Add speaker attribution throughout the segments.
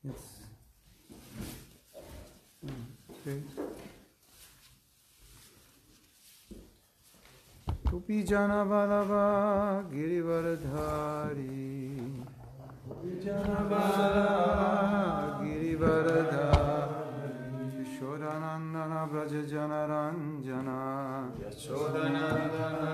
Speaker 1: Yes. Okay. Gopi Jana Balava Girivardhari. Gopi Jana Balava Girivardhari. Yashodanandana Braja Jana Ranjana. Yashodanandana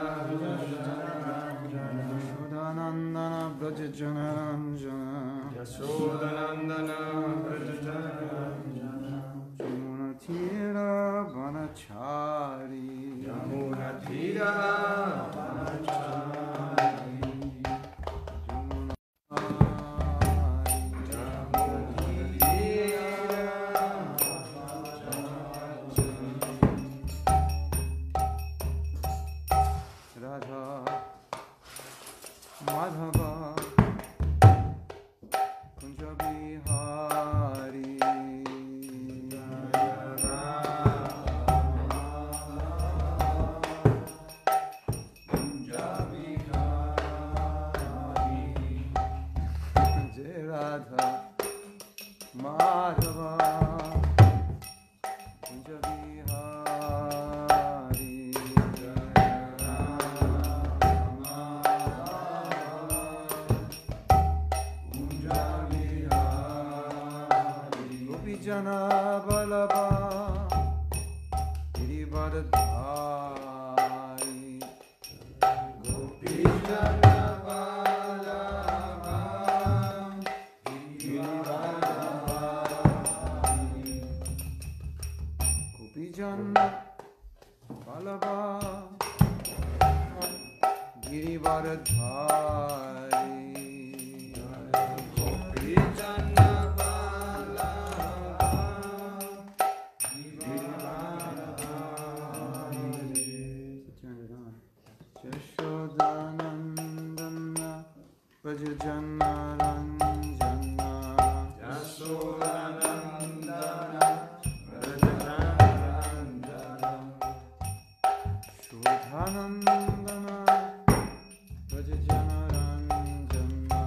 Speaker 1: Braja Jana Ranjana. Yashodanandana Braja Jana Ranjana. Yamuna Tira Vanachari. Yamuna Tira Vanachari. Radha Madhava Kunja Bihari. Jai Radha Madhava Kunja Bihari. Gopi Jana Balaba Girivardhari. Gopi Jana Balaba Girivardhari. Gopi Jana Balaba Girivardhari. Gopi Jana Balaba Girivardhari. Turn it on. Jashodanandana Vrajajana Ranjana. Jashodanandana Vrajajana Ranjana. Shodhanandana Vrajajana Ranjana.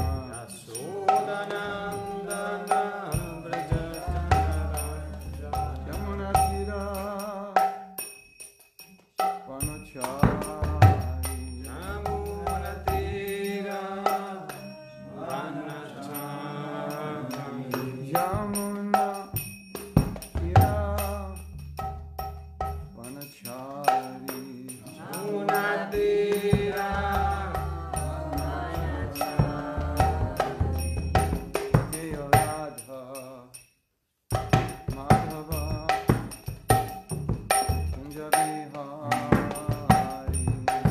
Speaker 1: Yashodanandana Vrajajana Ranjana. Yamuna Tira Vanachari. Yamuna Tira Vanachari. Yamuna Tira Vanachari. Yamuna Tira Vanachari. Jai Radha Madhava Kunja Bihari.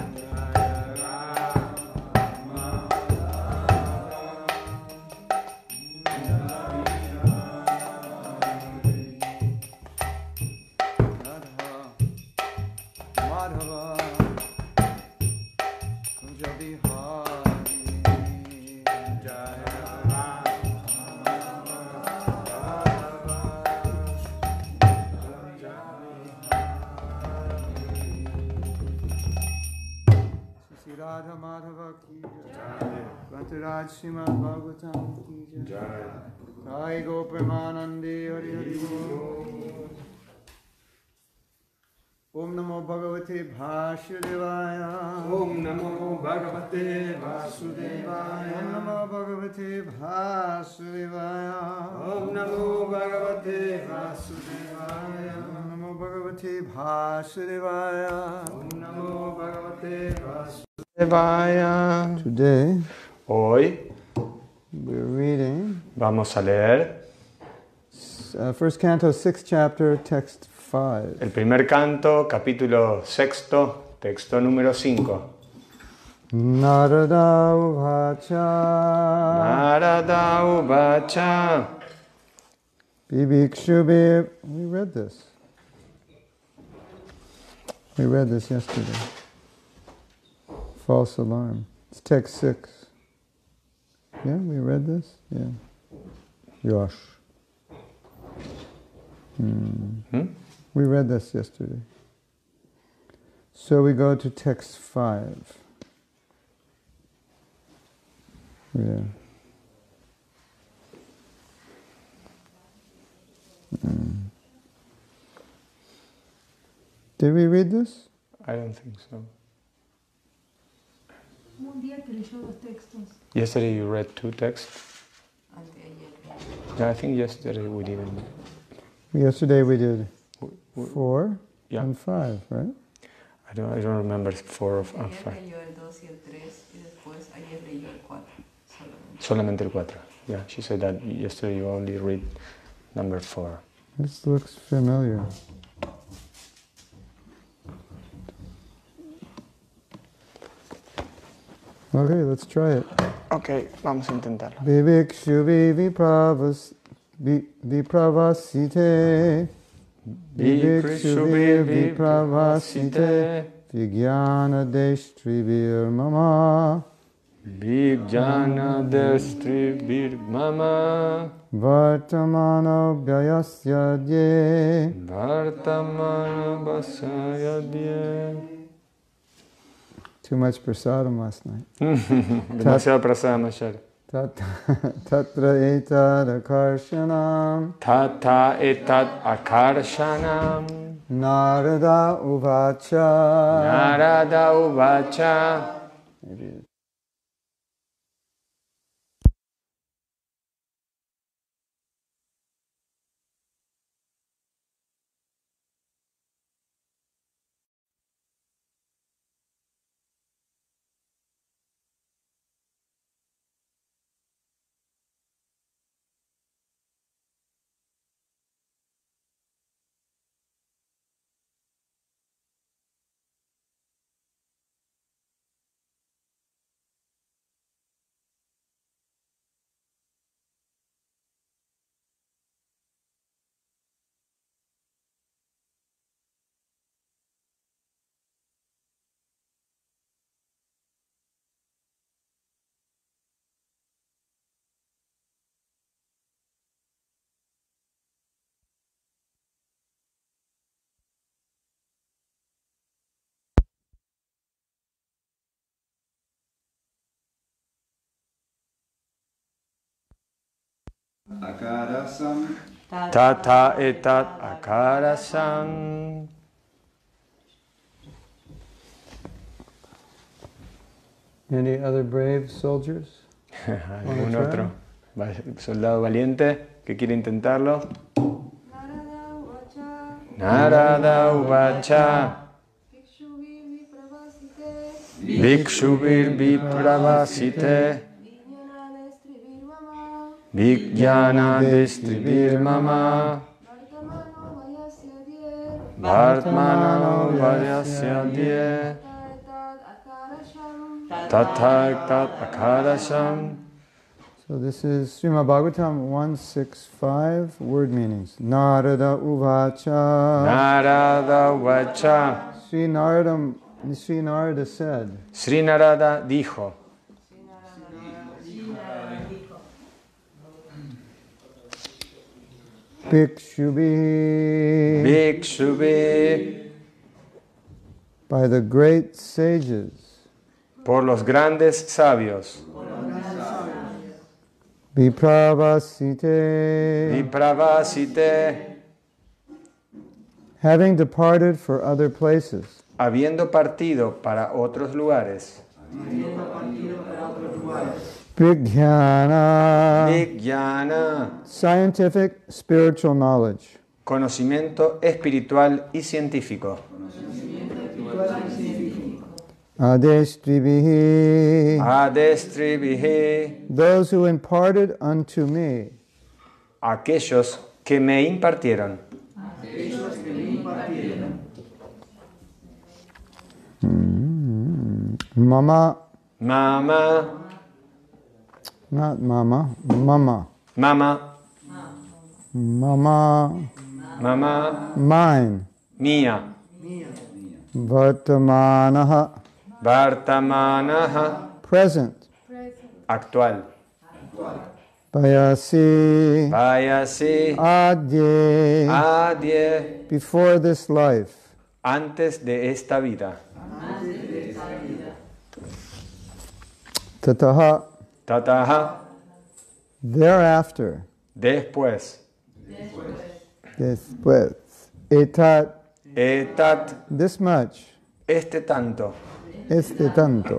Speaker 1: Radha Madhava Kunja Bihari. Jai Sri Radha Madhava ki jai. Kantaraj Srimad Bhagavatam ki jai. Sai Gopremanande Hari Hari Bol. Om Namo Bhagavate Vasudevaya.
Speaker 2: Om Namo Bhagavate Vasudevaya.
Speaker 1: Om Namo Bhagavate Vasudevaya.
Speaker 2: Om Namo Bhagavate Vasudevaya.
Speaker 1: Om Namo Bhagavate Vasudevaya.
Speaker 2: Om Namo Bhagavate
Speaker 1: Vasudevaya. Today
Speaker 2: Hoy
Speaker 1: we're reading
Speaker 2: vamos a leer
Speaker 1: first canto, 6th chapter, text 5.
Speaker 2: el primer canto, capítulo 6, texto número 5.
Speaker 1: Narada Uvacha.
Speaker 2: Narada Uvacha.
Speaker 1: Bibhikshubhi. We read this. We read this yesterday. False alarm. It's text 6. Yeah, we read this? Yeah. Yosh. We read this yesterday. So we go to text 5. Yeah. Did we read this?
Speaker 2: I don't think so.
Speaker 3: Un día que leyó los textos.
Speaker 2: Yesterday you read 2 texts? Yeah, I think yesterday we didn't.
Speaker 1: Yesterday we did 4
Speaker 2: Yeah.
Speaker 1: and 5, right?
Speaker 2: I don't remember 4 and 5.
Speaker 4: Ayer leyó el 2 y el 3 y después ayer leyó el 4
Speaker 2: Solamente el 4. Yeah, she said that yesterday you only read number 4.
Speaker 1: This looks familiar. Okay, let's try it.
Speaker 2: Okay, vamos a intentarlo.
Speaker 1: Vivikshuvi vipravasite. Vivikshuvi vipravasite. Vijnana deshtrivir mama.
Speaker 2: Vijnana destribir mama.
Speaker 1: Vartamano vyayasya dye.
Speaker 2: Vartamana vasayadye.
Speaker 1: Too much prasadam last night.
Speaker 2: Demasiado prasadam ayer.
Speaker 1: Tatra etad akarshanam.
Speaker 2: Tata etat akarshanam.
Speaker 1: Narada uvacha.
Speaker 2: Narada uvacha.
Speaker 5: Akarasam.
Speaker 2: Tata etat akarasam.
Speaker 1: Any other brave soldiers?
Speaker 2: ¿Algún otro soldado valiente que quiere intentarlo? Narada uvacha. Vikshuvir vipravasite. Vijnana destribir mama. Vartmanano vayasya dye. Tata tat akarasham.
Speaker 1: So this is Srimad Bhagavatam 165, word meanings. Narada uvacha.
Speaker 2: Narada uvacha.
Speaker 1: Sri Narada said.
Speaker 2: Sri Narada dijo.
Speaker 1: Bhikshubhi.
Speaker 2: Bhikshubhi.
Speaker 1: By the great sages.
Speaker 2: Por los grandes sabios.
Speaker 1: Vipravasite.
Speaker 2: Vipravasite.
Speaker 1: Having departed for other places.
Speaker 2: Habiendo partido para otros lugares.
Speaker 1: Vijnana.
Speaker 2: Vijnana.
Speaker 1: Scientific, spiritual knowledge.
Speaker 2: Conocimiento espiritual y científico.
Speaker 1: Adestribihi.
Speaker 2: Adestribihi.
Speaker 1: Those who imparted unto me.
Speaker 2: Aquellos que me impartieron.
Speaker 1: Mama.
Speaker 2: Mama.
Speaker 1: Not mama. Mama.
Speaker 2: Mama.
Speaker 1: Mama.
Speaker 2: Mama.
Speaker 1: Mine.
Speaker 2: Mía.
Speaker 1: Vartamanaha.
Speaker 2: Vartamanaha.
Speaker 1: Present.
Speaker 2: Actual.
Speaker 1: Vayasi.
Speaker 2: Vayasi.
Speaker 1: Adye.
Speaker 2: Adye.
Speaker 1: Before this life.
Speaker 2: Antes de esta vida.
Speaker 1: Tataha.
Speaker 2: Tataha.
Speaker 1: Thereafter.
Speaker 2: Después.
Speaker 1: Después. Etat.
Speaker 2: Etat,
Speaker 1: this much,
Speaker 2: este tanto.
Speaker 1: este tanto.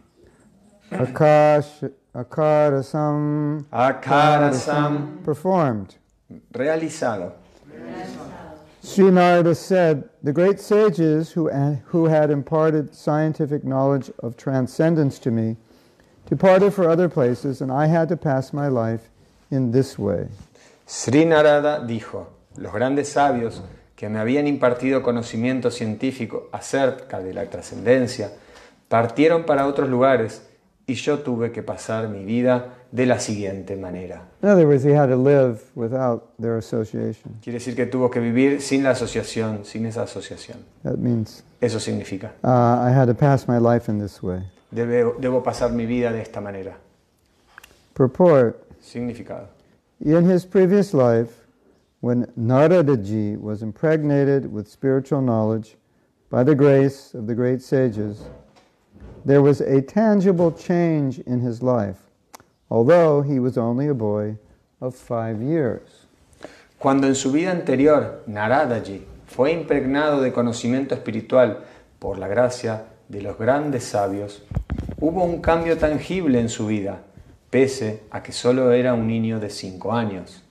Speaker 1: Akarasam,
Speaker 2: Akarasam,
Speaker 1: performed.
Speaker 2: realizado.
Speaker 1: Sri Narada said, the great sages who had imparted scientific knowledge of transcendence to me departed for other places, and I had to pass my life in this way.
Speaker 2: Sri Narada dijo, los grandes sabios que me habían impartido conocimiento científico acerca de la trascendencia partieron para otros lugares y yo tuve que pasar mi vida de la siguiente manera.
Speaker 1: In other words, he had to live without their association.
Speaker 2: Quiere decir que tuvo que vivir sin la asociación, sin esa asociación.
Speaker 1: That means
Speaker 2: Eso significa,
Speaker 1: I had to pass my life in this way.
Speaker 2: debo pasar mi vida de esta manera.
Speaker 1: Purport.
Speaker 2: Significado.
Speaker 1: In his previous life, when Naradaji was impregnated with spiritual knowledge by the grace of the great sages, there was a tangible change in his life, although he was only a boy of 5 years.
Speaker 2: Cuando en su vida anterior Naradaji fue impregnado de conocimiento espiritual por la gracia de los grandes sabios, hubo un cambio tangible en su vida, pese a que solo era un niño de 5 años.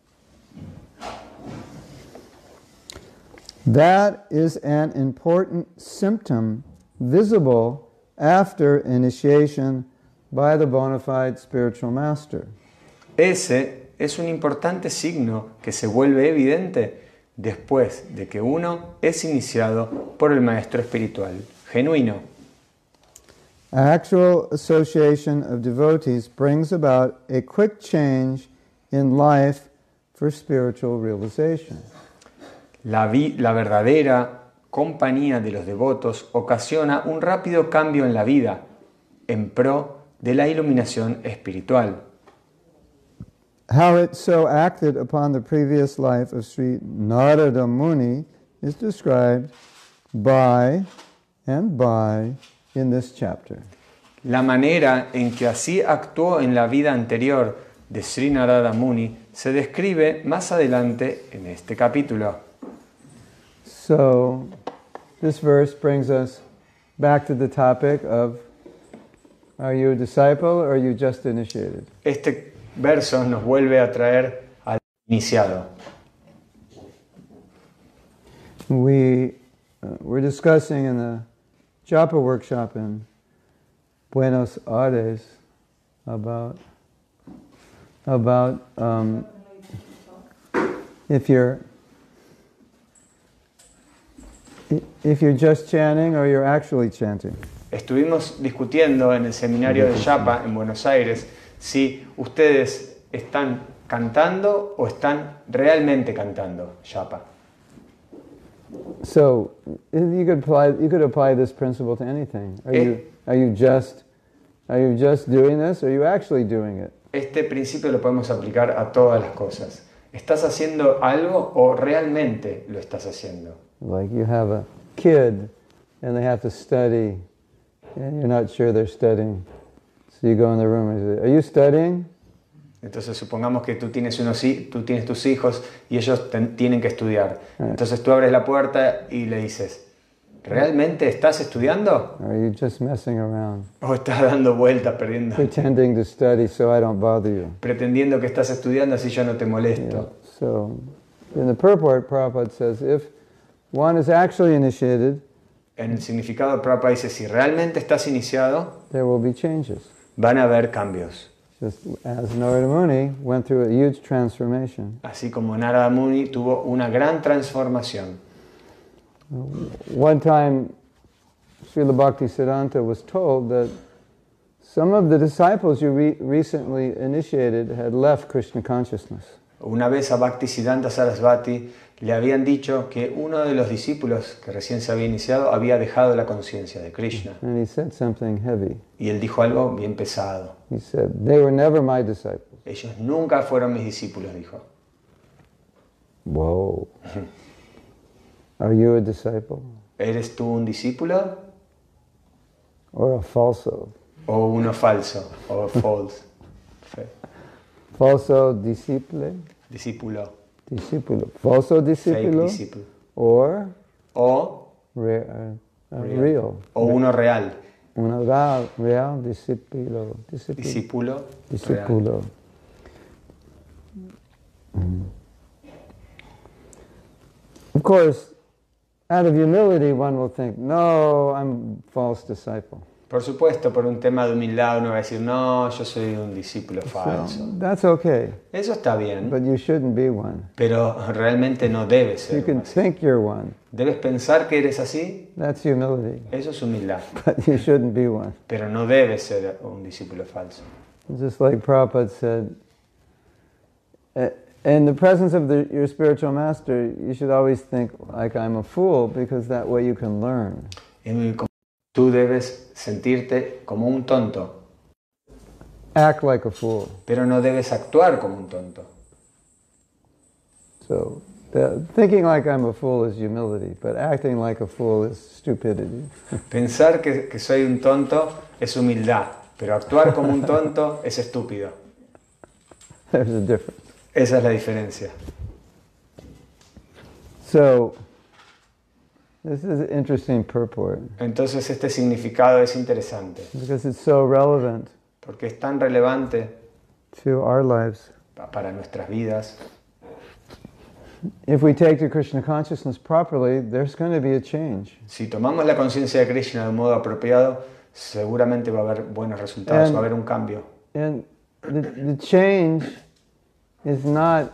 Speaker 1: That is an important symptom visible after initiation by the bona fide spiritual master.
Speaker 2: Ese es un importante signo que se vuelve evidente después de que uno es iniciado por el maestro espiritual genuino.
Speaker 1: Actual association of devotees brings about a quick change in life for spiritual realization.
Speaker 2: La verdadera compañía de los devotos ocasiona un rápido cambio en la vida en pro de la iluminación espiritual.
Speaker 1: How it so acted upon the previous life of Sri Narada Muni is described by in this chapter.
Speaker 2: La manera en que así actuó en la vida anterior de Sri Narada Muni se describe más adelante en este capítulo.
Speaker 1: So, this verse brings us back to the topic of, are you a disciple or are you just initiated?
Speaker 2: Este verso nos vuelve a traer al iniciado.
Speaker 1: We're discussing in the Japa workshop in Buenos Aires about if you're just chanting or you're actually chanting.
Speaker 2: Estuvimos discutiendo en el seminario de Japa en Buenos Aires si ustedes están cantando o están realmente cantando Japa.
Speaker 1: So you could apply this principle to anything. Are you just doing this, or are you actually doing it?
Speaker 2: Este principio lo podemos aplicar a todas las cosas. ¿Estás haciendo algo o realmente lo estás haciendo?
Speaker 1: Like you have a kid and they have to study and you're not sure they're studying. So you go in the room and you say, "Are you studying?"
Speaker 2: Entonces supongamos que tú tienes tus hijos y ellos tienen que estudiar. Entonces tú abres la puerta y le dices, ¿realmente estás estudiando?
Speaker 1: Or are you just messing around?
Speaker 2: ¿O estás dando vueltas,
Speaker 1: Pretending to study so I don't bother you.
Speaker 2: pretendiendo que estás estudiando así yo no te molesto?
Speaker 1: Yeah. So in the purport, Prabhupada says, if one is actually initiated,
Speaker 2: En el significado, Prabhupada dice, si realmente estás iniciado,
Speaker 1: there will be changes.
Speaker 2: van a haber cambios.
Speaker 1: Just as Narada Muni went through a huge transformation.
Speaker 2: Así como Narada Muni tuvo una gran transformación.
Speaker 1: One time, Srila Bhaktisiddhanta was told that some of the disciples you recently initiated had left Krishna consciousness.
Speaker 2: Una vez a Bhaktisiddhanta Sarasvati le habían dicho que uno de los discípulos que recién se había iniciado había dejado la conciencia de Krishna.
Speaker 1: And he said something heavy.
Speaker 2: Y él dijo algo bien pesado.
Speaker 1: He said, "They were never my disciples."
Speaker 2: Ellos nunca fueron mis discípulos, dijo.
Speaker 1: Whoa. Are you a disciple?
Speaker 2: ¿Eres tú un discípulo
Speaker 1: Or a falso?
Speaker 2: o uno falso? O false.
Speaker 1: Falso disciple?
Speaker 2: Discípulo.
Speaker 1: Discipulo. Falso
Speaker 2: Fake
Speaker 1: discipulo?
Speaker 2: disciple.
Speaker 1: Or
Speaker 2: o
Speaker 1: real.
Speaker 2: o uno real,
Speaker 1: Uno real, discípulo.
Speaker 2: discípulo real.
Speaker 1: Discípulo. Of course, out of humility, one will think, no, I'm a false disciple.
Speaker 2: Por supuesto, por un tema de humildad uno va a decir, no, yo soy un discípulo falso.
Speaker 1: So, that's okay,
Speaker 2: Eso está bien,
Speaker 1: but you shouldn't be one.
Speaker 2: pero realmente no debes
Speaker 1: You
Speaker 2: ser
Speaker 1: can
Speaker 2: así.
Speaker 1: think you're one.
Speaker 2: Debes pensar que eres así,
Speaker 1: That's humility,
Speaker 2: eso es humildad,
Speaker 1: but you shouldn't be one.
Speaker 2: pero no debes ser un discípulo falso.
Speaker 1: Just like Prabhupada said, in the presence of your spiritual master, you should always think like I'm a fool, because that way you can learn.
Speaker 2: Tú debes sentirte como un tonto,
Speaker 1: Act like a fool.
Speaker 2: pero no debes actuar como un tonto.
Speaker 1: So, thinking like I'm a fool is humility, but acting like a fool is stupidity.
Speaker 2: Pensar que soy un tonto es humildad, pero actuar como un tonto es estúpido.
Speaker 1: There's a difference.
Speaker 2: Esa es la diferencia.
Speaker 1: So, this is an interesting purport,
Speaker 2: Entonces este significado es interesante,
Speaker 1: because it's so relevant
Speaker 2: porque es tan relevante
Speaker 1: to our lives.
Speaker 2: para nuestras vidas.
Speaker 1: If we take to Krishna consciousness properly, there's going to be a change.
Speaker 2: Si tomamos la conciencia de Krishna de un modo apropiado, seguramente va a haber buenos resultados, va a haber un cambio.
Speaker 1: And the change is not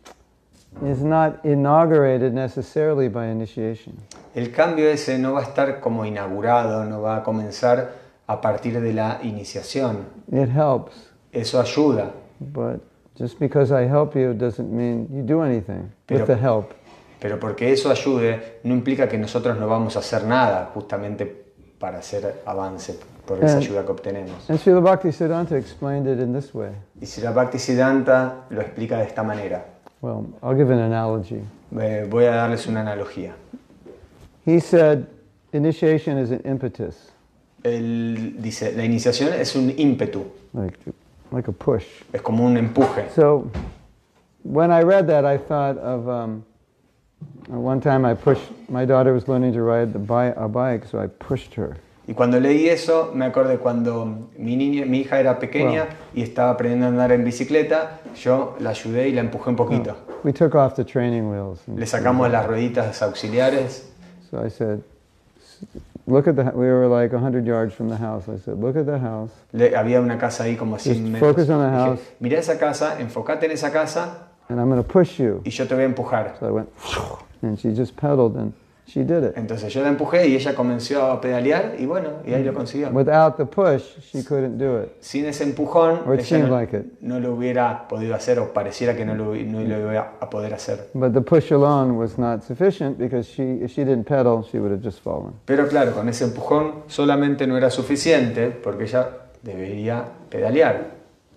Speaker 1: inaugurated necessarily by initiation.
Speaker 2: El cambio ese no va a estar como inaugurado, no va a comenzar a partir de la iniciación.
Speaker 1: It helps,
Speaker 2: Eso ayuda,
Speaker 1: but just because I help you doesn't mean you do anything with the help.
Speaker 2: pero porque eso ayude no implica que nosotros no vamos a hacer nada justamente para hacer avance por esa ayuda que obtenemos.
Speaker 1: And Srila Bhaktisiddhanta explained it in this way.
Speaker 2: Y Srila Bhaktisiddhanta lo explica de esta manera.
Speaker 1: Well, I'll give an analogy.
Speaker 2: Voy a darles una analogía.
Speaker 1: He said initiation is an impetus,
Speaker 2: Él dice, la iniciación es un ímpetu,
Speaker 1: like a push.
Speaker 2: es como un empuje.
Speaker 1: So when I read that, I thought of one time my daughter was learning to ride a bike, so I pushed her.
Speaker 2: Y cuando leí eso, me acordé cuando mi hija era pequeña y estaba aprendiendo a andar en bicicleta, yo la ayudé y la empujé un poquito.
Speaker 1: We took off the training wheels.
Speaker 2: Le sacamos las rueditas auxiliares.
Speaker 1: So I said, we were like 100 yards from the house. I said, look at the house.
Speaker 2: Había una casa ahí como a 100
Speaker 1: Just
Speaker 2: metros.
Speaker 1: focus on the house.
Speaker 2: Dije, mirá esa casa, enfócate en esa casa
Speaker 1: And I'm going to push you.
Speaker 2: y yo te voy a empujar.
Speaker 1: So I went, and she just pedaled, and she did it.
Speaker 2: Entonces yo la empujé y ella comenzó a pedalear y bueno, y ahí lo consiguió.
Speaker 1: Without the push, she couldn't do it.
Speaker 2: Sin ese empujón,
Speaker 1: Or it
Speaker 2: ella
Speaker 1: seemed like it.
Speaker 2: no lo hubiera podido hacer o pareciera que no lo iba a poder hacer.
Speaker 1: But the push alone was not sufficient, because if she didn't pedal, she would have just fallen.
Speaker 2: Pero claro, con ese empujón solamente no era suficiente porque ella debería pedalear.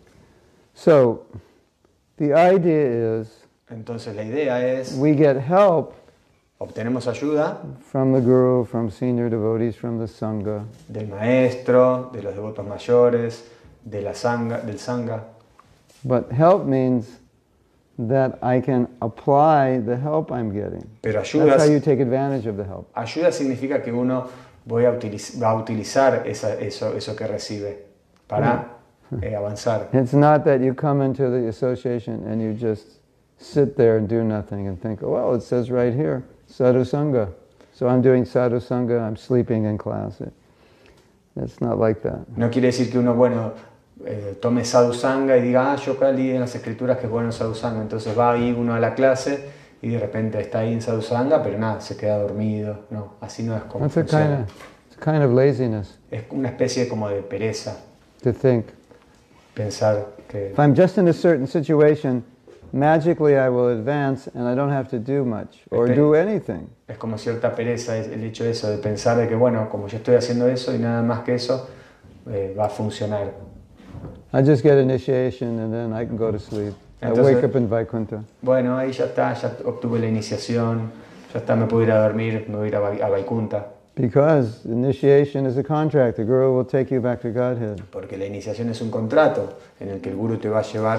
Speaker 1: So the idea is
Speaker 2: Entonces la idea es,
Speaker 1: we get help
Speaker 2: obtenemos ayuda
Speaker 1: from the guru, from senior devotees, from the sangha.
Speaker 2: del maestro, de los devotos mayores, de la sangha, del sangha.
Speaker 1: But help means that I can apply the help I'm getting.
Speaker 2: Pero ayuda,
Speaker 1: That's how you take advantage of the help.
Speaker 2: ayuda significa que uno va a utilizar eso que recibe para avanzar.
Speaker 1: It's not that you come into the association and you just sit there and do nothing and think, oh, well, it says right here, sadhu sangha. So I'm doing sadhu sangha, I'm sleeping in class. It's not like that.
Speaker 2: No quiere decir que uno, tome sadhu sangha y diga, yo acá leí en las escrituras que es bueno sadhu sangha. Entonces va ahí uno a la clase y de repente está ahí en sadhu sangha, pero nada, se queda dormido. No, así no es como
Speaker 1: That's
Speaker 2: funciona.
Speaker 1: a kind of laziness
Speaker 2: Es una especie como de pereza
Speaker 1: to think.
Speaker 2: pensar que
Speaker 1: If I'm just in a certain situation, magically I will advance and I don't have to do much or do anything.
Speaker 2: es como cierta pereza el hecho de eso, de pensar de que bueno, como yo estoy haciendo eso y nada más que eso, va a funcionar.
Speaker 1: I just get initiation and then I can go to sleep.
Speaker 2: Entonces,
Speaker 1: I wake up in Vaikuntha.
Speaker 2: Bueno, ahí ya está, ya obtuve la iniciación, ya está, me puedo ir a dormir, me voy a ir a Vaikunta.
Speaker 1: Because initiation is a contract. The Guru will take you back to Godhead.
Speaker 2: Porque la iniciación es un contrato en el que el gurú te va a llevar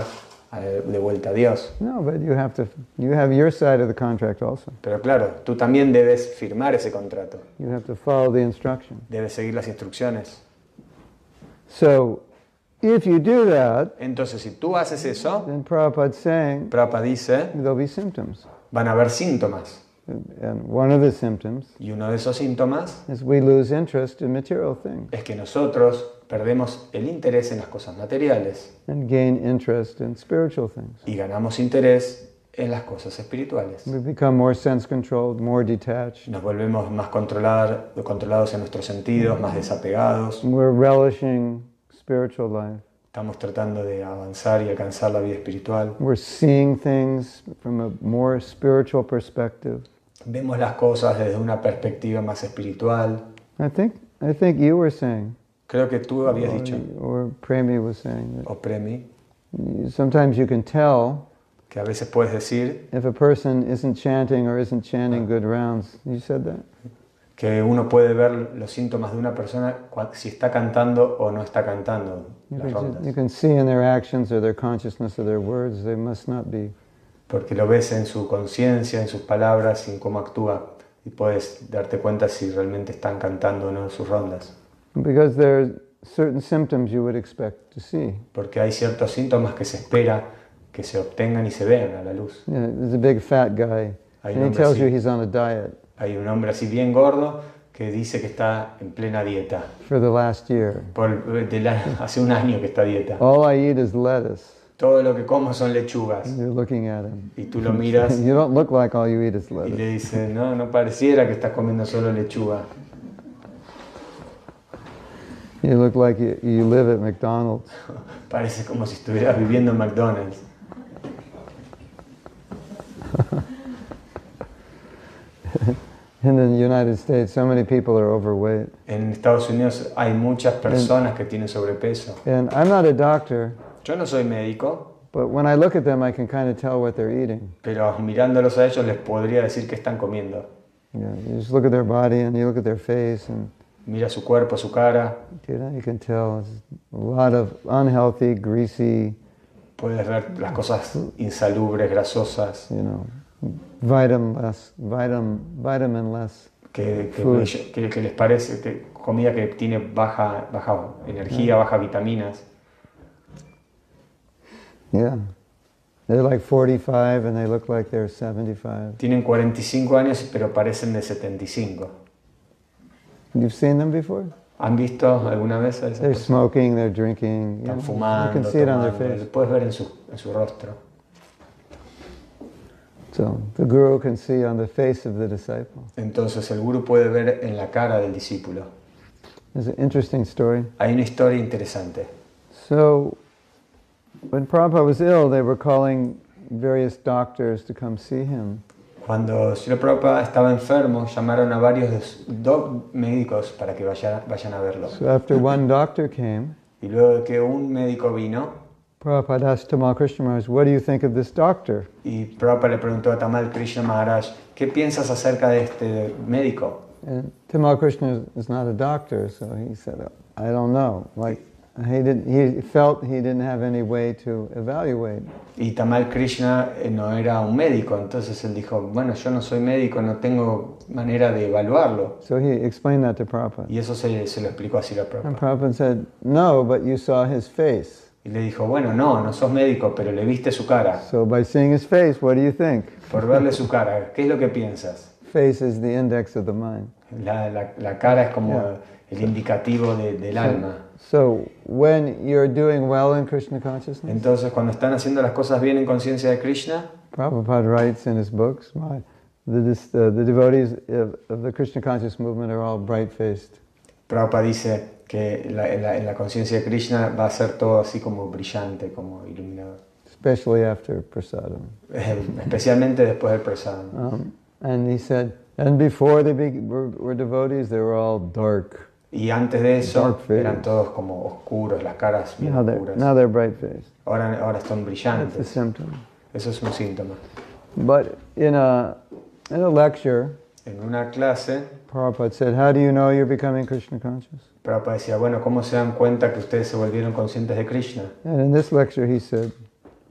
Speaker 2: de vuelta a Dios.
Speaker 1: No, but you have your side of the contract also.
Speaker 2: Pero claro, tú también debes firmar ese contrato.
Speaker 1: You have to follow the instruction.
Speaker 2: Debes seguir las instrucciones.
Speaker 1: So, if you do that,
Speaker 2: Entonces, si tú haces eso,
Speaker 1: then Prabhupada's saying
Speaker 2: Prabhupada dice,
Speaker 1: there'll be symptoms.
Speaker 2: van a haber síntomas.
Speaker 1: And one of the symptoms
Speaker 2: Y uno de esos síntomas
Speaker 1: is we lose interest in material things
Speaker 2: es que nosotros perdemos el interés en las cosas materiales
Speaker 1: and gain interest in spiritual things.
Speaker 2: y ganamos interés en las cosas espirituales.
Speaker 1: We become more sense-controlled, more detached.
Speaker 2: Nos volvemos más controlados en nuestros sentidos, más desapegados.
Speaker 1: We're relishing spiritual life.
Speaker 2: Estamos tratando de avanzar y alcanzar la vida espiritual.
Speaker 1: We're seeing things from a more spiritual perspective.
Speaker 2: Vemos las cosas desde una perspectiva más espiritual.
Speaker 1: I think you were saying,
Speaker 2: Creo que tú habías dicho,
Speaker 1: or Premi was saying,
Speaker 2: o Premi,
Speaker 1: that sometimes you can tell
Speaker 2: que a veces puedes decir
Speaker 1: if a person isn't chanting or isn't chanting good rounds. You said that?
Speaker 2: que uno puede ver los síntomas de una persona si está cantando o no está cantando las rondas.
Speaker 1: You can see in their actions or their consciousness or their words, they must not be.
Speaker 2: Porque lo ves en su conciencia, en sus palabras y en cómo actúa. Y puedes darte cuenta si realmente están cantando o no sus rondas.
Speaker 1: Because there are certain symptoms you would expect to see.
Speaker 2: Porque hay ciertos síntomas que se espera que se obtengan y se vean a la luz.
Speaker 1: You know, there's a big fat guy,
Speaker 2: Hay
Speaker 1: and he
Speaker 2: un hombre
Speaker 1: tells you
Speaker 2: así.
Speaker 1: he's on a diet
Speaker 2: Hay un hombre así bien gordo que dice que está en plena dieta.
Speaker 1: for the last year.
Speaker 2: Hace un año que está a dieta.
Speaker 1: All I eat is lettuce.
Speaker 2: Todo lo que como son lechugas.
Speaker 1: And you're looking at him.
Speaker 2: Y tú lo miras
Speaker 1: You don't look like all you eat is
Speaker 2: y
Speaker 1: lettuce.
Speaker 2: le dices, no, no pareciera que estás comiendo solo lechuga.
Speaker 1: You look like you live at McDonald's.
Speaker 2: Parece como si estuvieras viviendo en McDonald's.
Speaker 1: In the United States, so many people are overweight.
Speaker 2: En Estados Unidos hay muchas personas que tienen sobrepeso.
Speaker 1: And I'm not a doctor,
Speaker 2: Yo no soy médico,
Speaker 1: but when I look at them, I can kind of tell what they're eating.
Speaker 2: pero mirándolos a ellos les podría decir que están comiendo.
Speaker 1: You just look at their body and you look at their face, and
Speaker 2: Mira su cuerpo, su cara,
Speaker 1: you can tell it's a lot of unhealthy, greasy,
Speaker 2: puedes ver las cosas insalubres, grasosas,
Speaker 1: vitaminless food.
Speaker 2: que les parece que comida que tiene baja energía, baja vitaminas.
Speaker 1: Yeah. They're like 45 and they look like they're 75.
Speaker 2: Tienen 45 años pero parecen de 75.
Speaker 1: You've seen them before?
Speaker 2: ¿Han visto alguna vez a esas
Speaker 1: They're
Speaker 2: personas?
Speaker 1: smoking, they're drinking.
Speaker 2: Están
Speaker 1: You
Speaker 2: fumando,
Speaker 1: can see it on their
Speaker 2: tomando,
Speaker 1: face.
Speaker 2: lo puedes ver en su rostro.
Speaker 1: So the guru can see on the face of the disciple.
Speaker 2: Entonces el gurú puede ver en la cara del discípulo.
Speaker 1: It's an interesting story.
Speaker 2: Hay una historia interesante.
Speaker 1: So when Prabhupada was ill, they were calling various doctors to come see him.
Speaker 2: Cuando Srila Prabhupada estaba enfermo, llamaron a varios médicos para que vayan a verlo.
Speaker 1: So after one doctor came,
Speaker 2: Y luego de que un médico vino,
Speaker 1: Prabhupada asked Tamal Krishna Maharaj, "What do you think of this doctor?"
Speaker 2: y Prabhupada le preguntó a Tamal Krishna Maharaj, ¿qué piensas acerca de este médico?
Speaker 1: And Tamal Krishna is not a doctor, so he said, "I don't know." Like he felt he didn't have any way to evaluate.
Speaker 2: Y Tamal Krishna no era un médico, entonces él dijo, bueno, yo no soy médico, no tengo manera de evaluarlo.
Speaker 1: So he explained that to Prabhupada.
Speaker 2: Y eso se lo explicó a Srila
Speaker 1: And
Speaker 2: Prabhupada.
Speaker 1: Prabhupada said, "No, but you saw his face.
Speaker 2: Y le dijo, bueno, no sos médico, pero le viste su cara.
Speaker 1: So by seeing his face, what do you think?
Speaker 2: Por verle su cara, ¿qué es lo que piensas?
Speaker 1: Face is the index of the mind.
Speaker 2: La cara es como el indicativo del alma.
Speaker 1: So when you're doing well in Krishna consciousness,
Speaker 2: Entonces, cuando están haciendo las cosas bien en conciencia de Krishna,
Speaker 1: Prabhupada writes in his books, the devotees of the Krishna conscious movement are all bright-faced.
Speaker 2: Prabhupada dice que en la conciencia de Krishna va a ser todo así como brillante, como iluminado.
Speaker 1: Especially after prasadam.
Speaker 2: Especialmente después del prasadam.
Speaker 1: And he said, and before they were devotees, they were all dark.
Speaker 2: Y antes de eso
Speaker 1: Dark face.
Speaker 2: eran todos como oscuros, las caras bien
Speaker 1: Now
Speaker 2: oscuras.
Speaker 1: they're bright-faced.
Speaker 2: Ahora están
Speaker 1: That's a
Speaker 2: brillantes.
Speaker 1: symptom.
Speaker 2: Eso es un síntoma.
Speaker 1: But in a lecture,
Speaker 2: En una clase,
Speaker 1: Prabhupada said, "How do you know you're becoming Krishna conscious?"
Speaker 2: Prabhupada decía, bueno, ¿cómo se dan cuenta que ustedes se volvieron conscientes de Krishna?
Speaker 1: And in this lecture, he said,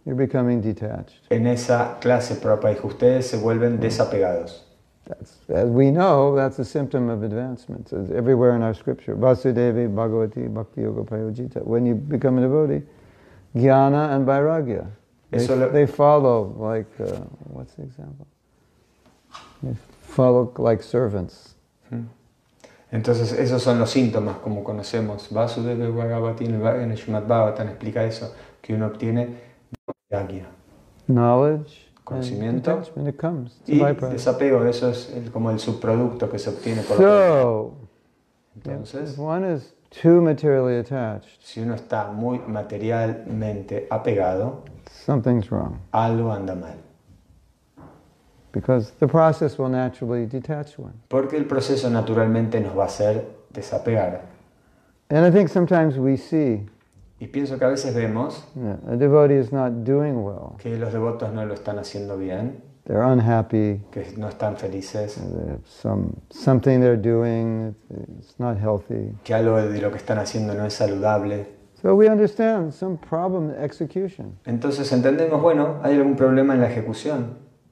Speaker 1: you're becoming detached.
Speaker 2: En esa clase Prabhupada dijo, ustedes se vuelven desapegados.
Speaker 1: That's, as we know, that's a symptom of advancement. It's everywhere in our scripture. Vasudevi Bhagavati Bhakti Yoga Prayojita. When you become a devotee, jnana and vairagya. They follow like, what's the example? They follow like servants.
Speaker 2: Entonces esos son los síntomas, como conocemos. Vasudeva Bhagavati en el Srimad Bhagavatam explica eso, que uno obtiene vairagya.
Speaker 1: Knowledge.
Speaker 2: Conocimiento
Speaker 1: it comes.
Speaker 2: Y desapego, eso es como el subproducto que se obtiene por Entonces,
Speaker 1: if one is too materially attached,
Speaker 2: si uno está muy materialmente apegado,
Speaker 1: something's wrong.
Speaker 2: Algo anda mal.
Speaker 1: Because the process will naturally detach one.
Speaker 2: Porque el proceso naturalmente nos va a hacer desapegar.
Speaker 1: And I think sometimes we see
Speaker 2: Y pienso que a veces vemos
Speaker 1: a devotee is not doing well.
Speaker 2: Que los devotos no lo están haciendo bien.
Speaker 1: They're unhappy.
Speaker 2: Que no están felices.
Speaker 1: Something they're doing, it's not healthy.
Speaker 2: Que algo de lo que están haciendo no es saludable.
Speaker 1: So we understand some problem in execution.
Speaker 2: Entonces entendemos, bueno, hay algún problema en la ejecución.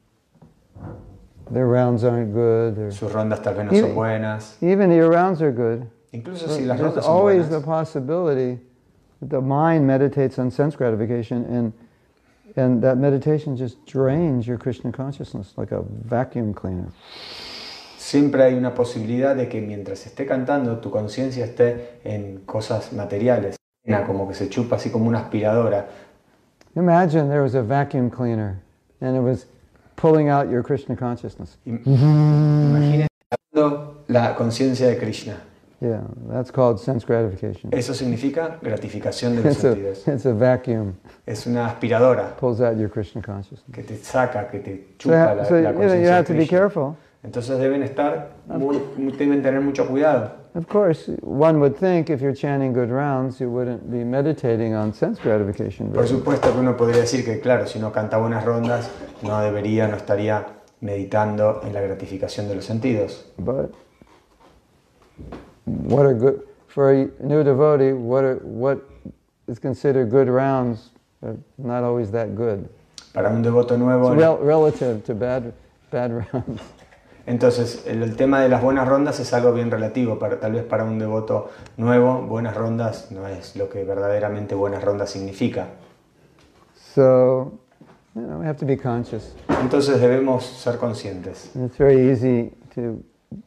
Speaker 1: Their rounds aren't good.
Speaker 2: Sus rondas tal vez no son buenas.
Speaker 1: Even your rounds are good.
Speaker 2: Incluso si las rondas
Speaker 1: son buenas. There's always the possibility that the mind meditates on sense gratification and that meditation just drains your Krishna consciousness like a vacuum cleaner.
Speaker 2: Siempre hay una posibilidad de que mientras esté cantando tu conciencia esté en cosas materiales, como que se chupa así como una aspiradora.
Speaker 1: Imagine there was a vacuum cleaner and it was pulling out your Krishna consciousness.
Speaker 2: Imaginen la conciencia de Krishna.
Speaker 1: Yeah, that's called sense gratification.
Speaker 2: Eso significa gratificación de los sentidos.
Speaker 1: It's a vacuum.
Speaker 2: Es una aspiradora.
Speaker 1: Pulls out your Krishna consciousness.
Speaker 2: Que te saca, que te chupa la conciencia
Speaker 1: you have
Speaker 2: de
Speaker 1: to be careful.
Speaker 2: Entonces deben tener mucho cuidado.
Speaker 1: Of course, one would think if you're chanting good rounds, you wouldn't be meditating on sense gratification.
Speaker 2: Por supuesto que uno podría decir que, claro, si uno canta buenas rondas, no estaría meditando en la gratificación de los sentidos.
Speaker 1: But what are good for a new devotee? What is considered good rounds are not always that good.
Speaker 2: Para un devoto nuevo,
Speaker 1: relative to bad rounds.
Speaker 2: Entonces, el tema de las buenas rondas es algo bien relativo. Tal vez para un devoto nuevo, buenas rondas no es lo que verdaderamente buenas rondas significa.
Speaker 1: So, we have to be conscious.
Speaker 2: Entonces debemos ser conscientes.
Speaker 1: And it's very easy to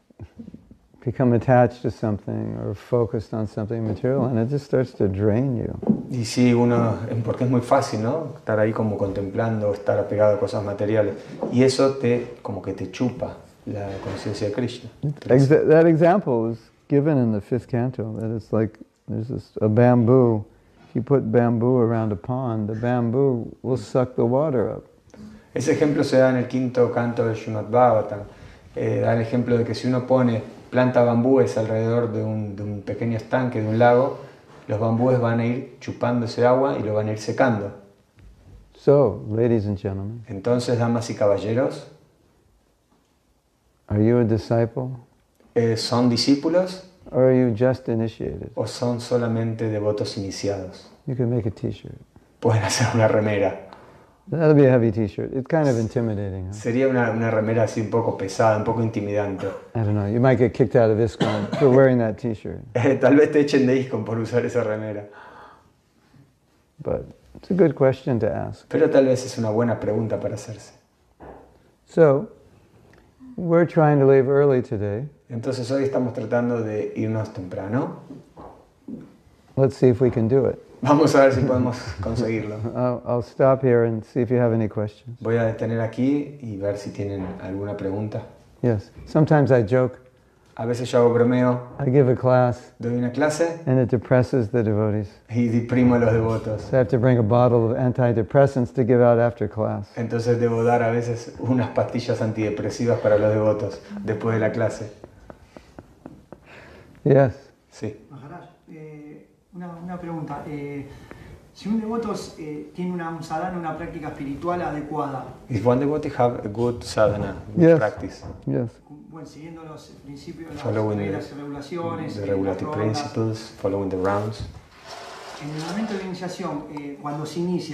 Speaker 1: become attached to something or focused on something material, and it just starts to drain you.
Speaker 2: Y sí, porque es muy fácil, ¿no? Estar ahí como contemplando, estar apegado a cosas materiales. Y eso como que te chupa la conciencia de Krishna.
Speaker 1: That example is given in the 5th canto, that it's like there's a bamboo. If you put bamboo around a pond, the bamboo will suck the water up.
Speaker 2: Ese ejemplo se da en el 5º canto del Srimad Bhagavatam. Da el ejemplo de que si uno planta bambúes alrededor de un pequeño estanque, de un lago, los bambúes van a ir chupando ese agua y lo van a ir secando.
Speaker 1: So, ladies and gentlemen,
Speaker 2: entonces, damas y caballeros,
Speaker 1: are you a disciple?
Speaker 2: ¿Son discípulos?
Speaker 1: Or are you just initiated?
Speaker 2: ¿O son solamente devotos iniciados?
Speaker 1: You can make a t-shirt.
Speaker 2: Pueden hacer una remera.
Speaker 1: That'll be a heavy t-shirt. It's kind of intimidating. Huh?
Speaker 2: Sería una remera así un poco pesada, un poco intimidante.
Speaker 1: I don't know. You might get kicked out of ISKCON for wearing that t-shirt.
Speaker 2: Tal vez te echen de ISKCON por usar esa remera.
Speaker 1: But it's a good question to ask.
Speaker 2: Pero tal vez es una buena pregunta para hacerse.
Speaker 1: So, we're trying to leave early today.
Speaker 2: Entonces hoy estamos tratando de irnos temprano.
Speaker 1: Let's see if we can do it.
Speaker 2: Vamos a ver si podemos conseguirlo.
Speaker 1: I'll stop here and see if you have any questions.
Speaker 2: Voy a detener aquí y ver si tienen alguna pregunta.
Speaker 1: Yes. Sometimes I joke.
Speaker 2: A veces yo hago bromeo.
Speaker 1: I give a class.
Speaker 2: Doy una clase.
Speaker 1: And it depresses the devotees.
Speaker 2: Y deprimo a los devotos.
Speaker 1: So I have to bring a bottle of antidepressants to give out after class.
Speaker 2: Entonces debo dar a veces unas pastillas antidepresivas para los devotos después de la clase.
Speaker 1: Yes.
Speaker 2: Sí.
Speaker 5: Maharaj, una pregunta. Si un devoto tiene un sadhana, una práctica espiritual adecuada.
Speaker 2: If one devotee have a good sadhana, good
Speaker 1: yes.
Speaker 2: practice.
Speaker 1: Yes.
Speaker 5: Bueno, siguiendo los principios, las
Speaker 2: following
Speaker 5: reglas y regulaciones,
Speaker 2: the regulative principles, following the rounds.
Speaker 5: En el momento de la iniciación, cuando se inicia,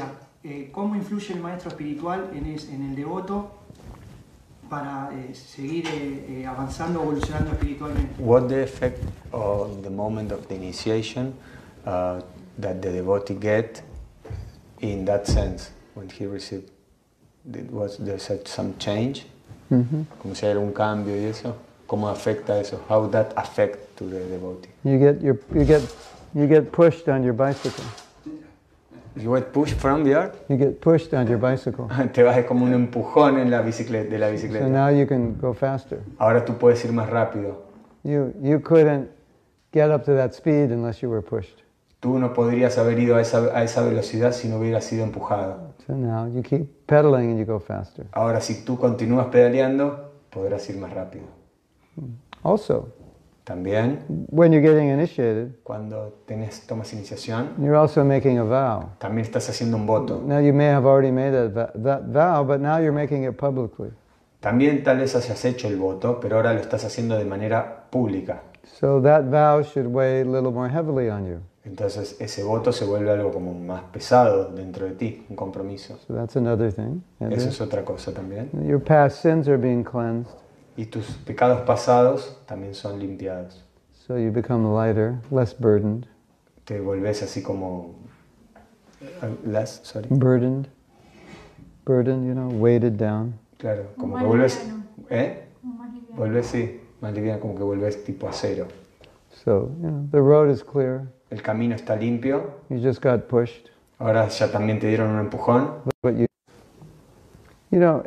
Speaker 5: ¿cómo influye el maestro espiritual en el devoto para seguir avanzando, evolucionando espiritualmente?
Speaker 2: What the effect on the moment of the initiation that the devotee get in that sense when he received? Was there some change? Como si hay algún cambio y eso. ¿Cómo afecta eso? How that affect to the devotee?
Speaker 1: You get pushed on your bicycle.
Speaker 2: You get pushed from the earth?
Speaker 1: You get pushed on your bicycle.
Speaker 2: Te vas como un empujón en la bicicleta, de la
Speaker 1: So
Speaker 2: bicicleta.
Speaker 1: now you can go faster.
Speaker 2: Ahora tú puedes ir más rápido.
Speaker 1: You couldn't get up to that speed unless you were pushed.
Speaker 2: Tú no podrías haber ido a esa velocidad si no hubieras sido empujado.
Speaker 1: So now you keep pedaling and you go faster.
Speaker 2: Ahora si tú continúas pedaleando, podrás ir más rápido.
Speaker 1: Also,
Speaker 2: También,
Speaker 1: when you're getting initiated,
Speaker 2: cuando tomas iniciación,
Speaker 1: you're also making a vow.
Speaker 2: también estás haciendo un voto.
Speaker 1: Now you may have already made that vow, but now you're making it publicly.
Speaker 2: También tal vez hayas hecho el voto, pero ahora lo estás haciendo de manera pública.
Speaker 1: So that vow should weigh a little more heavily on you.
Speaker 2: Entonces ese voto se vuelve algo como más pesado dentro de ti, un compromiso.
Speaker 1: So that's another thing. And
Speaker 2: Eso
Speaker 1: then
Speaker 2: es otra cosa también.
Speaker 1: your past sins are being cleansed,
Speaker 2: Y tus pecados pasados también son limpiados.
Speaker 1: so you become lighter, less burdened.
Speaker 2: Te volvés así como... sorry.
Speaker 1: Burdened, weighted down.
Speaker 2: Claro, como
Speaker 3: Más
Speaker 2: que vuelves...
Speaker 3: liviano.
Speaker 2: ¿Eh?
Speaker 3: Como más liviano.
Speaker 2: Vuelves, sí, más liviano, como que vuelves tipo a cero.
Speaker 1: So, the road is clear.
Speaker 2: El camino está limpio.
Speaker 1: You just got pushed.
Speaker 2: Ahora ya también te dieron un empujón.
Speaker 1: But you know,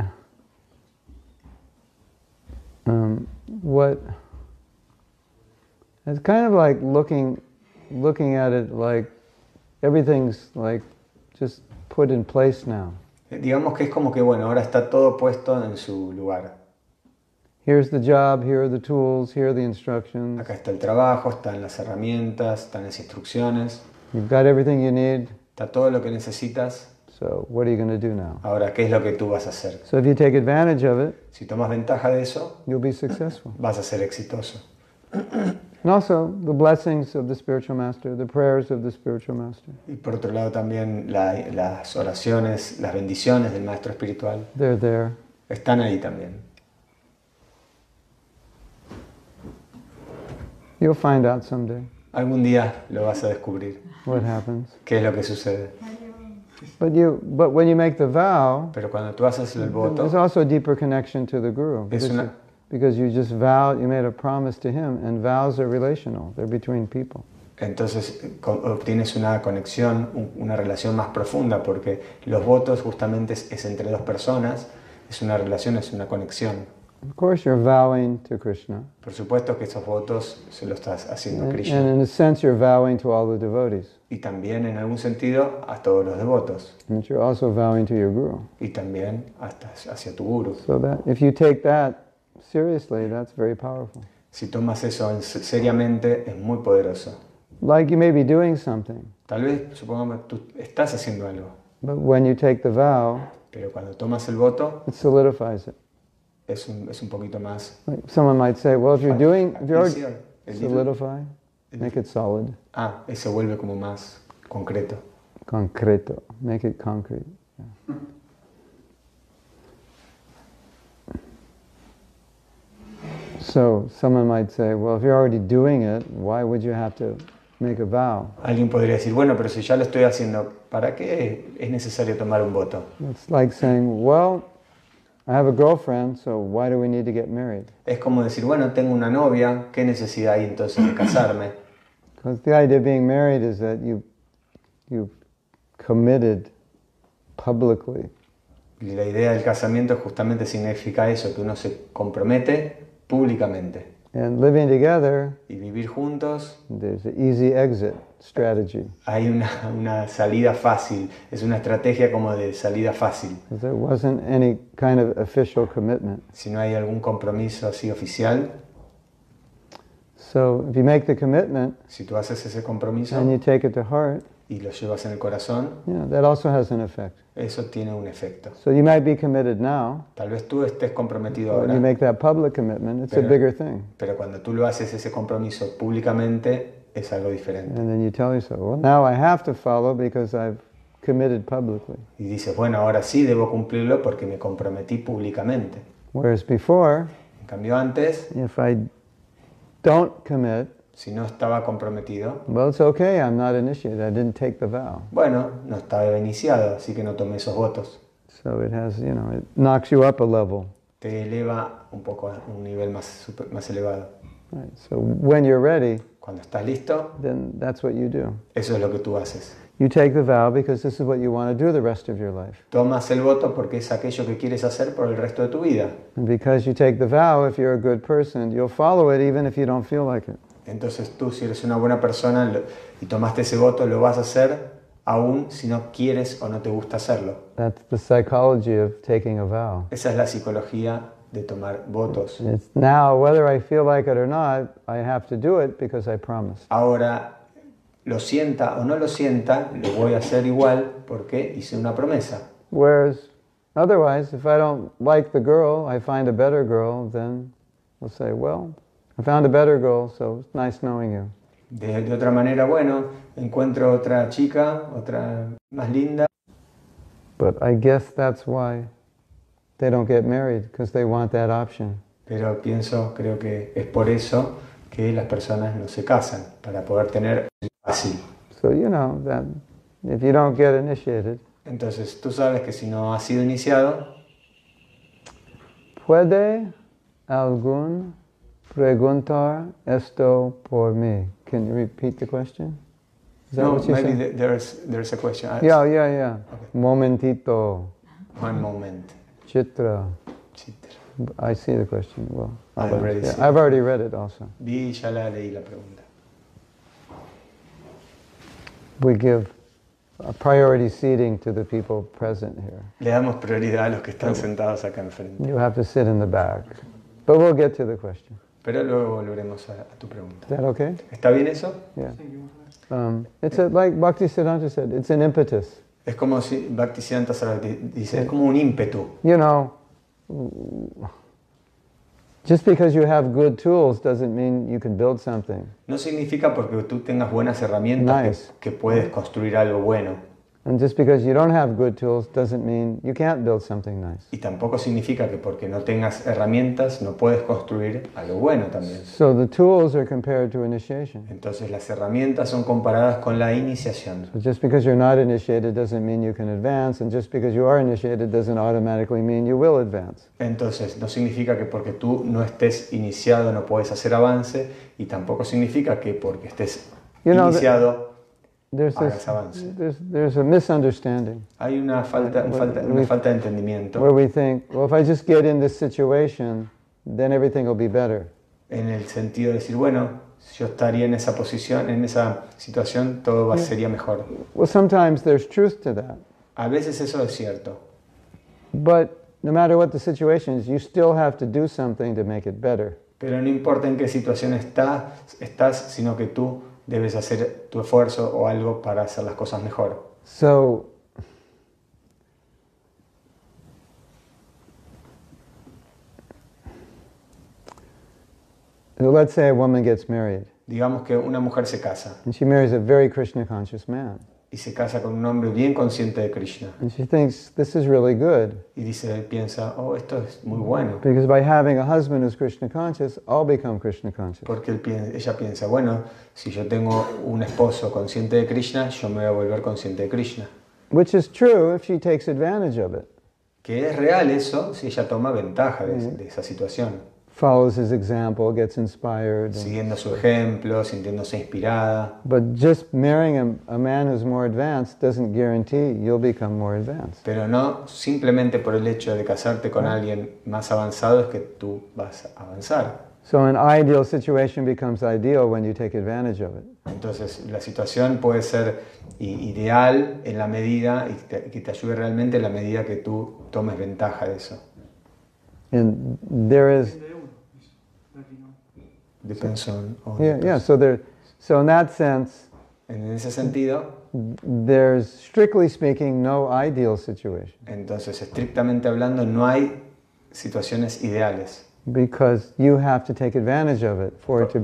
Speaker 1: what, it's kind of like looking at it like everything's like just put in place now.
Speaker 2: Digamos que es como que, bueno, ahora está todo puesto en su lugar.
Speaker 1: Here's the job, here are the tools, here are the instructions.
Speaker 2: Acá está el trabajo, están las herramientas, están las instrucciones,
Speaker 1: You've got everything you need,
Speaker 2: está todo lo que necesitas.
Speaker 1: so what are you going to do now?
Speaker 2: Ahora, ¿qué es lo que tú vas a hacer?
Speaker 1: So if you take advantage of it,
Speaker 2: Si tomas ventaja de eso,
Speaker 1: you'll be successful.
Speaker 2: vas a ser exitoso.
Speaker 1: And also, the blessings of the spiritual master, the prayers of the spiritual master,
Speaker 2: Y por otro lado también las oraciones, las bendiciones del maestro espiritual
Speaker 1: they're there.
Speaker 2: están ahí también.
Speaker 1: You'll find out someday
Speaker 2: Algún día lo vas a descubrir.
Speaker 1: what happens.
Speaker 2: ¿Qué es lo que sucede?
Speaker 1: But when you make the vow,
Speaker 2: Pero cuando tú haces el
Speaker 1: there's
Speaker 2: voto,
Speaker 1: also a deeper connection to the guru.
Speaker 2: Es una-
Speaker 1: Because you just vowed, you made a promise to him, and vows are relational. They're between people.
Speaker 2: entonces obtienes una conexión, una relación más profunda, porque los votos justamente es entre dos personas, es una relación, es una conexión.
Speaker 1: Of course, you're vowing to Krishna.
Speaker 2: Por supuesto que esos votos se los estás haciendo a
Speaker 1: And
Speaker 2: Krishna.
Speaker 1: in a sense, you're vowing to all the devotees.
Speaker 2: Y también en algún sentido a todos los devotos.
Speaker 1: And you're also vowing to your guru.
Speaker 2: Y también hacia tu guru.
Speaker 1: So that if you take that seriously, that's very powerful.
Speaker 2: Si tomas eso seriamente, es muy poderoso.
Speaker 1: Like you may be doing something,
Speaker 2: Tal vez, supongamos, tú estás haciendo algo,
Speaker 1: but when you take the vow,
Speaker 2: pero cuando tomas el voto,
Speaker 1: it solidifies it.
Speaker 2: es un poquito más...
Speaker 1: Like someone might say, well, if you're already
Speaker 2: easier.
Speaker 1: solidify, make it solid,
Speaker 2: Eso vuelve como más concreto.
Speaker 1: concreto, make it concrete. Yeah. So someone might say, well, if you're already doing it, why would you have to make a vow?
Speaker 2: Alguien podría decir, bueno, pero si ya lo estoy haciendo, ¿para qué es necesario tomar un voto?
Speaker 1: It's like saying, well, I have a girlfriend, so why do we need to get married?
Speaker 2: Es como decir, bueno, tengo una novia, ¿qué necesidad hay entonces de casarme?
Speaker 1: Because the idea of being married is that you've committed publicly.
Speaker 2: Y la idea del casamiento justamente significa eso, que uno se compromete públicamente.
Speaker 1: And living together,
Speaker 2: Y vivir juntos,
Speaker 1: there's an easy exit strategy.
Speaker 2: hay una salida fácil, es una estrategia como de salida fácil.
Speaker 1: Because there wasn't any kind of official commitment.
Speaker 2: Si no hay algún compromiso así oficial,
Speaker 1: So if you make the commitment
Speaker 2: si tú haces ese compromiso
Speaker 1: and you take it to heart,
Speaker 2: y lo llevas en el corazón,
Speaker 1: that also has an effect.
Speaker 2: eso tiene un efecto.
Speaker 1: So you might be committed now,
Speaker 2: Tal vez tú estés comprometido
Speaker 1: but when you
Speaker 2: ahora,
Speaker 1: make that public commitment, it's a
Speaker 2: Pero-
Speaker 1: bigger thing.
Speaker 2: pero cuando tú lo haces ese compromiso públicamente, es algo diferente.
Speaker 1: And then you tell yourself, well, now I have to follow because I've committed publicly.
Speaker 2: Y dices, bueno, ahora sí debo cumplirlo porque me comprometí públicamente.
Speaker 1: Whereas before,
Speaker 2: En cambio antes,
Speaker 1: if I don't commit,
Speaker 2: si no estaba comprometido,
Speaker 1: well, it's okay, I'm not initiated, I didn't take the vow.
Speaker 2: bueno, no estaba iniciado, así que no tomé esos votos.
Speaker 1: So it has, it knocks you up a level.
Speaker 2: Te eleva un poco a un nivel más elevado.
Speaker 1: Right. So when you're ready,
Speaker 2: Cuando estás listo,
Speaker 1: then that's what you do.
Speaker 2: eso es lo que tú haces.
Speaker 1: You take the vow because this is what you want to do the rest of your life.
Speaker 2: Tomas el voto porque es aquello que quieres hacer por el resto de tu vida.
Speaker 1: And because you take the vow, if you're a good person, you'll follow it even if you don't feel like it.
Speaker 2: Entonces tú, si eres una buena persona y tomaste ese voto, lo vas a hacer aún si no quieres o no te gusta hacerlo.
Speaker 1: That's the psychology of taking a vow.
Speaker 2: Esa es la psicología de tomar votos.
Speaker 1: It's now, whether I feel like it or not, I have to do it because I promised.
Speaker 2: Ahora, lo sienta o no lo sienta, lo voy a hacer igual porque hice una promesa.
Speaker 1: Whereas, otherwise, if I don't like the girl, I find a better girl, then we'll say, well, I found a better girl, so it's nice knowing you.
Speaker 2: De otra manera, bueno, encuentro otra chica, otra más linda.
Speaker 1: But I guess that's why they don't get married, because they want that option.
Speaker 2: Pero creo que es por eso que las personas no se casan, para poder tener fácil.
Speaker 1: So you know that if you don't get initiated,
Speaker 2: Entonces tú sabes que si no has sido iniciado,
Speaker 1: ¿puede algún preguntar esto por mí? Can you repeat the question? Is that
Speaker 2: no,
Speaker 1: what you
Speaker 2: maybe
Speaker 1: said?
Speaker 2: there's a question.
Speaker 1: Yeah.
Speaker 2: Okay.
Speaker 1: Momentito.
Speaker 2: One moment.
Speaker 1: Chitra.
Speaker 2: Chitra.
Speaker 1: I see the question. Well,
Speaker 2: I've already seen
Speaker 1: I've already read it also.
Speaker 2: Vi y ya leí la pregunta.
Speaker 1: We give a priority seating to the people present here.
Speaker 2: Le damos prioridad a los que están sentados acá enfrente.
Speaker 1: You have to sit in the back. But we'll get to the question.
Speaker 2: Pero luego volveremos a tu pregunta.
Speaker 1: Is that okay?
Speaker 2: ¿Está bien eso?
Speaker 1: Yeah. It's like Bhaktisiddhanta said, it's an impetus.
Speaker 2: Es como si Bhaktisiddhanta Saraswati dice, es como un ímpetu.
Speaker 1: You know, just because you have good tools doesn't mean you can build something.
Speaker 2: No significa porque tú tengas buenas herramientas
Speaker 1: Nice.
Speaker 2: que puedes construir algo bueno.
Speaker 1: And just because you don't have good tools doesn't mean you can't build something nice.
Speaker 2: Y tampoco significa que porque no tengas herramientas no puedes construir algo bueno también.
Speaker 1: So the tools are compared to initiation.
Speaker 2: Entonces las herramientas son comparadas con la iniciación.
Speaker 1: So just because you're not initiated doesn't mean you can advance, and just because you are initiated doesn't automatically mean you will advance.
Speaker 2: Entonces no significa que porque tú no estés iniciado no puedes hacer avance, y tampoco significa que porque estés iniciado hagas avance.
Speaker 1: There's a misunderstanding
Speaker 2: Hay una falta de entendimiento
Speaker 1: where we think, well, if I just get in this situation, then everything will be better.
Speaker 2: en el sentido de decir, bueno, si yo estaría en esa posición, en esa situación, todo sería mejor.
Speaker 1: Well, sometimes there's truth to that.
Speaker 2: A veces eso es cierto,
Speaker 1: But no matter what the situation is, you still have to do something to make it better.
Speaker 2: pero no importa en qué situación estás, sino que tú debes hacer tu esfuerzo o algo para hacer las cosas mejor.
Speaker 1: So, let's say a woman gets married,
Speaker 2: Digamos que una mujer se casa
Speaker 1: and she marries a very Krishna conscious man.
Speaker 2: y se casa con un hombre bien consciente de Krishna
Speaker 1: And she thinks, this is really good,
Speaker 2: y piensa, oh, esto es muy bueno,
Speaker 1: because by having a husband who's Krishna conscious, I'll become Krishna conscious.
Speaker 2: porque ella piensa, bueno, si yo tengo un esposo consciente de Krishna, yo me voy a volver consciente de Krishna.
Speaker 1: Which is true if she takes advantage of it,
Speaker 2: Que es real eso si ella toma ventaja de esa situación,
Speaker 1: follows his example, gets inspired.
Speaker 2: siguiendo su ejemplo, sintiéndose inspirada.
Speaker 1: But just marrying a man who's more advanced doesn't guarantee you'll become more advanced.
Speaker 2: Pero no simplemente por el hecho de casarte con alguien más avanzado es que tú vas a avanzar.
Speaker 1: So an ideal situation becomes ideal when you take advantage of it.
Speaker 2: Entonces la situación puede ser ideal en la medida y que te ayude realmente en la medida que tú tomes ventaja de eso.
Speaker 1: And there is,
Speaker 2: Depends on
Speaker 1: yeah. So in that sense,
Speaker 2: En ese sentido,
Speaker 1: there's strictly speaking no ideal situation
Speaker 2: entonces estrictamente hablando no hay situaciones ideales.
Speaker 1: because you have to take advantage of it for it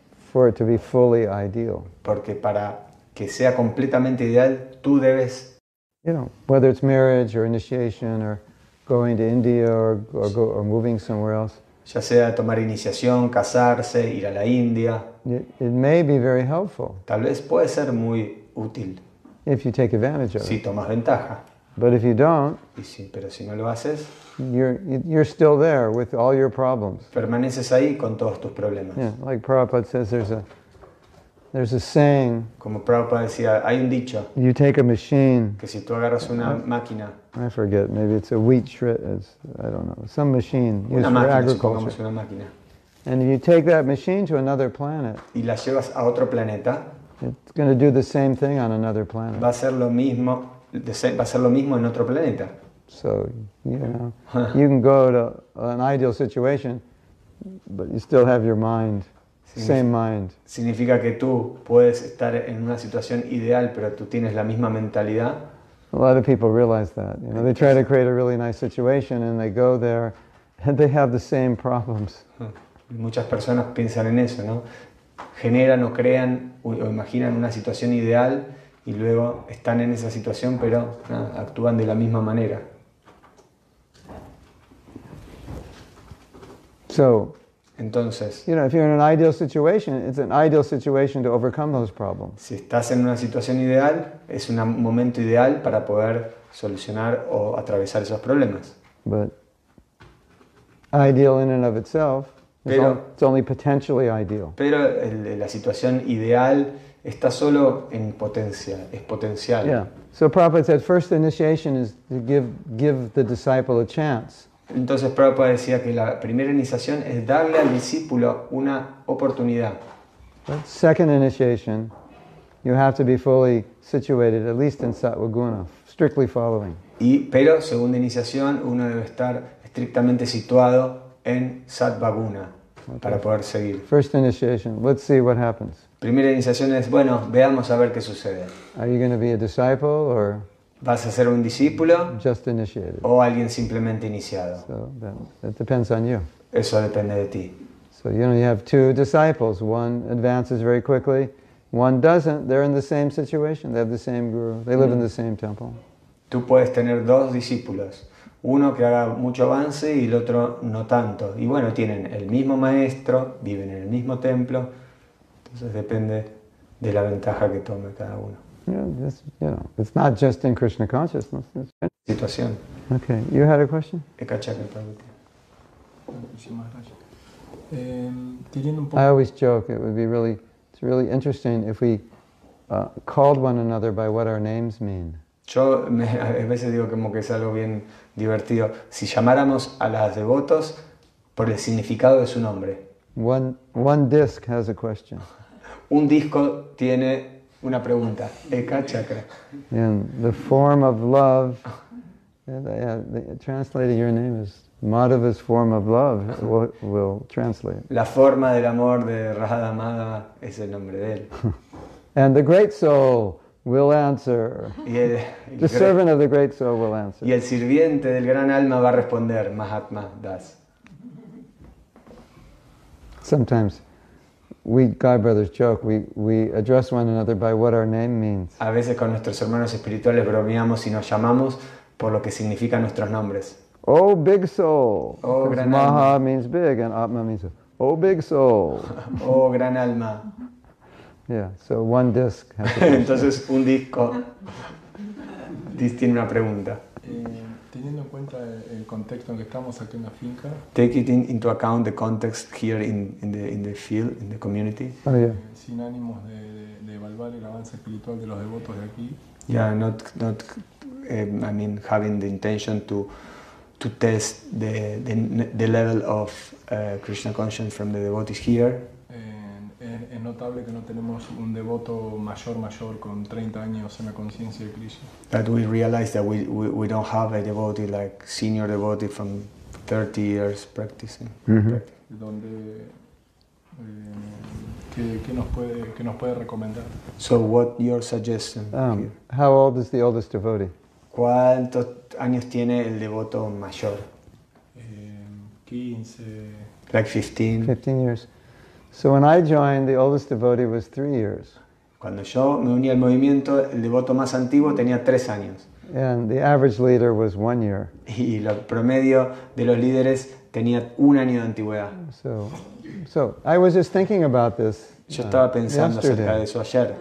Speaker 1: to be fully ideal.
Speaker 2: Porque para que sea completamente ideal, tú debes
Speaker 1: whether it's marriage or initiation or going to India or moving somewhere else.
Speaker 2: Ya sea tomar iniciación, casarse, ir a la India.
Speaker 1: It may be very helpful
Speaker 2: Tal vez puede ser muy útil
Speaker 1: if you take advantage of
Speaker 2: si
Speaker 1: it.
Speaker 2: tomas ventaja.
Speaker 1: But if you don't,
Speaker 2: Pero si no lo haces,
Speaker 1: you're still there with all your problems.
Speaker 2: permaneces ahí con todos tus problemas.
Speaker 1: Yeah, like Prabhupada says, there's a saying,
Speaker 2: Como Prabhupada decía, hay un dicho
Speaker 1: you take a machine,
Speaker 2: que si tú agarras una máquina,
Speaker 1: I forget, maybe it's a wheat shredder, I don't know, some machine used
Speaker 2: una
Speaker 1: for
Speaker 2: máquina,
Speaker 1: agriculture.
Speaker 2: supongamos una máquina,
Speaker 1: And if you take that machine to another planet,
Speaker 2: y la llevas a otro planeta,
Speaker 1: it's going to do the same thing on another planet.
Speaker 2: va a ser lo mismo, va a ser lo mismo en otro planeta.
Speaker 1: So, you can go to an ideal situation, but you still have your mind, same mind.
Speaker 2: Significa que tú puedes estar en una situación ideal, pero tú tienes la misma mentalidad.
Speaker 1: A lot of people realize that. They try to create a really nice situation and they go there and they have the same problems.
Speaker 2: Muchas personas piensan en eso, ¿no? Generan o crean o imaginan una situación ideal y luego están en esa situación, pero actúan de la misma manera.
Speaker 1: So,
Speaker 2: entonces,
Speaker 1: if you're in an ideal situation, it's an ideal situation to overcome those problems.
Speaker 2: Si estás en una situación ideal, es un momento ideal para poder solucionar o atravesar esos problemas.
Speaker 1: But ideal in and of itself, it's only potentially ideal.
Speaker 2: Pero la situación ideal está solo en potencia, es potencial.
Speaker 1: Yeah. So Prabhupada said, first initiation is to give the disciple a chance.
Speaker 2: Entonces Prabhupada decía que la primera iniciación es darle al discípulo una oportunidad.
Speaker 1: But second initiation, you have to be fully situated, at least in Sattva Guna, strictly following.
Speaker 2: Pero segunda iniciación, uno debe estar estrictamente situado en Sattva Guna para poder seguir.
Speaker 1: First initiation, let's see what happens.
Speaker 2: Primera iniciación es, bueno, veamos a ver qué sucede.
Speaker 1: Are you going to be a disciple or
Speaker 2: ¿Vas a ser un discípulo
Speaker 1: just initiated?
Speaker 2: o alguien simplemente iniciado?
Speaker 1: So that depends on you.
Speaker 2: Eso depende de ti.
Speaker 1: So you have two disciples. One advances very quickly, one doesn't. They're in the same situation. They have the same guru. They live in the same temple.
Speaker 2: Tú puedes tener dos discípulos, uno que haga mucho avance y el otro no tanto. Y bueno, tienen el mismo maestro, viven en el mismo templo, entonces depende de la ventaja que tome cada uno.
Speaker 1: It's not just in Krishna consciousness.
Speaker 2: Situación.
Speaker 1: Okay, you had a question?
Speaker 2: Ekachaka Prabhupada.
Speaker 6: Muchísimas gracias. Teniendo un poco...
Speaker 1: I always joke it's really interesting if we called one another by what our names mean.
Speaker 2: Yo a veces digo como que es algo bien divertido. Si llamáramos a las devotos por el significado de su nombre.
Speaker 1: One disc has a question.
Speaker 2: Un disco tiene una pregunta. Eka Chakra.
Speaker 1: And the form of love, translated your name is Madhava's form of love will translate.
Speaker 2: La forma del amor de Radha Madhava es el nombre de él.
Speaker 1: And the great soul will answer. The servant of the great soul will answer.
Speaker 2: Y el sirviente del gran alma va a responder, Mahatma Das.
Speaker 1: Sometimes we God brothers joke, we address one another by what our name means.
Speaker 2: A veces con nuestros hermanos espirituales bromeamos y nos llamamos por lo que significan nuestros nombres.
Speaker 1: Oh, big soul.
Speaker 2: Oh, gran
Speaker 1: Maha
Speaker 2: alma.
Speaker 1: means big and Atma means, oh, big soul.
Speaker 2: Oh, gran alma.
Speaker 1: Yeah, so one disc has a question.
Speaker 2: Entonces un disco tiene una pregunta.
Speaker 6: Teniendo en cuenta el contexto en que estamos aquí en la finca,
Speaker 2: Take it into account the context here in the field, in the community.
Speaker 1: Oh, yeah.
Speaker 6: sin ánimos de evaluar el avance espiritual de los devotos de aquí,
Speaker 2: Yeah, not I mean, having the intention to test the level of Krishna consciousness from the devotees here.
Speaker 6: es notable que no tenemos un devoto mayor con 30 años en la conciencia de Krishna.
Speaker 2: That we realize that we don't have a devotee like senior devotee from 30 years practicing.
Speaker 1: Mm-hmm.
Speaker 6: Donde ¿qué nos puede recomendar?
Speaker 2: So what your suggestion here?
Speaker 1: How old is the oldest devotee?
Speaker 2: ¿Cuántos años tiene el devoto mayor?
Speaker 6: 15.
Speaker 2: Like 15.
Speaker 1: 15 years. So when I joined, the oldest devotee was 3 years.
Speaker 2: Cuando yo me uní al movimiento, el devoto más antiguo tenía 3 años.
Speaker 1: And the average leader was 1 year.
Speaker 2: Y el promedio de los líderes tenía 1 año de antigüedad.
Speaker 1: So I was just thinking about this
Speaker 2: Yo estaba pensando acerca de
Speaker 1: yesterday.
Speaker 2: eso ayer.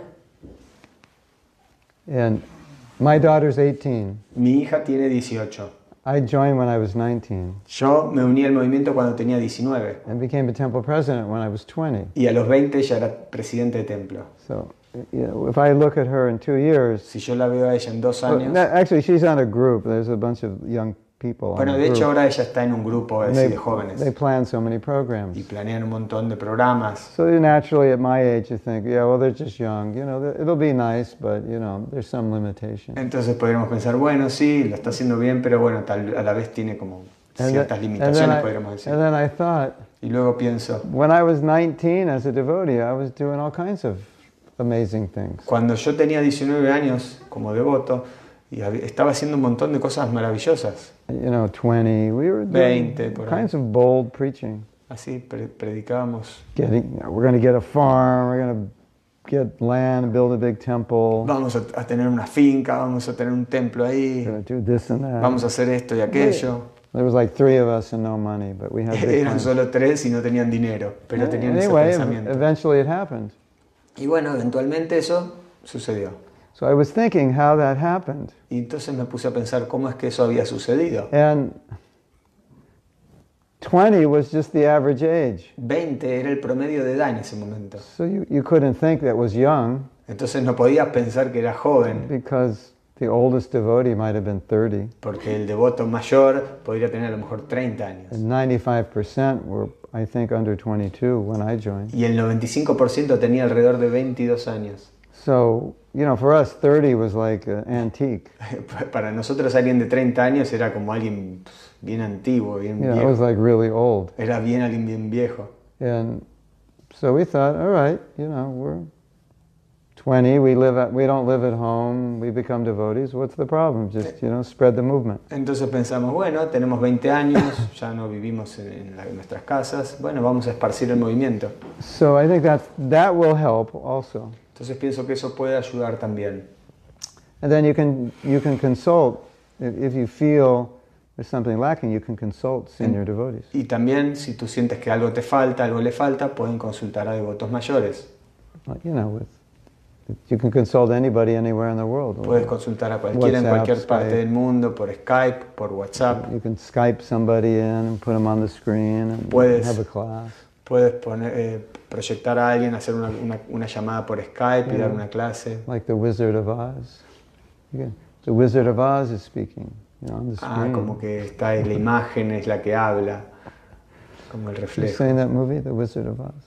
Speaker 1: And my daughter's 18.
Speaker 2: Mi hija tiene 18.
Speaker 1: I joined when I was 19
Speaker 2: Yo me uní al movimiento cuando tenía 19.
Speaker 1: and became a temple president when I was 20.
Speaker 2: Y a los 20 ya era presidente de templo.
Speaker 1: So, if I look at her in 2 years,
Speaker 2: Si yo la veo a ella en 2
Speaker 1: well,
Speaker 2: años...
Speaker 1: actually she's on a group. There's a bunch of young people on
Speaker 2: Bueno,
Speaker 1: the
Speaker 2: de hecho
Speaker 1: group.
Speaker 2: ahora ella está en un grupo
Speaker 1: And
Speaker 2: así de
Speaker 1: they
Speaker 2: jóvenes.
Speaker 1: plan so many programs.
Speaker 2: Y planean un montón de programas.
Speaker 1: So naturally, at my age, you think, yeah, well, they're just young. You know, it'll be nice, but you know, there's some limitation.
Speaker 2: Entonces podríamos pensar, bueno, sí, lo está haciendo bien, pero bueno, a la vez tiene como ciertas
Speaker 1: And
Speaker 2: limitaciones, podríamos decir.
Speaker 1: then I thought,
Speaker 2: Y luego pienso,
Speaker 1: when I was 19 as a devotee, I was doing all kinds of amazing things.
Speaker 2: cuando yo tenía 19 años como devoto, y estaba haciendo un montón de cosas maravillosas.
Speaker 1: You know, 20, we were doing
Speaker 2: 20 por ahí.
Speaker 1: kinds of bold preaching.
Speaker 2: Así predicábamos.
Speaker 1: We're going to get a farm, we're going to get land, build a big temple,
Speaker 2: Vamos a tener una finca, vamos a tener un templo ahí,
Speaker 1: we're going to do this and that.
Speaker 2: vamos a hacer esto y aquello.
Speaker 1: There was like 3 of us and no money, but we had big
Speaker 2: Eran
Speaker 1: plans.
Speaker 2: solo 3 y no tenían dinero, pero tenían ese
Speaker 1: Anyway,
Speaker 2: pensamiento.
Speaker 1: eventually it happened.
Speaker 2: Y bueno, eventualmente eso sucedió.
Speaker 1: So I was thinking how that happened.
Speaker 2: Y entonces me puse a pensar cómo es que eso había sucedido.
Speaker 1: And 20 was just the average age.
Speaker 2: 20 era el promedio de edad en ese momento.
Speaker 1: So you couldn't think that was young
Speaker 2: Entonces no podías pensar que era joven,
Speaker 1: because the oldest devotee might have been 30.
Speaker 2: porque el devoto mayor podría tener a lo mejor 30 años.
Speaker 1: And 95% were, I think, under 22 when I joined.
Speaker 2: Y el 95% tenía alrededor de 22 años.
Speaker 1: So, you know, for us, 30 was like an antique.
Speaker 2: Para nosotros alguien de 30 años era como alguien bien antiguo, bien
Speaker 1: You know, it was
Speaker 2: viejo.
Speaker 1: like really old.
Speaker 2: Era bien alguien bien viejo.
Speaker 1: And so we thought, all right, you know, we're 20, we don't live at home, we become devotees, what's the problem? Just, you know, spread the movement.
Speaker 2: Entonces pensamos, bueno, tenemos 20 años, ya no vivimos en nuestras casas, bueno, vamos a esparcir el movimiento.
Speaker 1: So I think that will help also.
Speaker 2: Entonces pienso que eso puede ayudar también.
Speaker 1: And then you can consult, if you feel there's something lacking, you can consult senior devotees.
Speaker 2: Y también, si tú sientes que algo te falta, algo le falta, pueden consultar a devotos mayores.
Speaker 1: You know, you can consult anybody anywhere in the world.
Speaker 2: Puedes consultar a cualquiera en
Speaker 1: WhatsApp,
Speaker 2: cualquier parte
Speaker 1: Skype.
Speaker 2: del mundo, por Skype, por WhatsApp.
Speaker 1: You can Skype somebody in and put them on the screen and
Speaker 2: Puedes-
Speaker 1: have a class.
Speaker 2: Puedes proyectar a alguien, hacer una llamada por Skype y dar una clase.
Speaker 1: Like the Wizard of Oz. The Wizard of Oz is speaking, you know, on the
Speaker 2: Ah,
Speaker 1: screen.
Speaker 2: como que está ahí, la imagen es la que habla, como el
Speaker 1: You
Speaker 2: reflejo.
Speaker 1: seen that movie, The Wizard of Oz?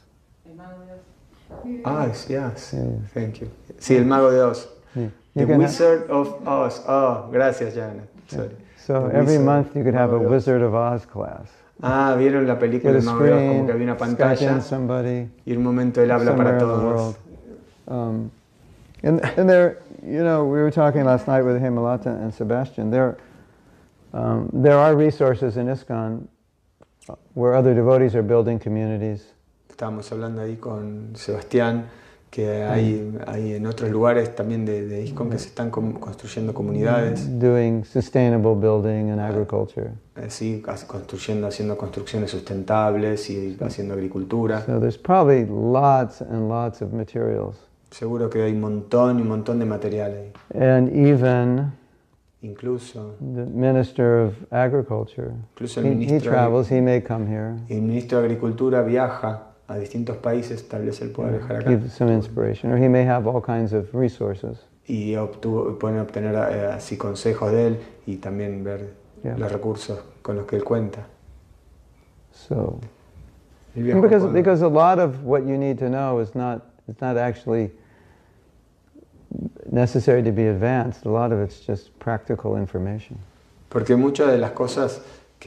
Speaker 2: Ah, yes,
Speaker 1: Yeah.
Speaker 2: thank you. Sí, el mago de Oz.
Speaker 1: Yeah.
Speaker 2: The
Speaker 1: You can
Speaker 2: Wizard of Oz. Oh, gracias, Janet. Sorry.
Speaker 1: So
Speaker 2: The
Speaker 1: every
Speaker 2: Wizard,
Speaker 1: month you could have a
Speaker 2: Mago de Oz.
Speaker 1: Wizard of Oz class.
Speaker 2: Ah, vieron la película
Speaker 1: Get a
Speaker 2: El mago de Oz, como
Speaker 1: screen,
Speaker 2: que había una
Speaker 1: Skype
Speaker 2: pantalla
Speaker 1: in somebody
Speaker 2: y un momento él habla
Speaker 1: somewhere
Speaker 2: para
Speaker 1: in the world.
Speaker 2: todos.
Speaker 1: And there, you know, we were talking last night with Hemalata and Sebastian. There are resources in ISKCON where other devotees are building communities.
Speaker 2: Estábamos hablando ahí con Sebastián que hay en otros lugares también de ISKCON que se están construyendo comunidades,
Speaker 1: Doing sustainable building and agriculture.
Speaker 2: así haciendo construcciones sustentables y haciendo agricultura.
Speaker 1: So there's probably lots and lots of materials.
Speaker 2: Seguro que hay un montón de material ahí.
Speaker 1: And even
Speaker 2: Incluso
Speaker 1: the Minister of Agriculture,
Speaker 2: el
Speaker 1: he
Speaker 2: ministro,
Speaker 1: travels, he may come here,
Speaker 2: el ministro de Agricultura viaja a distintos países, tal vez él pueda viajar acá.
Speaker 1: give some inspiration, or he may have all kinds of resources.
Speaker 2: Y pueden obtener así consejos de él y también ver
Speaker 1: Yeah.
Speaker 2: los recursos con los que él cuenta.
Speaker 1: So,
Speaker 2: Él viajó
Speaker 1: because a lot of what you need to know is not actually necessary to be advanced. A lot of it's just practical information.
Speaker 2: porque muchas de las cosas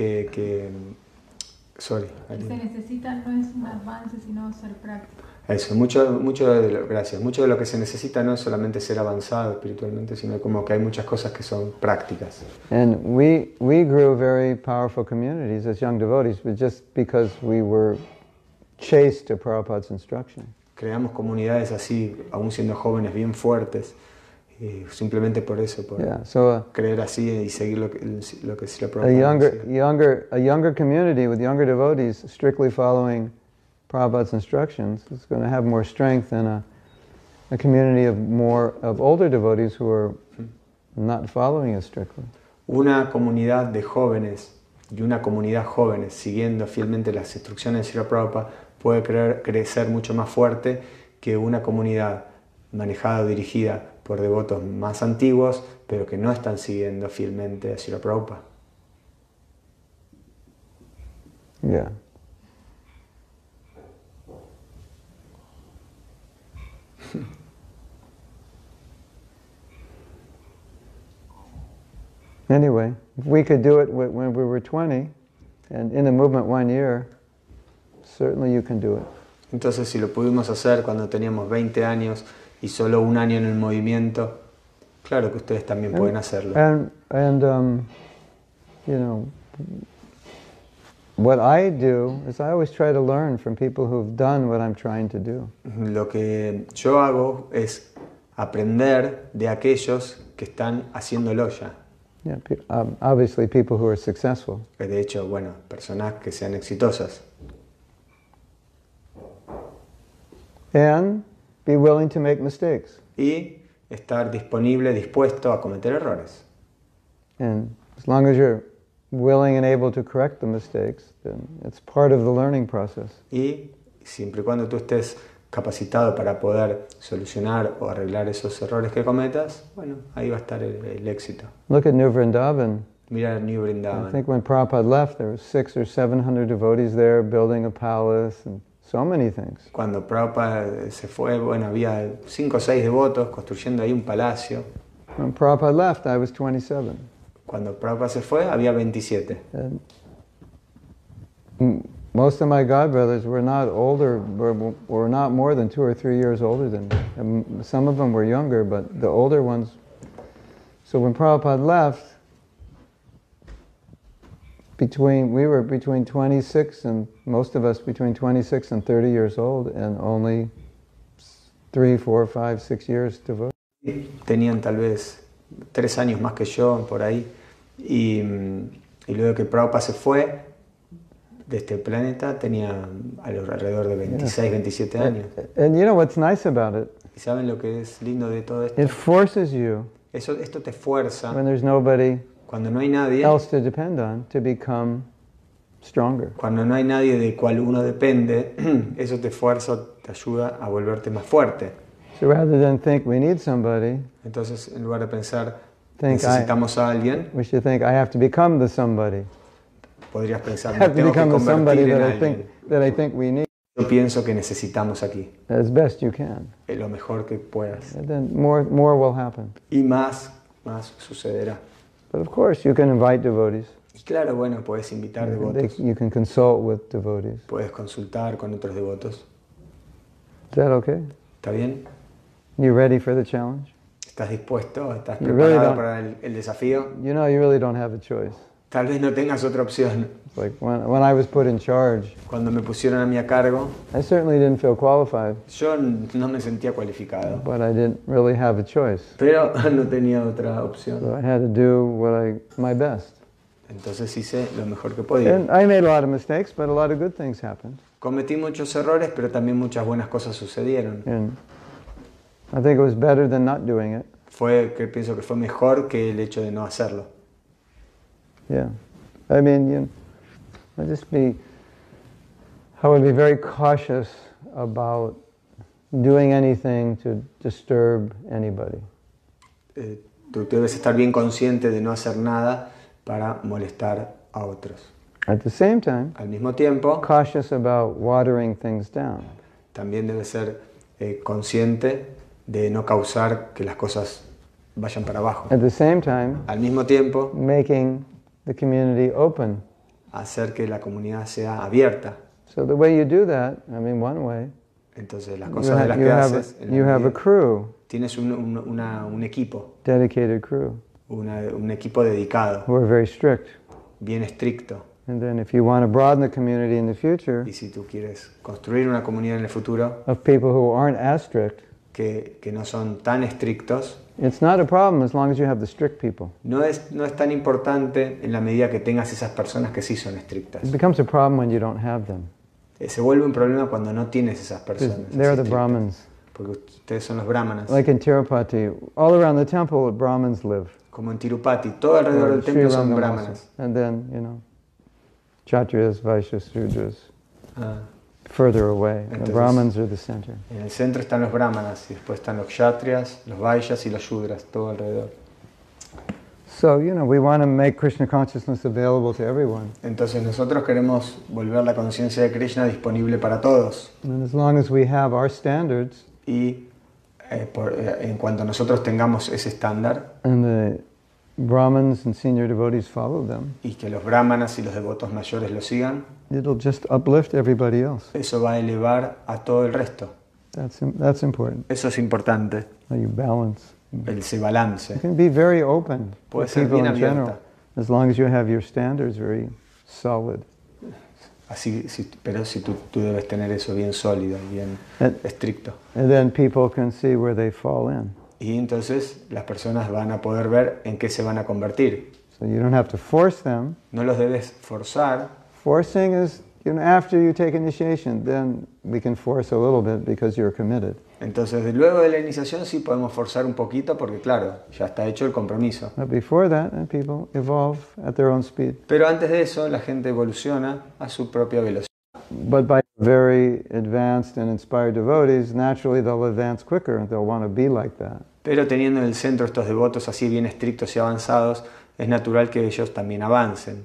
Speaker 2: sorry,
Speaker 3: Lo que se necesita no es un avance, sino ser práctico.
Speaker 2: eso, gracias. Mucho de lo que se necesita no es solamente ser avanzado espiritualmente, sino como que hay muchas cosas que son prácticas.
Speaker 1: And we grew very powerful communities as young devotees, but just because we were chaste to Prabhupada's instruction.
Speaker 2: Creamos comunidades así, aún siendo jóvenes, bien fuertes, simplemente por eso, por
Speaker 1: Yeah. So
Speaker 2: creer así y seguir lo que Srila
Speaker 1: a
Speaker 2: Prabhupada decía.
Speaker 1: younger community with younger devotees strictly following Prabhupada's instructions is going to have more strength than a community of older devotees who are not following it strictly.
Speaker 2: Una comunidad de jóvenes y una comunidad jóvenes siguiendo fielmente las instrucciones de Srila Prabhupada puede crecer mucho más fuerte que una comunidad manejada o dirigida por devotos más antiguos, pero que no están siguiendo fielmente a Srila Prabhupada.
Speaker 1: Yeah. Anyway, if we could do it when we were 20 and in the movement 1 year, certainly you can do it.
Speaker 2: Entonces, si lo pudimos hacer cuando teníamos 20 años y solo 1 año en el movimiento, claro que ustedes también pueden hacerlo.
Speaker 1: You know, what I do is I always try to learn from people who've done what I'm trying to do.
Speaker 2: Lo que yo hago es aprender de aquellos que están haciéndolo ya.
Speaker 1: Yeah, obviously people who are successful.
Speaker 2: De hecho, bueno, personas que sean exitosas.
Speaker 1: And be willing to make mistakes.
Speaker 2: Y estar disponible, dispuesto a cometer errores.
Speaker 1: And as long as you're willing and able to correct the mistakes, then it's part of the learning process.
Speaker 2: Y siempre y cuando tú estés capacitado para poder solucionar o arreglar esos errores que cometas, bueno, ahí va a estar el éxito.
Speaker 1: Look at New Vrindavan.
Speaker 2: Mira New
Speaker 1: I
Speaker 2: Vrindavan.
Speaker 1: think when Prabhupada left, there were 600 or 700 devotees there building a palace and so many things.
Speaker 2: Cuando Prabhupada se fue, bueno, había 5 o 6 devotos construyendo ahí un palacio.
Speaker 1: When Prabhupada left, I was 27.
Speaker 2: Cuando Prabhupada se fue, había 27.
Speaker 1: And most of my godbrothers were not older, were not more than 2 or 3 years older than me. And some of them were younger, but the older ones. So when Prabhupada left, we were between 26 and most of us between 26 and 30 years old, and only 3, 4, 5, 6 years devoted.
Speaker 2: Tenían tal vez 3 años más que yo, por ahí. Y luego que Prabhupada se fue de este planeta, tenía alrededor de 26, 27 años.
Speaker 1: And you know what's nice about it?
Speaker 2: ¿Y saben lo que es lindo de todo esto?
Speaker 1: It forces you,
Speaker 2: Esto te fuerza,
Speaker 1: when there's nobody
Speaker 2: cuando no hay nadie,
Speaker 1: else to depend on, to become stronger.
Speaker 2: cuando no hay nadie de cual uno depende, eso te fuerza, te ayuda a volverte más fuerte.
Speaker 1: So rather than think we need somebody,
Speaker 2: Entonces, en lugar de pensar,
Speaker 1: think
Speaker 2: necesitamos a alguien,
Speaker 1: we should think I have to become the somebody.
Speaker 2: podrías pensar,
Speaker 1: I
Speaker 2: me
Speaker 1: have to
Speaker 2: tengo que
Speaker 1: become the somebody
Speaker 2: convertir en
Speaker 1: that I
Speaker 2: alguien.
Speaker 1: think we need
Speaker 2: Yo pienso que necesitamos aquí,
Speaker 1: as best you can.
Speaker 2: lo mejor que puedas.
Speaker 1: And then more will happen.
Speaker 2: Y más sucederá.
Speaker 1: But of course you can invite devotees.
Speaker 2: Y claro, bueno, puedes invitar devotos,
Speaker 1: You can consult with devotees.
Speaker 2: puedes consultar con otros devotos.
Speaker 1: Is that okay?
Speaker 2: ¿Está bien?
Speaker 1: You ready for the challenge?
Speaker 2: ¿Estás dispuesto? ¿Estás
Speaker 1: You really
Speaker 2: preparado
Speaker 1: don't-
Speaker 2: para el desafío?
Speaker 1: You know you really don't have a choice.
Speaker 2: Tal vez no tengas otra opción.
Speaker 1: It's like when I was put in charge,
Speaker 2: Cuando me pusieron a mí a cargo,
Speaker 1: I certainly didn't feel qualified,
Speaker 2: yo no me sentía cualificado,
Speaker 1: but I didn't really have a choice.
Speaker 2: pero no tenía otra opción.
Speaker 1: So I had to do my best.
Speaker 2: Entonces hice lo mejor que podía.
Speaker 1: And I made a lot of mistakes, but a lot of good things happened.
Speaker 2: Cometí muchos errores, pero también muchas buenas cosas sucedieron.
Speaker 1: And I think it was better than not doing it.
Speaker 2: Pienso que fue mejor que el hecho de no hacerlo.
Speaker 1: Yeah. I mean, I would be very cautious about doing anything to disturb anybody.
Speaker 2: Tú debes estar bien consciente de no hacer nada para molestar a otros.
Speaker 1: At the same time,
Speaker 2: Al mismo tiempo,
Speaker 1: cautious about watering things down.
Speaker 2: también debes ser consciente de no causar que las cosas vayan para abajo.
Speaker 1: At the same time,
Speaker 2: Al mismo tiempo,
Speaker 1: making the community open.
Speaker 2: hacer que la comunidad sea abierta.
Speaker 1: So the way you do that, I mean, one way,
Speaker 2: Entonces, las
Speaker 1: you
Speaker 2: cosas de las que haces, en la
Speaker 1: you have a
Speaker 2: medida-
Speaker 1: crew,
Speaker 2: tienes un equipo,
Speaker 1: dedicated crew,
Speaker 2: un equipo dedicado,
Speaker 1: who are very strict.
Speaker 2: bien estricto.
Speaker 1: And then if you want to broaden the community in the future,
Speaker 2: Y si tú quieres construir una comunidad en el futuro
Speaker 1: of people who aren't as strict,
Speaker 2: que no son tan estrictos,
Speaker 1: it's not a problem as long as you have the strict people.
Speaker 2: no es tan importante en la medida que tengas esas personas que sí son estrictas.
Speaker 1: It becomes a problem when you don't have them.
Speaker 2: Se vuelve un problema cuando no tienes esas
Speaker 1: Because
Speaker 2: personas.
Speaker 1: they're
Speaker 2: así
Speaker 1: the
Speaker 2: estrictas.
Speaker 1: Brahmins.
Speaker 2: Porque ustedes son los brahmanas.
Speaker 1: Like in Tirupati, all around the temple, Brahmins live.
Speaker 2: Como en Tirupati, todo alrededor del
Speaker 1: Sri
Speaker 2: templo son
Speaker 1: Rangam
Speaker 2: brahmanas.
Speaker 1: also. And then, Kshatriyas, Vaishyas, Shudras,
Speaker 2: Ah,
Speaker 1: further away. The
Speaker 2: Entonces-
Speaker 1: Brahmins are the center.
Speaker 2: en el centro están los brahmanas y después están los kshatriyas, los vaishyas y los shudras, todo alrededor.
Speaker 1: So, we want to make Krishna consciousness available to everyone.
Speaker 2: Entonces nosotros queremos volver la conciencia de Krishna disponible para todos.
Speaker 1: And as long as we have our standards,
Speaker 2: Y en cuanto nosotros tengamos ese estándar
Speaker 1: and the Brahmins and senior devotees follow them,
Speaker 2: y que los brahmanas y los devotos mayores lo sigan,
Speaker 1: it'll just uplift everybody else.
Speaker 2: eso va a elevar a todo el resto.
Speaker 1: That's important.
Speaker 2: Eso es importante,
Speaker 1: How you balance.
Speaker 2: ese
Speaker 1: You
Speaker 2: balance.
Speaker 1: can be very open
Speaker 2: Puede
Speaker 1: with
Speaker 2: ser
Speaker 1: people
Speaker 2: bien
Speaker 1: in general,
Speaker 2: abierta.
Speaker 1: as long as you have your standards very solid.
Speaker 2: Pero si tú debes tener eso bien sólido, bien
Speaker 1: And,
Speaker 2: estricto.
Speaker 1: and then people can see where they fall in.
Speaker 2: Y entonces las personas van a poder ver en qué se van a convertir.
Speaker 1: So you don't have to force them.
Speaker 2: No los debes forzar.
Speaker 1: Forcing is, after you take initiation, then we can force a little bit because you're committed.
Speaker 2: Entonces, luego de la iniciación sí podemos forzar un poquito porque, claro, ya está hecho el compromiso.
Speaker 1: But before that, people evolve at their own speed.
Speaker 2: Pero antes de eso, la gente evoluciona a su propia velocidad.
Speaker 1: But by very advanced and inspired devotees, naturally they'll advance quicker and they'll want to be like that.
Speaker 2: Pero teniendo en el centro estos devotos así bien estrictos y avanzados, es natural que ellos también avancen.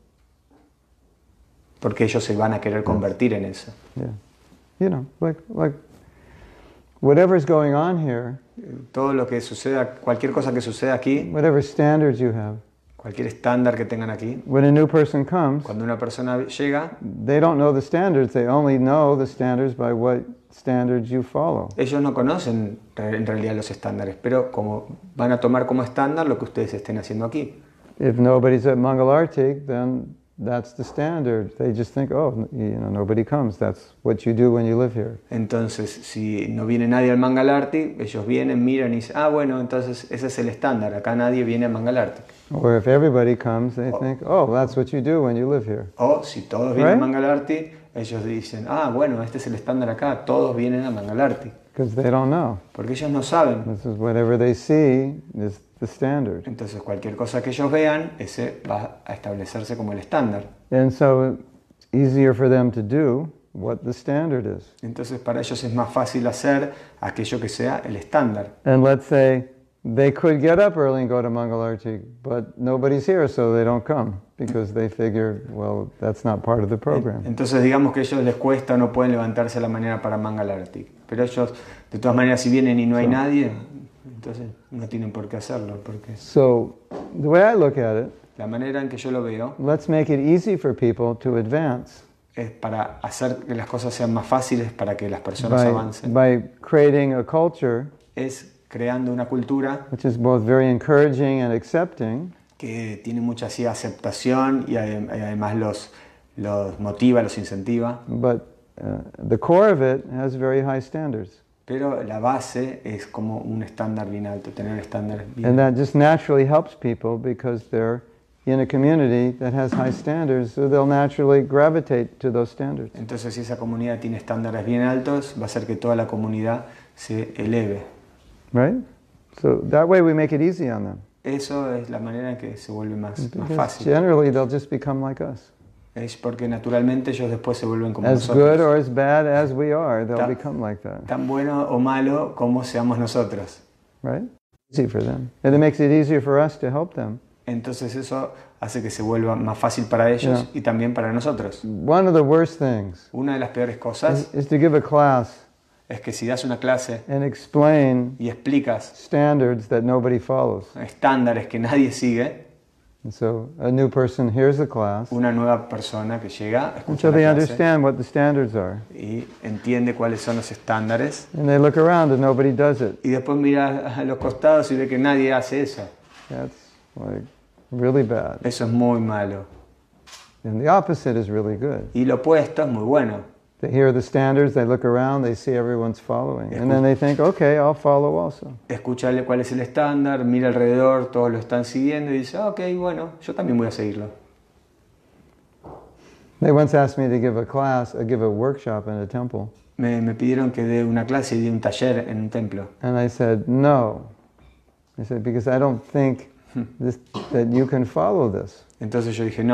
Speaker 2: Porque ellos se van a querer convertir en eso.
Speaker 1: Yeah. Like whatever's going on here,
Speaker 2: Todo lo que suceda, cualquier cosa que suceda aquí,
Speaker 1: whatever standards you have,
Speaker 2: cualquier estándar que tengan aquí,
Speaker 1: when a new person comes,
Speaker 2: cuando una persona llega,
Speaker 1: they don't know the standards, they only know the standards by what standards you follow.
Speaker 2: ellos no conocen en realidad los estándares, pero como van a tomar como estándar lo que ustedes estén haciendo aquí.
Speaker 1: If nobody's at Mangalartik, then that's the standard. They just think, oh, nobody comes. That's what you do when you live here.
Speaker 2: Entonces, si no viene nadie al Mangalarti, ellos vienen, miran y dicen, bueno, entonces ese es el estándar, acá nadie viene a Mangalarti.
Speaker 1: Or if everybody comes, they think, oh, that's what you do when you live here.
Speaker 2: O si todos vienen
Speaker 1: Right?
Speaker 2: a Mangalarti, ellos dicen, bueno, este es el estándar acá, todos vienen a Mangalarti.
Speaker 1: Because they don't know.
Speaker 2: Porque ellos no saben.
Speaker 1: This is whatever they see is the standard.
Speaker 2: Entonces, cualquier cosa que ellos vean, ese va a establecerse como el estándar.
Speaker 1: And so it's easier for them to do what the standard is.
Speaker 2: Entonces, para ellos es más fácil hacer aquello que sea el estándar.
Speaker 1: And let's say they could get up early and go to Mangalartik, but nobody's here, so they don't come because they figure, well, that's not part of the program.
Speaker 2: Entonces, digamos que a ellos les cuesta o no pueden levantarse a la mañana para Mangalarti. Pero ellos, de todas maneras, si vienen y no hay nadie, entonces no tienen por qué hacerlo. Porque
Speaker 1: So the way I look at it,
Speaker 2: la manera en que yo lo veo
Speaker 1: let's make it easy for people to advance
Speaker 2: es para hacer que las cosas sean más fáciles para que las personas avancen.
Speaker 1: by creating a culture
Speaker 2: Es creando una cultura
Speaker 1: which is both very encouraging and accepting,
Speaker 2: que tiene mucha así aceptación y además los motiva, los incentiva.
Speaker 1: but the core of it has very high standards.
Speaker 2: Pero la base es como un estándar bien alto, tener estándares bien
Speaker 1: And that just naturally helps people because they're in a community that has high standards, so they'll naturally gravitate to those standards.
Speaker 2: Entonces, si esa comunidad tiene estándares bien altos, va a hacer que toda la comunidad se eleve.
Speaker 1: Right? So that way we make it easy on them.
Speaker 2: Eso es la manera en que se vuelve más
Speaker 1: Because
Speaker 2: fácil.
Speaker 1: generally they'll just become like us.
Speaker 2: Es porque naturalmente ellos después se vuelven como
Speaker 1: As good
Speaker 2: nosotros.
Speaker 1: or as bad as we are, they'll
Speaker 2: Ta-
Speaker 1: become like that.
Speaker 2: Tan bueno o malo como seamos nosotros.
Speaker 1: Right? Easy for them. And it makes it easier for us to help them.
Speaker 2: Entonces eso hace que se vuelva más fácil para ellos
Speaker 1: Yeah.
Speaker 2: y también para nosotros.
Speaker 1: One of the worst things
Speaker 2: Una de las peores cosas
Speaker 1: is to give a class
Speaker 2: es que si das una clase
Speaker 1: and explain
Speaker 2: y explicas
Speaker 1: standards that nobody follows.
Speaker 2: estándares que nadie sigue,
Speaker 1: And so a new person hears the class,
Speaker 2: una nueva persona que llega, escucha
Speaker 1: until
Speaker 2: la
Speaker 1: they
Speaker 2: clase
Speaker 1: understand what the standards are.
Speaker 2: y entiende cuáles son los estándares
Speaker 1: And they look around and nobody does it.
Speaker 2: y después mira a los costados y ve que nadie hace eso.
Speaker 1: That's like really bad.
Speaker 2: Eso es muy malo.
Speaker 1: And the opposite is really good.
Speaker 2: Y lo opuesto es muy bueno.
Speaker 1: They hear the standards, they look around, they see everyone's following. And then they think, okay, I'll follow also.
Speaker 2: Escucha cuál es el estándar, mira alrededor, todos lo están siguiendo y dice, ok, bueno, yo también voy a seguirlo.
Speaker 1: They once asked me to give a class, give a workshop in a temple.
Speaker 2: Me pidieron que dé una clase y dé un taller en un templo.
Speaker 1: And I said, no. I said, because I don't think that you can follow this.
Speaker 2: Entonces yo dije,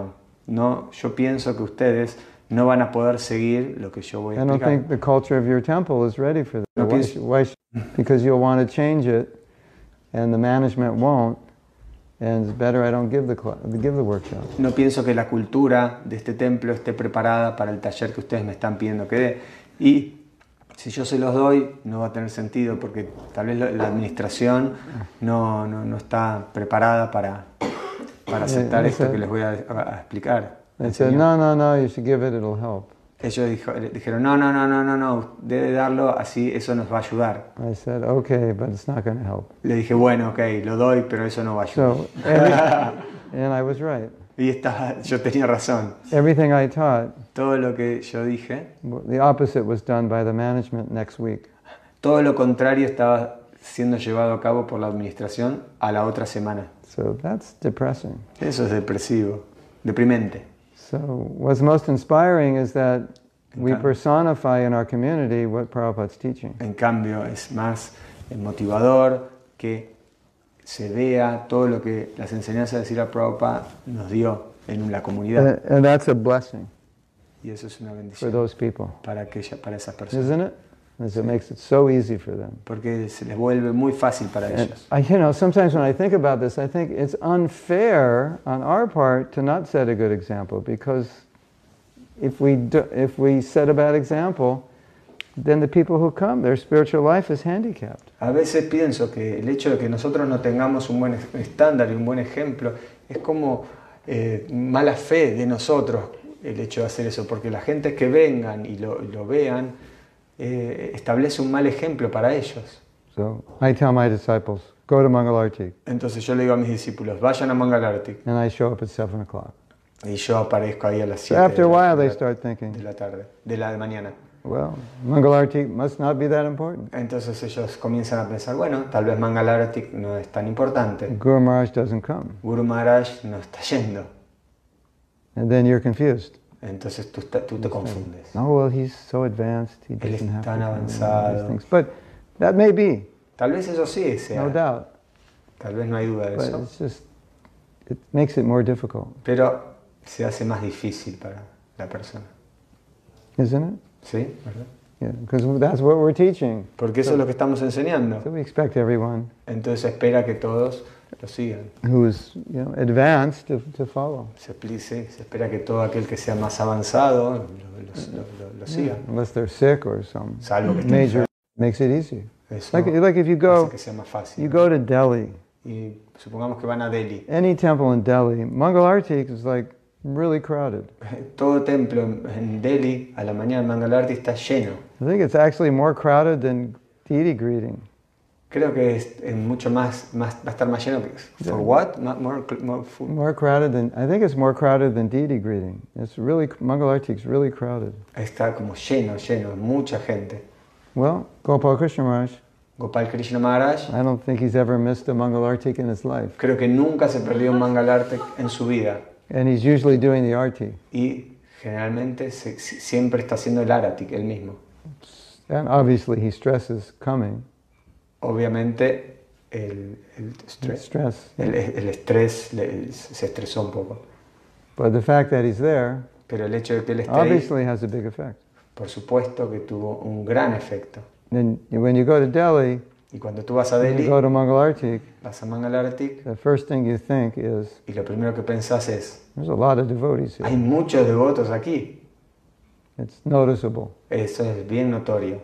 Speaker 2: no, yo pienso que ustedes no van a poder seguir lo que yo voy a
Speaker 1: I don't
Speaker 2: explicar.
Speaker 1: think the culture of your temple is ready for that.
Speaker 2: No
Speaker 1: Why
Speaker 2: pienso-
Speaker 1: because you'll want to change it, and the management won't, and it's better I don't give the workshop.
Speaker 2: No pienso que la cultura de este templo esté preparada para el taller que ustedes me están pidiendo que dé. Y si yo se los doy, no va a tener sentido porque tal vez la administración no está preparada para aceptar esto que les voy a explicar.
Speaker 1: They said, no, you should give it, it'll help.
Speaker 2: Ellos dijeron, no, debe darlo, así eso nos va a ayudar.
Speaker 1: I said, okay, but it's not going to help.
Speaker 2: Le dije, bueno, ok, lo doy, pero eso no va a ayudar.
Speaker 1: So, and I was right.
Speaker 2: Y yo tenía razón.
Speaker 1: Everything I taught,
Speaker 2: Todo lo que yo dije,
Speaker 1: the opposite was done by the management next week.
Speaker 2: todo lo contrario estaba siendo llevado a cabo por la administración a la otra semana.
Speaker 1: So that's depressing.
Speaker 2: Eso es depresivo, deprimente.
Speaker 1: So what's most inspiring is that we
Speaker 2: Okay.
Speaker 1: personify in our community what Prabhupada's teaching.
Speaker 2: En cambio, es más motivador que se vea todo lo que las enseñanzas de Srila Prabhupada nos dio en la comunidad.
Speaker 1: And that's a blessing
Speaker 2: Y eso es una
Speaker 1: for
Speaker 2: bendición
Speaker 1: those people,
Speaker 2: para esas personas.
Speaker 1: isn't it? Because it makes it so easy for them.
Speaker 2: Porque se les vuelve muy fácil para
Speaker 1: And
Speaker 2: ellos.
Speaker 1: sometimes when I think about this, I think it's unfair on our part to not set a good example, because if we set a bad example, then the people who come, their spiritual life is handicapped.
Speaker 2: A veces pienso que el hecho de que nosotros no tengamos un buen estándar y un buen ejemplo es como mala fe de nosotros el hecho de hacer eso, porque la gente que vengan y lo vean establece un mal ejemplo para ellos.
Speaker 1: So I tell my disciples, go to Mangalarti,
Speaker 2: Entonces yo le digo a mis discípulos, vayan a Mangalarti,
Speaker 1: and I show up at 7 o'clock.
Speaker 2: y yo aparezco ahí a las
Speaker 1: So
Speaker 2: 7
Speaker 1: after a while they start
Speaker 2: de
Speaker 1: thinking,
Speaker 2: la tarde, de la mañana.
Speaker 1: well, Mangalarti must not be that important.
Speaker 2: Entonces ellos comienzan a pensar, bueno, tal vez Mangalarti no es tan importante.
Speaker 1: Guru Maharaj doesn't come.
Speaker 2: Guru Maharaj no está yendo.
Speaker 1: And then you're confused.
Speaker 2: Entonces tú te confundes.
Speaker 1: Oh, well, he's so advanced, he
Speaker 2: Él
Speaker 1: doesn't
Speaker 2: es
Speaker 1: have to
Speaker 2: tan
Speaker 1: come, and all these
Speaker 2: avanzado.
Speaker 1: things. But that may be,
Speaker 2: Tal vez eso sí sea,
Speaker 1: no doubt.
Speaker 2: tal vez no hay duda de
Speaker 1: But
Speaker 2: eso,
Speaker 1: it's just, it makes it more difficult,
Speaker 2: pero se hace más difícil para la persona.
Speaker 1: isn't it?
Speaker 2: ¿Sí? ¿Verdad?
Speaker 1: Yeah, because that's what we're teaching.
Speaker 2: Porque eso es lo que estamos enseñando.
Speaker 1: So we expect everyone
Speaker 2: Entonces espera que todos lo sigan.
Speaker 1: who's advanced to follow.
Speaker 2: Se espera que todo aquel que sea más avanzado lo siga.
Speaker 1: Unless they're sick or some
Speaker 2: Salvo que estén
Speaker 1: major,
Speaker 2: enfermos.
Speaker 1: makes it easy.
Speaker 2: Eso
Speaker 1: Like if you
Speaker 2: hace
Speaker 1: go,
Speaker 2: que sea más fácil.
Speaker 1: you go to Delhi,
Speaker 2: Y supongamos que van a Delhi.
Speaker 1: any temple in Delhi, Mangalarti is like really crowded.
Speaker 2: Todo templo en Delhi a la mañana en Mangalarti está lleno.
Speaker 1: I think it's actually more crowded than deity greeting.
Speaker 2: Creo que es mucho más, va a estar más lleno que... ¿For what? More food.
Speaker 1: More crowded than, I think it's more crowded than deity greeting. It's really, Mangalarti is really crowded.
Speaker 2: Está como lleno, mucha gente.
Speaker 1: Well, Gopal Krishna Maharaj,
Speaker 2: Gopal Krishna Maharaj,
Speaker 1: I don't think he's ever missed a Mangalartik in his life.
Speaker 2: creo que nunca se perdió un Mangalartik en su vida.
Speaker 1: And he's usually doing the arti.
Speaker 2: Y generalmente siempre está haciendo el Aratik, él mismo.
Speaker 1: And obviously he stresses coming.
Speaker 2: Obviamente el estrés se estresó un poco.
Speaker 1: But the fact that he's there
Speaker 2: Pero el hecho de que él esté ahí,
Speaker 1: obviously has a big effect.
Speaker 2: por supuesto que tuvo un gran efecto.
Speaker 1: And when you go to Delhi,
Speaker 2: Y cuando tú vas a
Speaker 1: when
Speaker 2: Delhi,
Speaker 1: you go to Mangalartik,
Speaker 2: vas a Mangalartik,
Speaker 1: the first thing you think is,
Speaker 2: y lo primero que pensás es,
Speaker 1: there's a lot of devotees
Speaker 2: hay
Speaker 1: here.
Speaker 2: muchos devotos aquí.
Speaker 1: It's noticeable.
Speaker 2: Eso es bien notorio.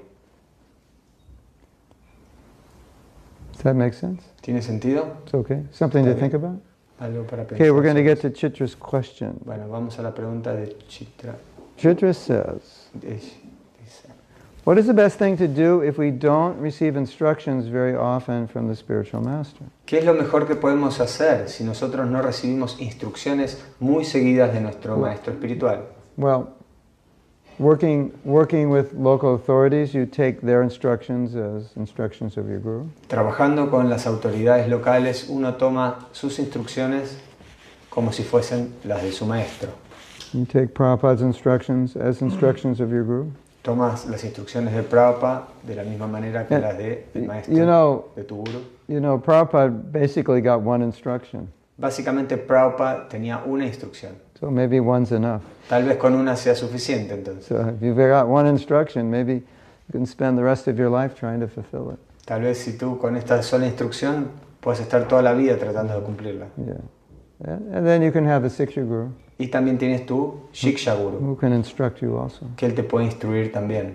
Speaker 1: Does that make sense?
Speaker 2: ¿Tiene sentido?
Speaker 1: It's okay. Something to
Speaker 2: Está
Speaker 1: think
Speaker 2: bien.
Speaker 1: about?
Speaker 2: Algo para pensar.
Speaker 1: Okay, we're going to
Speaker 2: sobre
Speaker 1: get to Chitra's question.
Speaker 2: eso. Bueno, vamos a la pregunta de Chitra.
Speaker 1: Chitra says,
Speaker 2: Dice,
Speaker 1: what is the best thing to do if we don't receive instructions very often from the spiritual master?
Speaker 2: ¿qué es lo mejor que podemos hacer si nosotros no recibimos instrucciones muy seguidas de nuestro maestro espiritual?
Speaker 1: Well, Working with local authorities, you take their instructions as instructions of your guru.
Speaker 2: Trabajando con las autoridades locales, uno toma sus instrucciones como si fuesen las de su maestro.
Speaker 1: You take Prabhupada's instructions as instructions of your guru.
Speaker 2: Tomas las instrucciones de Prabhupada de la misma manera que las del maestro, de tu guru.
Speaker 1: You know, Prabhupada basically got one instruction.
Speaker 2: Básicamente Prabhupada tenía una instrucción.
Speaker 1: So maybe one's enough.
Speaker 2: Tal vez con una sea suficiente entonces.
Speaker 1: So if you've got one instruction, maybe you can spend the rest of your life trying to fulfill it.
Speaker 2: Tal vez si tú con esta sola instrucción puedes estar toda la vida tratando de cumplirla.
Speaker 1: Yeah. And then you can have a Siksha Guru.
Speaker 2: Y también tienes tu Shiksha Guru,
Speaker 1: Who can instruct you also.
Speaker 2: que él te puede instruir también.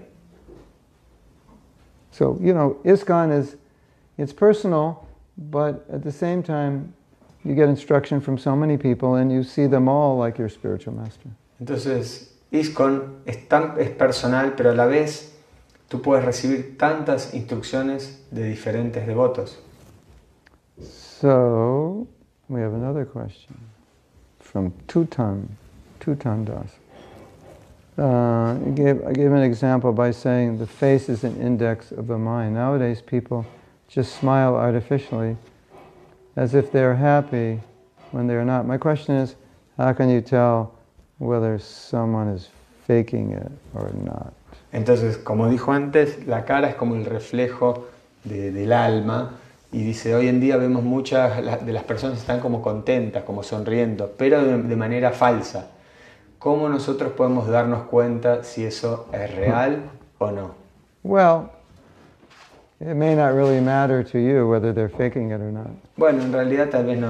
Speaker 1: So, you know, ISKCON it's personal, but at the same time, you get instruction from so many people and you see them all like your spiritual master.
Speaker 2: Entonces, ISKCON es personal, pero a la vez tú puedes recibir tantas instrucciones de diferentes devotos.
Speaker 1: So, we have another question from Tutan Das. I gave an example by saying the face is an index of the mind. Nowadays people just smile artificially as if they're happy when they're not. My question is, how can you tell whether someone is faking it or not?
Speaker 2: Entonces, como dijo antes, la cara es como el reflejo del alma. Y dice, hoy en día vemos muchas de las personas están como contentas, como sonriendo, pero de manera falsa. ¿Cómo nosotros podemos darnos cuenta si eso es real o no?
Speaker 1: Well, it may not really matter to you whether they're faking it or not.
Speaker 2: Bueno, en realidad tal vez no.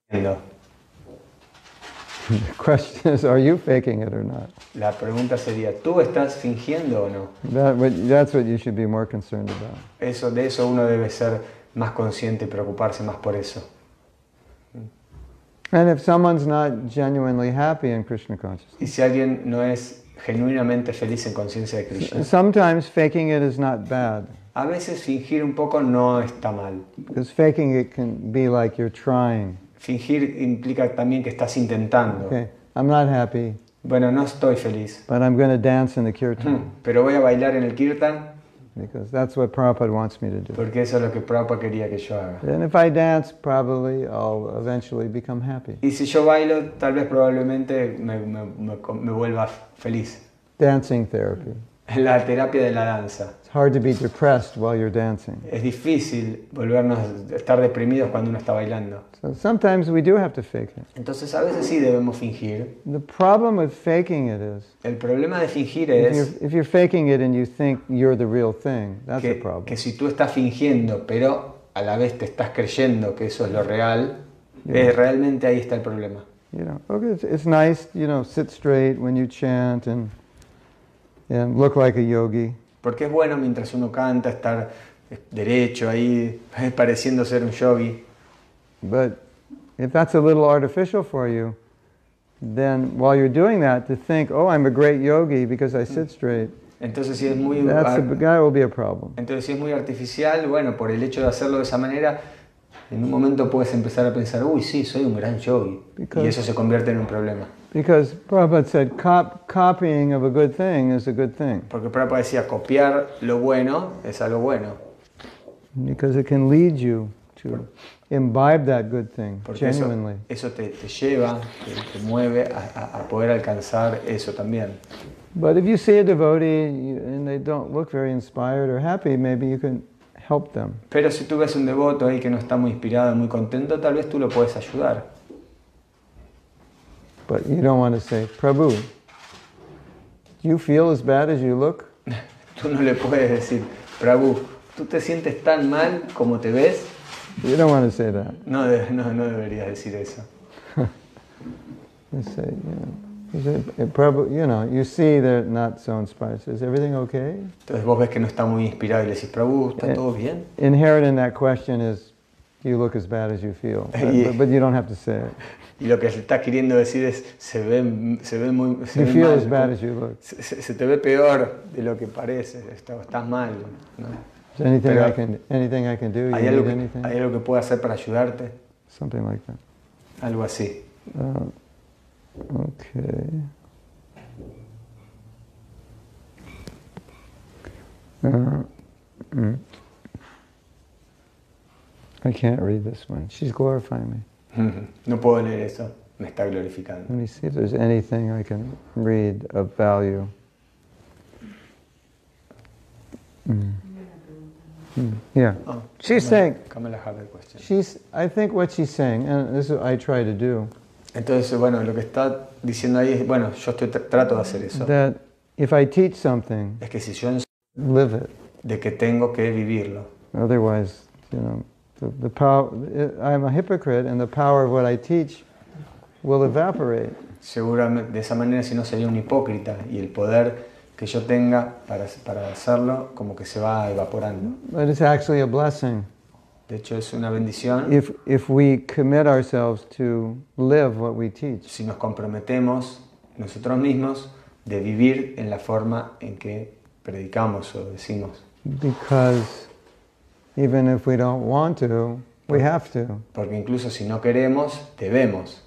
Speaker 1: The question is, are you faking it or not?
Speaker 2: La pregunta sería, ¿tú estás fingiendo o no?
Speaker 1: That's what you should be more concerned about.
Speaker 2: De eso uno debe ser más consciente y preocuparse más por eso.
Speaker 1: And if someone's not genuinely happy in Krishna consciousness,
Speaker 2: Y si alguien no es genuinamente feliz en conciencia de Krishna,
Speaker 1: sometimes faking it is not bad.
Speaker 2: a veces fingir un poco no está mal.
Speaker 1: Because faking it can be like you're trying.
Speaker 2: Fingir implica también que estás intentando.
Speaker 1: Okay, I'm not happy,
Speaker 2: Bueno, no estoy feliz,
Speaker 1: but I'm going to dance in the kirtan
Speaker 2: pero voy a bailar en el kirtan
Speaker 1: because that's what Prabhupada wants me to do.
Speaker 2: porque eso es lo que Prabhupada quería que yo haga.
Speaker 1: And if I dance, probably I'll eventually become happy.
Speaker 2: Y si yo bailo, tal vez probablemente me vuelva feliz.
Speaker 1: Dancing therapy.
Speaker 2: La terapia de la danza.
Speaker 1: It's hard to be depressed while you're dancing.
Speaker 2: Es difícil volvernos a estar deprimidos cuando uno está bailando.
Speaker 1: So sometimes we do have to fake it.
Speaker 2: Entonces a veces sí debemos fingir.
Speaker 1: The problem with faking it is,
Speaker 2: El problema de fingir es
Speaker 1: if you're faking it and you think you're the real thing, that's a problem.
Speaker 2: que si tú estás fingiendo, pero a la vez te estás creyendo que eso es lo real, realmente ahí está el problema.
Speaker 1: You know, okay, it's nice, you know, sit straight when you chant and look like a yogi.
Speaker 2: Porque es bueno mientras uno canta estar derecho ahí, pareciendo ser un yogi.
Speaker 1: But if that's a little artificial for you, then while you're doing that, to think, oh, I'm a great yogi because I sit straight,
Speaker 2: Entonces si es muy
Speaker 1: that will be a problem.
Speaker 2: Entonces si es muy artificial, bueno, por el hecho de hacerlo de esa manera, en un momento puedes empezar a pensar, uy, sí, soy un gran yogi. Y eso se convierte en un problema.
Speaker 1: Because Prabhupada said, copying of a good thing is a good thing.
Speaker 2: Porque Prabhupada decía, copiar lo bueno es algo bueno.
Speaker 1: Because it can lead you to imbibe that good thing
Speaker 2: Porque
Speaker 1: genuinely.
Speaker 2: eso te lleva, te mueve a poder alcanzar eso también.
Speaker 1: But if you see a devotee and they don't look very inspired or happy, maybe you can help them.
Speaker 2: Pero si tú ves un devoto ahí que no está muy inspirado, muy contento, tal vez tú lo puedes ayudar.
Speaker 1: But you don't want to say, Prabhu, do you feel as bad as you look?
Speaker 2: Tú no le puedes decir, Prabhu, ¿tú te sientes tan mal como te ves?
Speaker 1: You don't want to say that.
Speaker 2: No deberías decir eso.
Speaker 1: You say, you say, Prabhu, you know, you see they're not so inspired. So is everything okay?
Speaker 2: Entonces vos ves que no está muy inspirado y le decís, Prabhu, ¿está todo bien?
Speaker 1: Inherent in that question is, you look as bad as you feel. But you don't have to say it.
Speaker 2: Y lo que está queriendo decir es, se ve muy
Speaker 1: You feel as bad as you look.
Speaker 2: se te ve peor de lo que parece, estás mal, ¿no?
Speaker 1: Is there anything
Speaker 2: Pero,
Speaker 1: anything I can do?
Speaker 2: ¿Hay
Speaker 1: You
Speaker 2: algo,
Speaker 1: need anything?
Speaker 2: ¿Hay algo que pueda hacer para ayudarte?
Speaker 1: Something like that.
Speaker 2: Algo así.
Speaker 1: Okay. mm. I can't read this one. She's glorifying me.
Speaker 2: No puedo leer eso, me está glorificando.
Speaker 1: Let me see if there's anything I can read of value. Yeah.
Speaker 2: Oh,
Speaker 1: She's saying,
Speaker 2: Kamala have a question.
Speaker 1: I think what she's saying, and this is what I try to do,
Speaker 2: Entonces, bueno, lo que está diciendo ahí es, bueno, yo trato de hacer eso.
Speaker 1: that if I teach something,
Speaker 2: Es que si yo
Speaker 1: live it.
Speaker 2: de que tengo que vivirlo.
Speaker 1: Otherwise, the power, I'm a hypocrite and the power of what I teach will evaporate.
Speaker 2: Seguramente de esa manera si no sería un hipócrita y el poder que yo tenga para hacerlo como que se va evaporando.
Speaker 1: But it's actually a blessing
Speaker 2: De hecho es una bendición
Speaker 1: if we commit ourselves to live what we teach.
Speaker 2: si nos comprometemos nosotros mismos de vivir en la forma en que predicamos o decimos.
Speaker 1: Because even if we don't want to, we have to.
Speaker 2: Porque incluso si no queremos, debemos.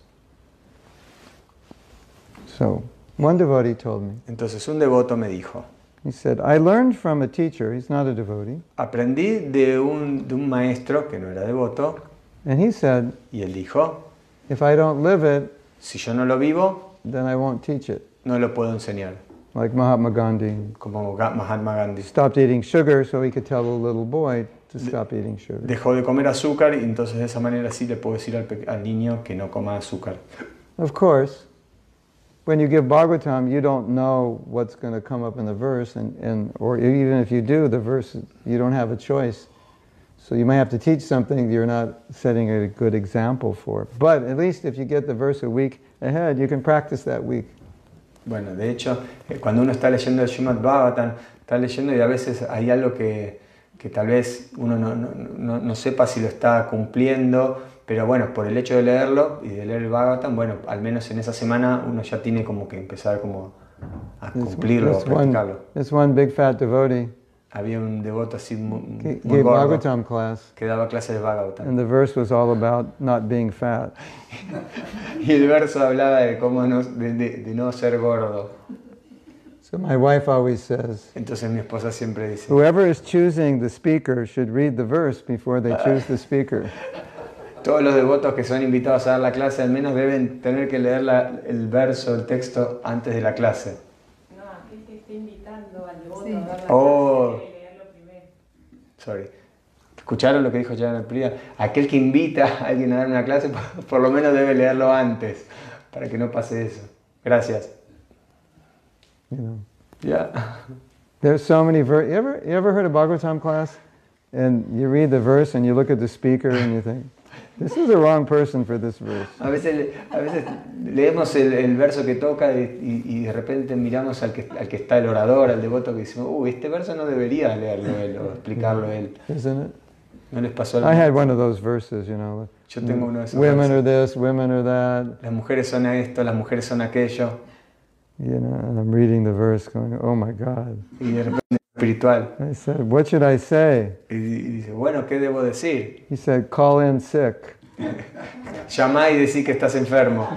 Speaker 1: So, one devotee told me,
Speaker 2: Entonces un devoto me dijo,
Speaker 1: he said, I learned from a teacher, he's not a devotee,
Speaker 2: aprendí de un maestro que no era devoto
Speaker 1: and he said,
Speaker 2: y él dijo,
Speaker 1: if I don't live it,
Speaker 2: si yo no lo vivo,
Speaker 1: then I won't teach it.
Speaker 2: no lo puedo enseñar.
Speaker 1: Like Mahatma Gandhi
Speaker 2: Como Mahatma Gandhi.
Speaker 1: stopped eating sugar so he could tell the little boy to stop eating sugar.
Speaker 2: Dejó de comer azúcar y entonces de esa manera sí le puedo decir al niño que no coma azúcar.
Speaker 1: Of course, when you give Bhagavatam, you don't know what's going to come up in the verse, or even if you do, the verse, you don't have a choice. So you might have to teach something you're not setting a good example for. But at least if you get the verse a week ahead, you can practice that week.
Speaker 2: Bueno, de hecho, cuando uno está leyendo el Srimad Bhagavatam, está leyendo y a veces hay algo que tal vez uno no sepa si lo está cumpliendo, pero bueno, por el hecho de leerlo y de leer el Bhagavatam, bueno, al menos en esa semana uno ya tiene como que empezar como a cumplirlo, a practicarlo.
Speaker 1: This one big fat devotee
Speaker 2: Había un devoto así muy
Speaker 1: gave
Speaker 2: gordo
Speaker 1: Bhagavatam class,
Speaker 2: que daba clases de Bhagavatam.
Speaker 1: and the verse was all about not being fat.
Speaker 2: Y el verso hablaba de cómo de no ser gordo.
Speaker 1: So my wife always says,
Speaker 2: Entonces mi esposa siempre dice,
Speaker 1: whoever is choosing the speaker should read the verse before they choose the speaker.
Speaker 2: todos los devotos que son invitados a dar la clase al menos deben tener que leer el verso, el texto antes de la clase.
Speaker 4: No, aquel que esté invitando al devoto
Speaker 3: Sí.
Speaker 4: a dar la
Speaker 2: Oh.
Speaker 4: clase debe leerlo primero.
Speaker 2: Sorry. ¿Escucharon lo que dijo Jana Priya? Aquel que invita a alguien a dar una clase por lo menos debe leerlo antes para que no pase eso. Gracias.
Speaker 1: You know,
Speaker 2: Ya.
Speaker 1: there's so many verses. You ever heard a Bhagavatam class, and you read the verse and you look at the speaker and you think, this is the wrong person for this verse.
Speaker 2: A veces leemos el verso que toca y de repente miramos al que está el orador, al devoto, que decimos, este verso no debería leerlo él o explicarlo él.
Speaker 1: Isn't it?
Speaker 2: ¿No les pasó
Speaker 1: I had one of those verses,
Speaker 2: Yo tengo uno de esos
Speaker 1: women are
Speaker 2: versos.
Speaker 1: this, women are that,
Speaker 2: Las mujeres son esto, las mujeres son aquello.
Speaker 1: and I'm reading the verse going, oh my God.
Speaker 2: Y de repente espiritual.
Speaker 1: I said, what should I say?
Speaker 2: Y dice, bueno, ¿qué debo decir?
Speaker 1: He said, call in sick.
Speaker 2: Llamá y decí que estás enfermo.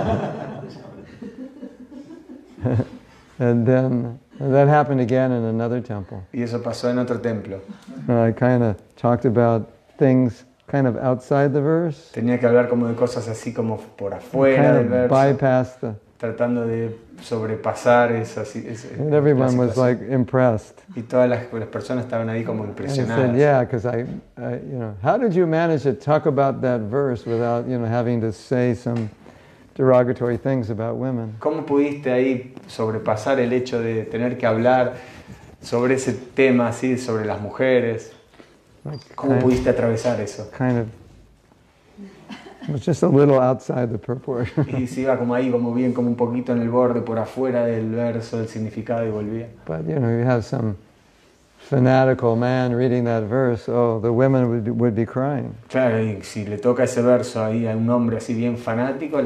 Speaker 1: And then that happened again in another temple.
Speaker 2: Y eso pasó en otro templo.
Speaker 1: I kind of talked about things kind of outside the verse,
Speaker 2: Tenía que hablar como de cosas así como por afuera del
Speaker 1: kind of
Speaker 2: verso,
Speaker 1: bypass the,
Speaker 2: tratando de sobrepasar
Speaker 1: and everyone was like impressed.
Speaker 2: y todas las personas estaban ahí como
Speaker 1: And I
Speaker 2: impresionadas.
Speaker 1: said, yeah, because I, how did you manage to talk about that verse without, having to say some derogatory things about women?
Speaker 2: ¿Cómo pudiste ahí sobrepasar el hecho de tener que hablar sobre ese tema así, sobre las mujeres?
Speaker 1: Like
Speaker 2: ¿Cómo pudiste atravesar eso?
Speaker 1: kind of, it was just a little outside the purport.
Speaker 2: Y se iba como ahí, como bien, como un poquito en el borde, por afuera del verso, del significado y volvía.
Speaker 1: But, you have some fanatical man reading that verse, oh, the women would be crying.
Speaker 2: Claro, y si le toca ese verso ahí a un hombre así bien fanático,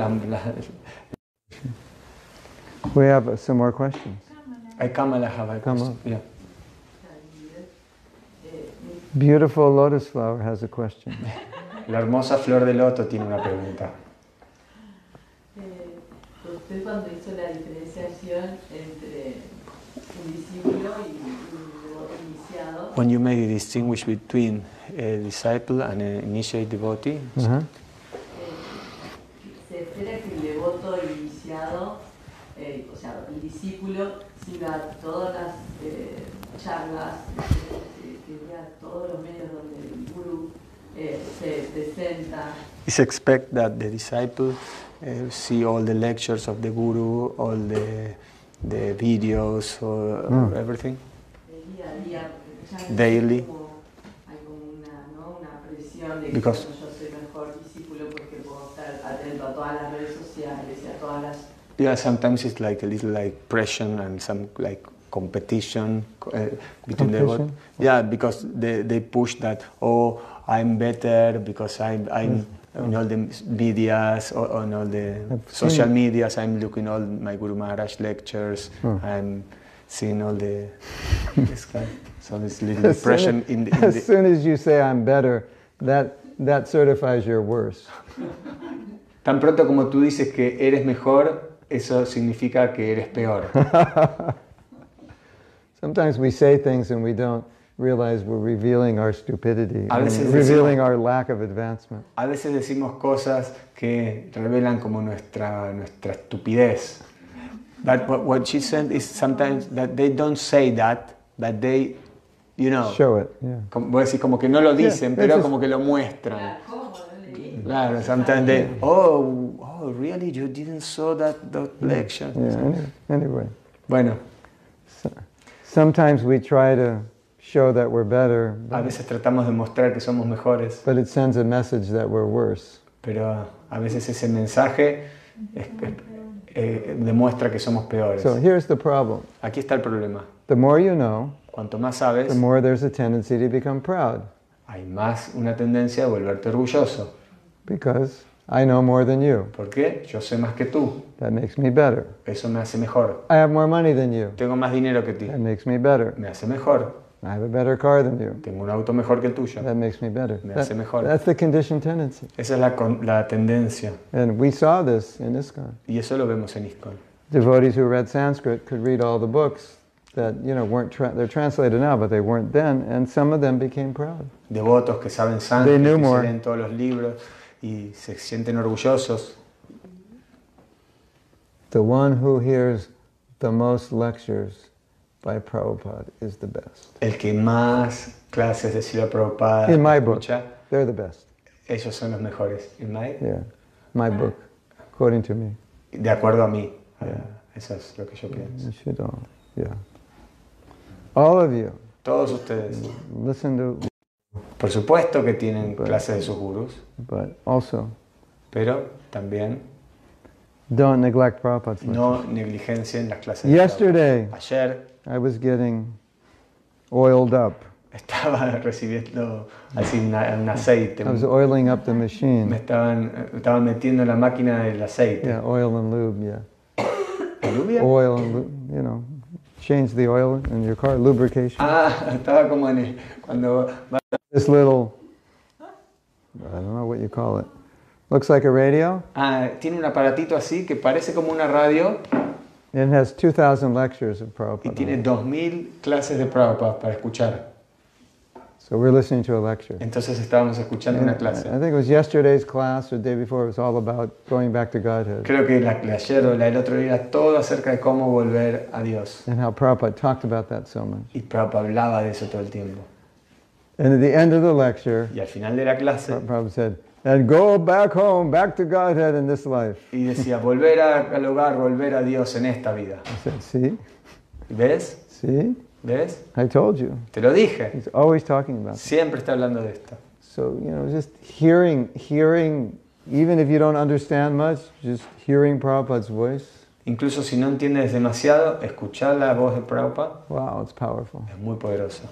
Speaker 1: We have some more questions.
Speaker 2: hay Kamala Hava.
Speaker 1: Kamala.
Speaker 2: Yeah.
Speaker 1: Beautiful lotus flower has a question.
Speaker 2: La hermosa flor de loto tiene una pregunta.
Speaker 7: Usted cuando hizo la diferenciación entre un discípulo y un devoto iniciado,
Speaker 4: iniciado.
Speaker 2: when you make a distinguish between a disciple and an initiate devotee,
Speaker 1: Uh-huh.
Speaker 4: Se espera que el devoto iniciado, o sea, el discípulo, siga todas las charlas, que vea todos los medios donde el gurú se presenta.
Speaker 2: it's expect that the disciple see all the lectures of the guru, all the videos, or everything.
Speaker 4: Día a día, porque ya
Speaker 2: Daily.
Speaker 4: hay como una, ¿no? Una presión de que
Speaker 2: Because-
Speaker 4: bueno, yo soy mejor discípulo porque puedo estar atento a todas las redes sociales y a todas las...
Speaker 2: Yeah, sometimes it's like a little like pressure and some like competition between the
Speaker 1: Competition?
Speaker 2: yeah, because they push that, oh, I'm better because I'm on all the videos or on all the
Speaker 1: I've
Speaker 2: social
Speaker 1: seen-
Speaker 2: medias, I'm looking all my Guru Maharaj lectures, I'm seeing all the this kind. So this little
Speaker 1: As soon
Speaker 2: pressure
Speaker 1: as-
Speaker 2: in
Speaker 1: as
Speaker 2: the
Speaker 1: soon as you say I'm better, that certifies you're worse.
Speaker 2: tan pronto como tú dices que eres mejor, eso significa que eres peor.
Speaker 1: Sometimes we say things and we don't realize we're revealing our stupidity,
Speaker 2: A veces
Speaker 1: and revealing our lack of advancement.
Speaker 2: A veces decimos cosas que revelan como nuestra estupidez. But what she said is sometimes that they don't say that, but they, you know,
Speaker 1: Show it, yeah.
Speaker 2: voy a decir como que no lo dicen,
Speaker 1: Yeah,
Speaker 2: pero
Speaker 1: this is-
Speaker 2: como que lo muestran.
Speaker 4: ¿Cómo? No leí.
Speaker 2: Claro, sometimes they, oh, really, you didn't saw that lecture.
Speaker 1: Yeah, anyway.
Speaker 2: Bueno,
Speaker 1: Sometimes we try to show that we're better,
Speaker 2: a veces tratamos de mostrar que somos mejores,
Speaker 1: but it sends a message that we're worse.
Speaker 2: pero a veces ese mensaje demuestra que somos peores.
Speaker 1: So here's the problem.
Speaker 2: Aquí está el problema.
Speaker 1: The more you know,
Speaker 2: Cuanto más sabes,
Speaker 1: the more there's a tendency to become proud,
Speaker 2: hay más una tendencia a volverte orgulloso.
Speaker 1: because I know more than you.
Speaker 2: ¿Por qué? Yo sé más que tú.
Speaker 1: That makes me better.
Speaker 2: Eso me hace mejor.
Speaker 1: I have more money than you.
Speaker 2: Tengo más dinero que ti.
Speaker 1: That makes me better.
Speaker 2: Me hace mejor.
Speaker 1: I have a better car than you.
Speaker 2: Tengo un auto mejor que el tuyo.
Speaker 1: That makes me better.
Speaker 2: Me hace mejor.
Speaker 1: That's the conditioned tendency.
Speaker 2: Esa es la tendencia.
Speaker 1: And we saw this in ISKCON.
Speaker 2: Y eso lo vemos en ISKCON.
Speaker 1: Devotees who read Sanskrit could read all the books that, weren't, they're translated now, but they weren't then, and some of them became proud.
Speaker 2: Devotos que saben
Speaker 1: They
Speaker 2: sánscrito,
Speaker 1: knew
Speaker 2: que se
Speaker 1: more.
Speaker 2: leen todos los libros y se sienten orgullosos.
Speaker 1: The one who hears the most lectures by Prabhupada is the best.
Speaker 2: El que más clases de Srila Prabhupada
Speaker 1: In my book,
Speaker 2: escucha,
Speaker 1: they're the best.
Speaker 2: ellos son los mejores. In my-
Speaker 1: Yeah, my book, according to me.
Speaker 2: De acuerdo a mí. Eso es lo que yo pienso.
Speaker 1: You should all, yeah. All of you,
Speaker 2: Todos ustedes.
Speaker 1: listen to,
Speaker 2: Por supuesto que tienen clases de sus gurús,
Speaker 1: but also
Speaker 2: pero también
Speaker 1: don't neglect Prabhupada's lectures.
Speaker 2: no negligencien las clases de
Speaker 1: Yesterday,
Speaker 2: Prabhupada. Ayer
Speaker 1: I was getting oiled up.
Speaker 2: estaba recibiendo así un aceite.
Speaker 1: I was oiling up the
Speaker 2: Me
Speaker 1: machine.
Speaker 2: estaban metiendo en la máquina del aceite.
Speaker 1: Yeah, oil and lube, yeah.
Speaker 2: ¿Lluvia?
Speaker 1: Oil and lube, change the oil in your car, lubrication.
Speaker 2: Estaba como cuando
Speaker 1: This little, I don't know what you call it. Looks like a radio.
Speaker 2: tiene un aparatito así que parece como una radio
Speaker 1: It has 2,000 lectures of
Speaker 2: y
Speaker 1: Prabhupada.
Speaker 2: tiene 2000 clases de Prabhupada para escuchar.
Speaker 1: So we're listening to a lecture.
Speaker 2: Entonces estábamos escuchando una clase.
Speaker 1: I think it was yesterday's class or the day before. It was all about going back to Godhead
Speaker 2: Creo que la de ayer o la del otro día era todo acerca de cómo volver a Dios.
Speaker 1: and how Prabhupada talked about that so much.
Speaker 2: Y Prabhupada hablaba de eso todo el tiempo.
Speaker 1: And at the end of the lecture,
Speaker 2: Y al final de la clase,
Speaker 1: Prabhupada said, "And go back home, back to Godhead in this life."
Speaker 2: y decía, volver al hogar, volver a Dios en esta vida.
Speaker 1: I said, "See,
Speaker 2: ¿Ves?
Speaker 1: see,
Speaker 2: ¿Ves?
Speaker 1: I told you."
Speaker 2: Te lo dije.
Speaker 1: He's always talking about that.
Speaker 2: Siempre está hablando de esto.
Speaker 1: So just hearing, even if you don't understand much, just hearing Prabhupada's voice.
Speaker 2: Incluso si no entiendes demasiado, escuchar la voz de Prabhupada
Speaker 1: Wow, it's powerful.
Speaker 2: es muy poderoso.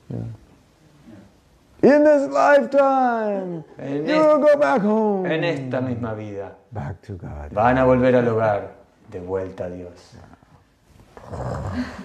Speaker 1: In this lifetime,
Speaker 2: En,
Speaker 1: you will go back home.
Speaker 2: en esta misma vida
Speaker 1: Back to God.
Speaker 2: van a volver al hogar, de vuelta a Dios.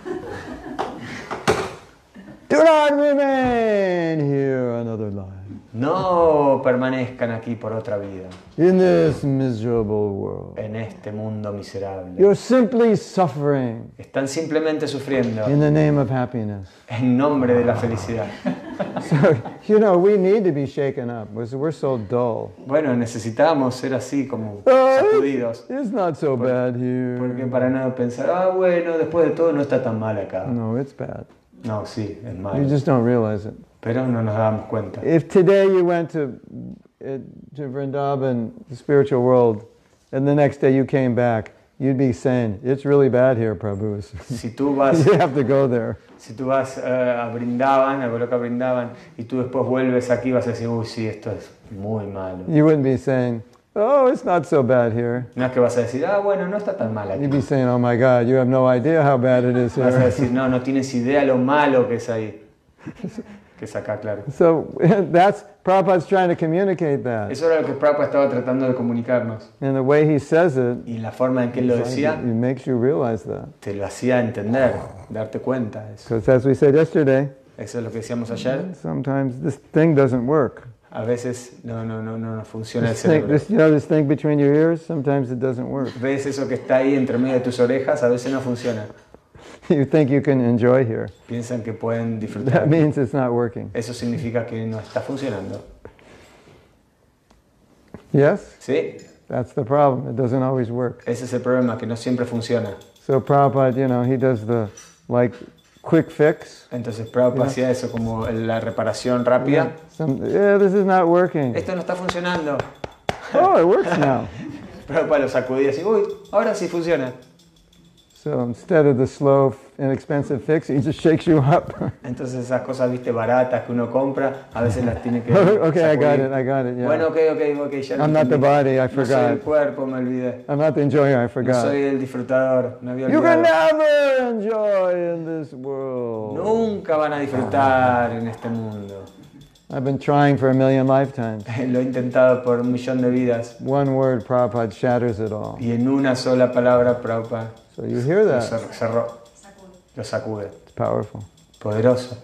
Speaker 1: Do not remain here another life.
Speaker 2: no permanezcan aquí por otra vida,
Speaker 1: in this miserable world.
Speaker 2: en este mundo miserable.
Speaker 1: You're simply suffering
Speaker 2: Están simplemente sufriendo
Speaker 1: in the name of happiness.
Speaker 2: en nombre de la felicidad.
Speaker 1: So, we need to be shaken up because we're so dull.
Speaker 2: Bueno, necesitamos ser así como
Speaker 1: Oh,
Speaker 2: sacudidos.
Speaker 1: it's not so bad here.
Speaker 2: Porque para no pensar, bueno, después de todo no está tan mal acá.
Speaker 1: No, it's bad.
Speaker 2: No, sí, es
Speaker 1: You
Speaker 2: malo.
Speaker 1: just don't realize it.
Speaker 2: Pero no nos damos cuenta.
Speaker 1: If today you went to Vrindavan, the spiritual world, and the next day you came back, you'd be saying, it's really bad here, Prabhu.
Speaker 2: Si tú vas,
Speaker 1: You have to go there.
Speaker 2: si tú vas a Brindavan, a Goloka Brindavan, y tú después vuelves aquí, vas a decir, uy, sí, esto es muy malo.
Speaker 1: You wouldn't be saying, oh, it's not so bad here.
Speaker 2: No es que vas a decir, bueno, no está tan mal aquí.
Speaker 1: You'd be saying, oh my God, you have no idea how bad it is
Speaker 2: Vas a
Speaker 1: here.
Speaker 2: decir, no tienes idea lo malo que es ahí. Que es acá, claro.
Speaker 1: So Prabhupada's trying to communicate that.
Speaker 2: Eso era lo que Prabhupada estaba tratando de comunicarnos.
Speaker 1: And the way he says it,
Speaker 2: Y la forma en que él lo decía,
Speaker 1: it makes you realize that.
Speaker 2: te lo hacía entender, darte cuenta de eso.
Speaker 1: Because as we said yesterday,
Speaker 2: Eso es lo que decíamos ayer.
Speaker 1: sometimes this thing doesn't work.
Speaker 2: A veces no funciona el cerebro.
Speaker 1: This thing between your ears, sometimes it doesn't work.
Speaker 2: Ves eso que está ahí entre medio de tus orejas, a veces no funciona.
Speaker 1: You think you can enjoy here.
Speaker 2: Piensan que pueden disfrutar.
Speaker 1: That means it's not working.
Speaker 2: Eso significa que no está funcionando.
Speaker 1: Yes?
Speaker 2: ¿Sí?
Speaker 1: That's the problem. It doesn't always work.
Speaker 2: Ese es el problema, que no siempre funciona.
Speaker 1: So Prabhupada, he does the quick fix.
Speaker 2: Entonces Prabhupada hacía eso como la reparación rápida.
Speaker 1: This is not working.
Speaker 2: Esto no está funcionando.
Speaker 1: Oh, it works now.
Speaker 2: Prabhupada lo sacudía así, uy, ahora sí funciona.
Speaker 1: So instead of the slow, inexpensive fix, he just shakes you up.
Speaker 2: Entonces esas cosas, viste, baratas que uno compra, a veces las tiene que
Speaker 1: Okay, I
Speaker 2: sacudir.
Speaker 1: got it, yeah.
Speaker 2: Bueno, ok, ya
Speaker 1: I'm not the
Speaker 2: entendí.
Speaker 1: body, I
Speaker 2: No soy el
Speaker 1: forgot.
Speaker 2: cuerpo, me olvidé.
Speaker 1: I'm not the enjoyer, I
Speaker 2: No
Speaker 1: forgot.
Speaker 2: soy el disfrutador, me había
Speaker 1: You can
Speaker 2: olvidado.
Speaker 1: never enjoy in this world.
Speaker 2: Nunca van a disfrutar en este mundo.
Speaker 1: I've been trying for a million lifetimes.
Speaker 2: Lo he intentado por 1.000.000 de vidas
Speaker 1: One word, Prabhupada shatters it all.
Speaker 2: y en una sola palabra Prabhupada
Speaker 1: So you hear
Speaker 2: lo
Speaker 1: that?
Speaker 2: cerró, lo sacude.
Speaker 1: It's powerful.
Speaker 2: Poderoso.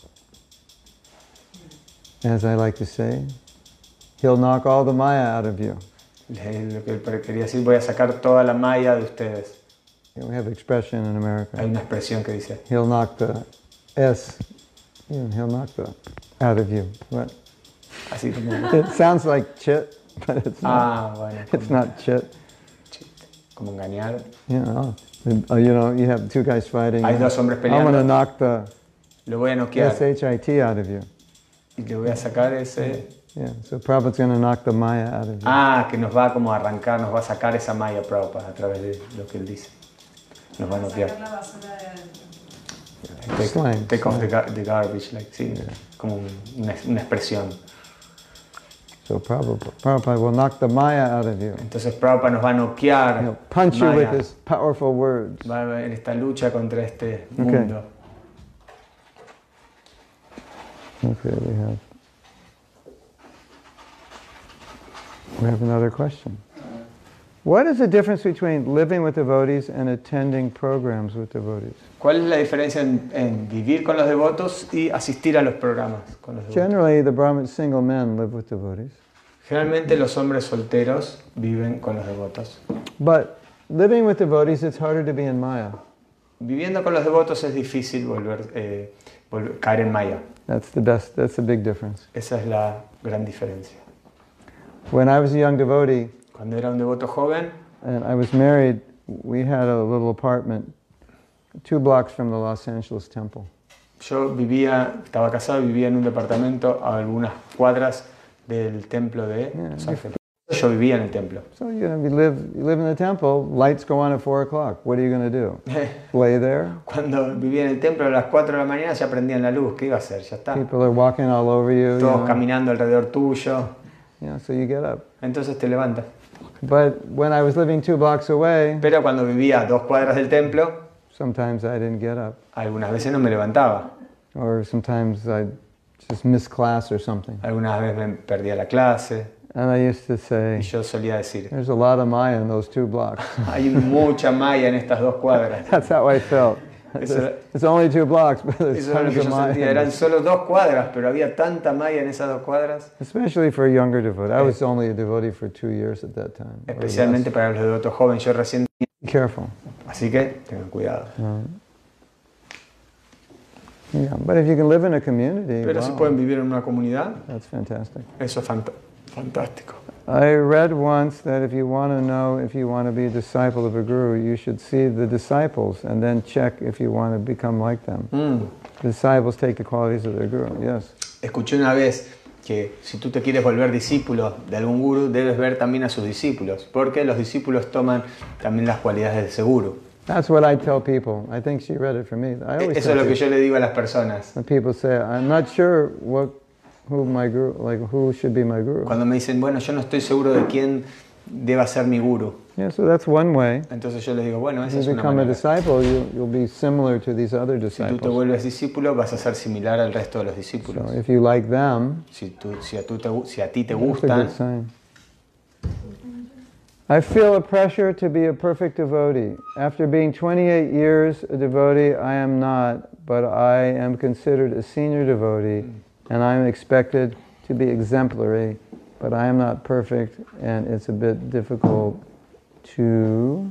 Speaker 1: As I like to say, he'll knock all the Maya out of you.
Speaker 2: Lo que quería decir, voy a sacar toda la malla de ustedes.
Speaker 1: We have expression in
Speaker 2: Hay
Speaker 1: America.
Speaker 2: una expresión que dice,
Speaker 1: He'll knock the S, he'll knock the out of you. What?
Speaker 2: así como,
Speaker 1: It sounds like chit, but it's not.
Speaker 2: bueno,
Speaker 1: It's not chit.
Speaker 2: como engañar.
Speaker 1: You have two guys fighting.
Speaker 2: Hay dos hombres
Speaker 1: I'm going to
Speaker 2: peleando,
Speaker 1: knock the
Speaker 2: lo voy a noquear
Speaker 1: SHIT out of you.
Speaker 2: y le voy a sacar ese...
Speaker 1: Yeah, so Prabhupada's going to knock the Maya out of you.
Speaker 2: que nos va como a arrancar, nos va a sacar esa malla Prabhupada a través de lo que él dice. Nos va a noquear.
Speaker 7: Sacar la basura de adentro.
Speaker 1: Slang,
Speaker 2: Take off
Speaker 1: slang.
Speaker 2: the garbage, like, sí, como una expresión.
Speaker 1: So Prabhupada will knock the Maya out of you.
Speaker 2: Entonces Prabhupada nos va a noquear,
Speaker 1: He'll punch you with
Speaker 2: Maya.
Speaker 1: his powerful words.
Speaker 2: Va a haber esta lucha contra este mundo.
Speaker 1: Okay, we have another question. What is the difference between living with devotees and attending programs with devotees?
Speaker 2: ¿Cuál es la diferencia en vivir con los devotos y asistir a los programas con los devotos?
Speaker 1: Generally, the Brahmin single men live with devotees.
Speaker 2: Generalmente los hombres solteros viven con los devotos.
Speaker 1: But living with devotees, it's harder to be in Maya.
Speaker 2: Viviendo con los devotos es difícil caer en Maya.
Speaker 1: That's the big difference.
Speaker 2: Esa es la gran diferencia.
Speaker 1: When I was a young devotee
Speaker 2: Cuando era un devoto joven,
Speaker 1: and I was married, we had a little apartment 2 blocks from the Los Angeles temple.
Speaker 2: yo estaba casado y vivía en un departamento a algunas cuadras del templo de Los Ángeles. Yo vivía en el templo.
Speaker 1: So you live in the temple, lights go on at 4 o'clock. What are you going to do? Lay there?
Speaker 2: Cuando vivía en el templo a las 4 de la mañana ya prendían la luz. ¿Qué iba a hacer? Ya está.
Speaker 1: People are walking all over you.
Speaker 2: Todos caminando alrededor tuyo.
Speaker 1: So you get up.
Speaker 2: Entonces te levantas.
Speaker 1: But when I was living 2 blocks away,
Speaker 2: Pero cuando vivía a 2 cuadras del templo,
Speaker 1: sometimes I didn't get up.
Speaker 2: algunas veces no me levantaba.
Speaker 1: Or sometimes I'd just miss class or something.
Speaker 2: Algunas veces me perdía la clase.
Speaker 1: And I used to
Speaker 2: Y
Speaker 1: say,
Speaker 2: yo solía decir,
Speaker 1: there's a lot of Maya in those 2 blocks.
Speaker 2: hay mucha malla en estas 2 cuadras.
Speaker 1: That's how I felt. It's only 2 blocks, but there's
Speaker 2: Eso era lo
Speaker 1: tons
Speaker 2: que
Speaker 1: of
Speaker 2: yo
Speaker 1: Maya.
Speaker 2: sentía. Eran solo 2 cuadras, pero había tanta Maya en esas 2 cuadras.
Speaker 1: Especially for a younger devotee. I was only a devotee for 2 years at that time. or
Speaker 2: Especialmente
Speaker 1: less.
Speaker 2: para los devotos jóvenes. Yo recién.
Speaker 1: Be careful.
Speaker 2: Así que tengan cuidado.
Speaker 1: Yeah, but if you can live in a community,
Speaker 2: Pero si
Speaker 1: wow,
Speaker 2: pueden vivir en una comunidad,
Speaker 1: that's fantastic.
Speaker 2: eso es fantástico.
Speaker 1: I read once that if you want to know if you want to be a disciple of a guru, you should see the disciples and then check if you want to become like them. The disciples take the qualities of their guru, yes.
Speaker 2: Escuché una vez que si tú te quieres volver discípulo de algún gurú, debes ver también a sus discípulos, porque los discípulos toman también las cualidades de ese gurú.
Speaker 1: That's what I tell people. I think she read it for me. I always
Speaker 2: Eso es
Speaker 1: tell
Speaker 2: lo que
Speaker 1: people,
Speaker 2: yo le digo a las personas.
Speaker 1: when people say, I'm not sure who should be my guru.
Speaker 2: Cuando me dicen, bueno, yo no estoy seguro de quién deba ser mi gurú.
Speaker 1: Yeah, so that's one way.
Speaker 2: Entonces yo les digo, bueno, esa
Speaker 1: If
Speaker 2: es
Speaker 1: you
Speaker 2: una
Speaker 1: become a
Speaker 2: manera.
Speaker 1: disciple, you'll be similar to these other
Speaker 2: Si tú te
Speaker 1: disciples.
Speaker 2: vuelves discípulo, vas a ser similar al resto de los discípulos.
Speaker 1: So if you like them,
Speaker 2: Si a ti te
Speaker 1: that's a
Speaker 2: gustan,
Speaker 1: good sign. I feel a pressure to be a perfect devotee. After being 28 years a devotee, I am not, but I am considered a senior devotee, and I am expected to be exemplary, but I am not perfect, and it's a bit difficult to...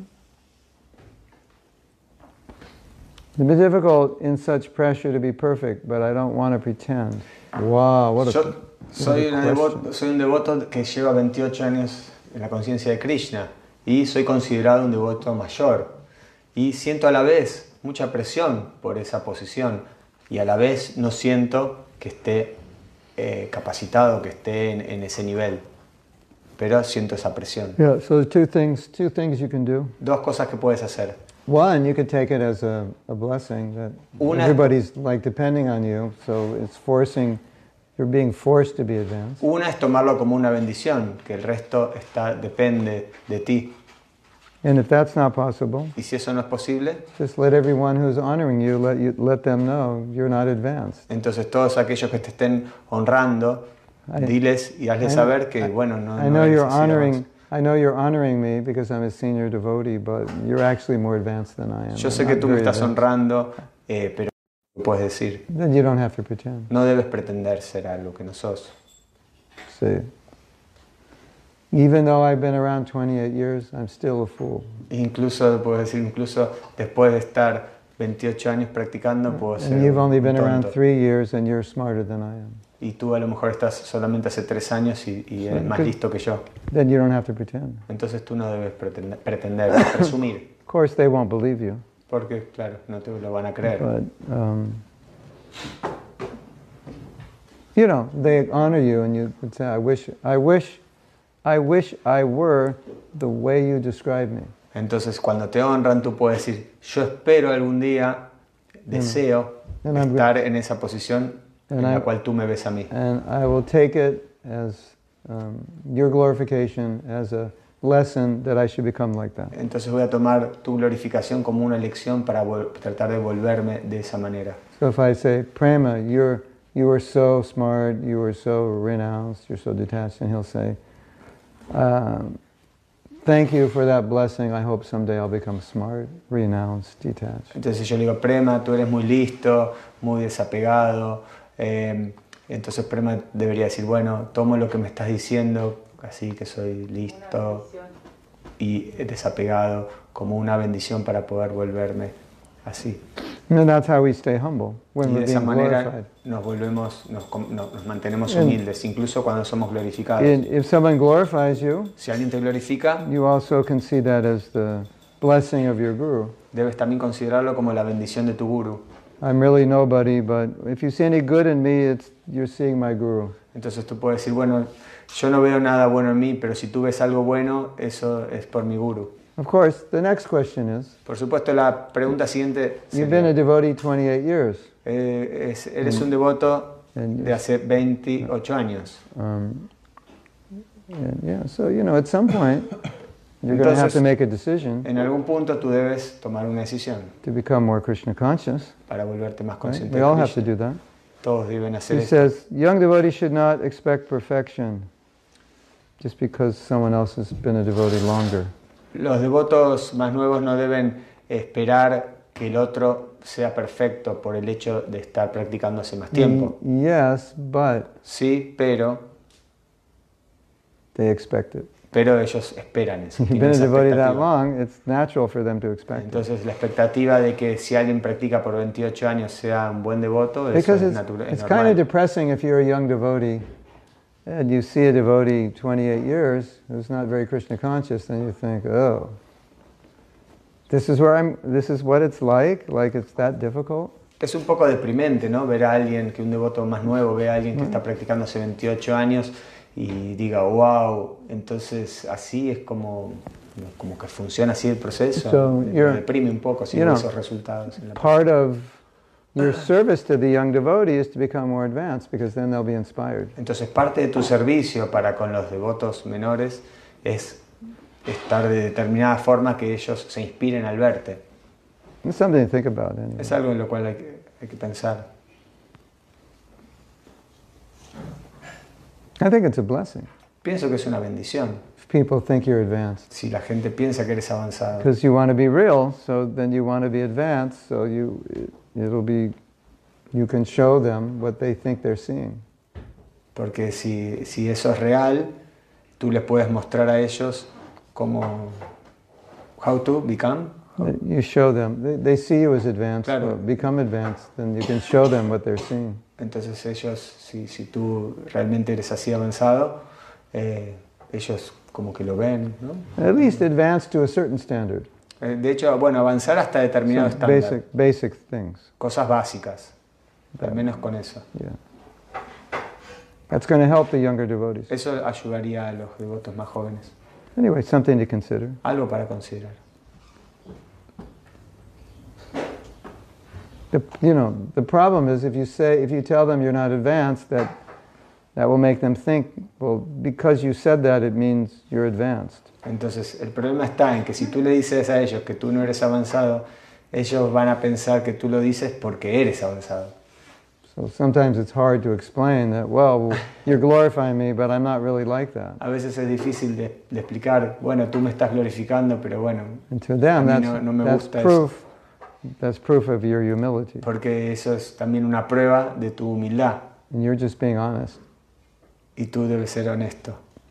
Speaker 1: It's a bit difficult in such pressure to be perfect, but I don't want to pretend. Wow, what a...
Speaker 2: yo
Speaker 1: what
Speaker 2: soy,
Speaker 1: a question.
Speaker 2: soy un devoto que lleva 28 años en la conciencia de Krishna y soy considerado un devoto mayor. Y siento a la vez mucha presión por esa posición y a la vez no siento que esté capacitado, que esté en ese nivel. Pero siento esa presión.
Speaker 1: Yeah, so there's two things you can do.
Speaker 2: 2 cosas que puedes hacer.
Speaker 1: One, you could take it as a blessing that
Speaker 2: Una-
Speaker 1: everybody's like depending on you, so it's you're being forced to be advanced.
Speaker 2: Una es tomarlo como una bendición, que el resto depende de ti.
Speaker 1: And if that's not possible,
Speaker 2: Y si eso no es posible,
Speaker 1: just let everyone who's honoring you let them know you're not advanced.
Speaker 2: entonces todos aquellos que te estén honrando, diles y hazles saber que, bueno, no
Speaker 1: I know
Speaker 2: eres
Speaker 1: you're
Speaker 2: así
Speaker 1: honoring. I know you're honoring me because I'm a senior devotee, but you're actually more advanced than I am.
Speaker 2: Yo sé
Speaker 1: I'm
Speaker 2: que
Speaker 1: not
Speaker 2: tú me
Speaker 1: very
Speaker 2: estás
Speaker 1: advanced.
Speaker 2: honrando, pero puedes decir,
Speaker 1: Then you don't have to pretend.
Speaker 2: no debes pretender ser algo que no sos.
Speaker 1: See. Even though I've been around 28 years, I'm still a fool.
Speaker 2: Incluso, puedes decir, incluso después de estar 28 años practicando, puedo ser
Speaker 1: And you've only
Speaker 2: un
Speaker 1: been around
Speaker 2: tonto.
Speaker 1: 3 years and you're smarter than I am.
Speaker 2: Y tú a lo mejor estás solamente hace 3 años y eres más listo que yo.
Speaker 1: Then you don't have to pretend.
Speaker 2: Entonces tú no debes pretender presumir.
Speaker 1: Of course, they won't believe you.
Speaker 2: Porque, claro, no te lo van a creer.
Speaker 1: But, you know, they honor you and you would say, I wish I were the way you describe me.
Speaker 2: Entonces, cuando te honran, tú puedes decir, yo espero algún día, deseo
Speaker 1: And I'm
Speaker 2: estar en esa posición en
Speaker 1: And
Speaker 2: la
Speaker 1: I-
Speaker 2: cual tú me ves a mí.
Speaker 1: And I will take it as your glorification, as a lesson that I should become like that.
Speaker 2: Entonces voy a tomar tu glorificación como una lección para tratar de volverme de esa manera.
Speaker 1: So if I say, Prema, you are so smart, you are so renounced, you're so detached, and he'll say, thank you for that blessing. I hope someday I'll become smart, renounced, detached.
Speaker 2: Entonces yo le digo, Prema, tú eres muy listo, muy desapegado. Entonces Prema debería decir, bueno, tomo lo que me estás diciendo, así que soy listo y desapegado, como una bendición para poder volverme así.
Speaker 1: And that's how we stay humble when
Speaker 2: Y de
Speaker 1: we're
Speaker 2: esa
Speaker 1: being
Speaker 2: manera
Speaker 1: glorified.
Speaker 2: nos mantenemos humildes, incluso cuando somos glorificados.
Speaker 1: And if someone glorifies you,
Speaker 2: Si alguien te glorifica,
Speaker 1: you also can see that as the blessing of your guru.
Speaker 2: debes también considerarlo como la bendición de tu guru.
Speaker 1: I'm really nobody, but if you see any good in me, you're seeing my guru.
Speaker 2: Entonces tú puedes decir, bueno, yo no veo nada bueno en mí, pero si tú ves algo bueno, eso es por mi guru.
Speaker 1: Of course, the next question is,
Speaker 2: Por supuesto, la pregunta siguiente
Speaker 1: you've been a
Speaker 2: sería,
Speaker 1: devotee 28 years.
Speaker 2: eres un devoto de hace 28 años.
Speaker 1: And yeah, so, you know, at some point, you're going to have
Speaker 2: Entonces,
Speaker 1: to make a decision
Speaker 2: En algún punto tú debes tomar una decisión
Speaker 1: to become more Krishna conscious.
Speaker 2: para volverte más
Speaker 1: Right?
Speaker 2: consciente
Speaker 1: We
Speaker 2: de
Speaker 1: all have to
Speaker 2: Krishna.
Speaker 1: do that.
Speaker 2: Todos deben hacer
Speaker 1: He
Speaker 2: esto.
Speaker 1: says, young devotees should not expect perfection just because someone else has been a devotee longer.
Speaker 2: Los devotos más nuevos no deben esperar que el otro sea perfecto por el hecho de estar practicando hace más tiempo.
Speaker 1: Yes, but
Speaker 2: Sí, pero
Speaker 1: they expect it.
Speaker 2: ellos esperan eso.
Speaker 1: If you've
Speaker 2: Tienen
Speaker 1: been a
Speaker 2: esa
Speaker 1: devotee that
Speaker 2: expectativa.
Speaker 1: long, it's natural for them to expect it.
Speaker 2: Entonces la expectativa de que si alguien practica por 28 años sea un buen devoto, eso
Speaker 1: Because
Speaker 2: es,
Speaker 1: it's
Speaker 2: es
Speaker 1: kind of
Speaker 2: normal.
Speaker 1: depressing if you're a young devotee and you see a devotee 28 years who's not very Krishna conscious, then you think, oh, this is what it's like it's that difficult.
Speaker 2: Es un poco deprimente, ¿no? Ver a alguien, que un devoto más nuevo ve a alguien que está practicando hace 28 años y diga, wow, entonces así es como que funciona así el proceso.
Speaker 1: So
Speaker 2: Me deprime un poco si
Speaker 1: you
Speaker 2: veo
Speaker 1: know,
Speaker 2: esos resultados. En la
Speaker 1: Part of your service to the young devotee is to become more advanced because then they'll be inspired.
Speaker 2: Entonces parte de tu servicio para con los devotos menores es estar de determinada forma que ellos se inspiren al verte.
Speaker 1: It's something to think about anyway.
Speaker 2: Es algo en lo cual hay que pensar.
Speaker 1: I think it's a blessing
Speaker 2: Pienso que es una bendición
Speaker 1: if people think you're advanced.
Speaker 2: si la gente piensa que eres avanzado.
Speaker 1: Because you want to be real, so then you want to be advanced, so you can show them what they think they're seeing.
Speaker 2: Porque si eso es real, tú les puedes mostrar a ellos cómo, how to become.
Speaker 1: You show them, they see you as advanced,
Speaker 2: Claro.
Speaker 1: so become advanced, then you can show them what they're seeing.
Speaker 2: Entonces ellos, si tú realmente eres así avanzado, ellos como que lo ven, ¿no?
Speaker 1: At least advanced to a certain standard.
Speaker 2: De hecho, bueno, avanzar hasta determinado
Speaker 1: Some
Speaker 2: estándar.
Speaker 1: basic things.
Speaker 2: Cosas básicas, al menos con eso.
Speaker 1: Yeah. That's going to help the younger devotees.
Speaker 2: Eso ayudaría a los devotos más jóvenes.
Speaker 1: Anyway, something to consider.
Speaker 2: Algo para considerar.
Speaker 1: The problem is if you tell them you're not advanced, that will make them think, well, because you said that, it means you're advanced.
Speaker 2: Entonces, el problema está en que si tú le dices a ellos que tú no eres avanzado, ellos van a pensar que tú lo dices porque eres avanzado.
Speaker 1: So sometimes it's hard to explain that, well, you're glorifying me, but I'm not really like that.
Speaker 2: A veces es difícil de explicar, bueno, tú me estás glorificando, pero bueno,
Speaker 1: And to them,
Speaker 2: a mí no me
Speaker 1: that's
Speaker 2: gusta
Speaker 1: proof. That's proof of your humility.
Speaker 2: porque eso es también una prueba de tu humildad
Speaker 1: And you're just being honest.
Speaker 2: y tú debes ser honesto.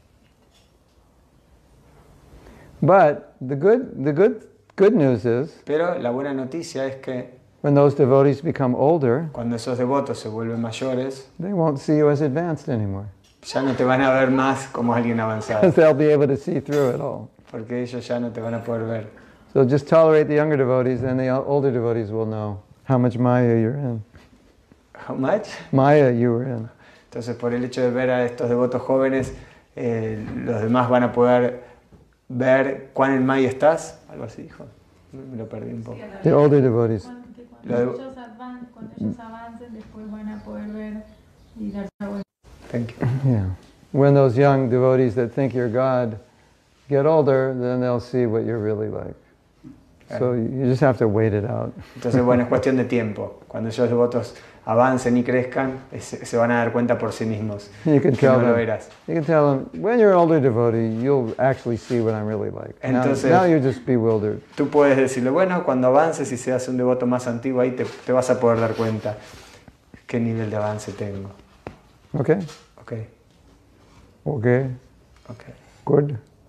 Speaker 1: But the good news is,
Speaker 2: Pero la buena noticia es que
Speaker 1: when those devotees become older,
Speaker 2: cuando esos devotos se vuelven mayores,
Speaker 1: they won't see you as advanced anymore.
Speaker 2: ya no te van a ver más como alguien avanzado,
Speaker 1: Because they'll be able to see through it all.
Speaker 2: porque ellos ya no te van a poder ver.
Speaker 1: So just tolerate the younger devotees, and the older devotees will know how much Maya you're in.
Speaker 2: How much?
Speaker 1: Maya you were in.
Speaker 2: Entonces, por el hecho de ver a estos devotos jóvenes, los demás van a poder ver cuán en Maya estás. Algo así dijo. Me lo perdí un poco.
Speaker 1: The older devotees.
Speaker 3: Cuando ellos avancen, después van a poder ver y darse cuenta.
Speaker 2: Thank you.
Speaker 1: Yeah. When those young devotees that think you're God get older, then they'll see what you're really like. So you just have to wait it out.
Speaker 2: Entonces, bueno, es cuestión de tiempo. Cuando esos devotos avancen y crezcan, se van a dar cuenta por sí mismos
Speaker 1: You can
Speaker 2: que
Speaker 1: tell
Speaker 2: no lo
Speaker 1: them.
Speaker 2: eras.
Speaker 1: You can tell them when you're an older devotee, you'll actually see what I'm really like.
Speaker 2: Entonces-
Speaker 1: Now you're just bewildered.
Speaker 2: Tú puedes decirle, bueno, cuando avances y seas un devoto más antiguo, ahí te vas a poder dar cuenta qué nivel de avance tengo.
Speaker 1: Okay.
Speaker 2: Ok,
Speaker 1: Okay.
Speaker 2: ok.
Speaker 1: Good.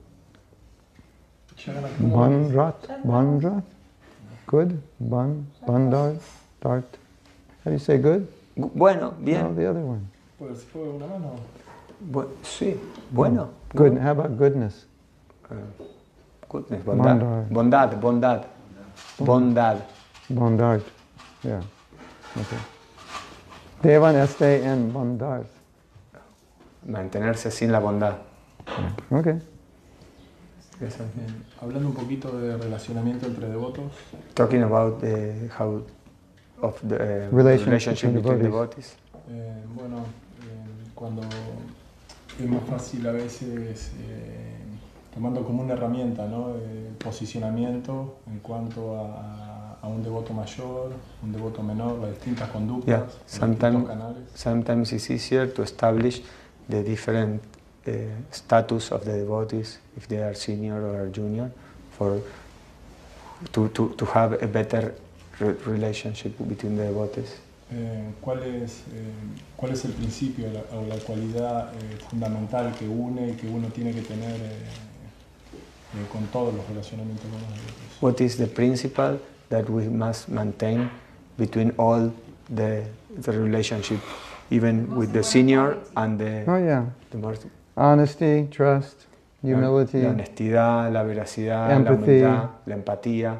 Speaker 1: Bandrat. Good. Bandart. Dart. How do you say good?
Speaker 2: Bueno,
Speaker 1: No,
Speaker 2: bien.
Speaker 1: the other one.
Speaker 6: Pues fue una mano.
Speaker 2: Sí, bueno.
Speaker 1: Good. How about goodness?
Speaker 2: Goodness, bondad. Bondad.
Speaker 1: Bondart. Yeah. Okay. Devan este en bondart.
Speaker 2: Mantenerse sin la bondad.
Speaker 1: Okay.
Speaker 2: Eso.
Speaker 6: Hablando un poquito de relacionamiento entre devotos,
Speaker 2: Talking about how of the
Speaker 1: Relationship
Speaker 2: between
Speaker 1: between
Speaker 2: devotees.
Speaker 6: cuando es más fácil a veces tomando como una herramienta, ¿no? Posicionamiento en cuanto a un devoto mayor, un devoto menor, las distintas conductas,
Speaker 2: Yeah,
Speaker 6: los distintos canales.
Speaker 2: sometimes it's easier to establish the different status of the devotees, if they are senior or junior, to have a better relationship between the devotees.
Speaker 6: ¿Cuál es el principio o la cualidad fundamental que une y que uno tiene que tener con todos los relacionamientos con los devotos?
Speaker 2: What is the principle that we must maintain between all the relationship, even with the senior and the more,
Speaker 1: Honesty, trust, humility,
Speaker 2: la honestidad, la veracidad,
Speaker 1: empathy.
Speaker 2: la humildad, la empatía.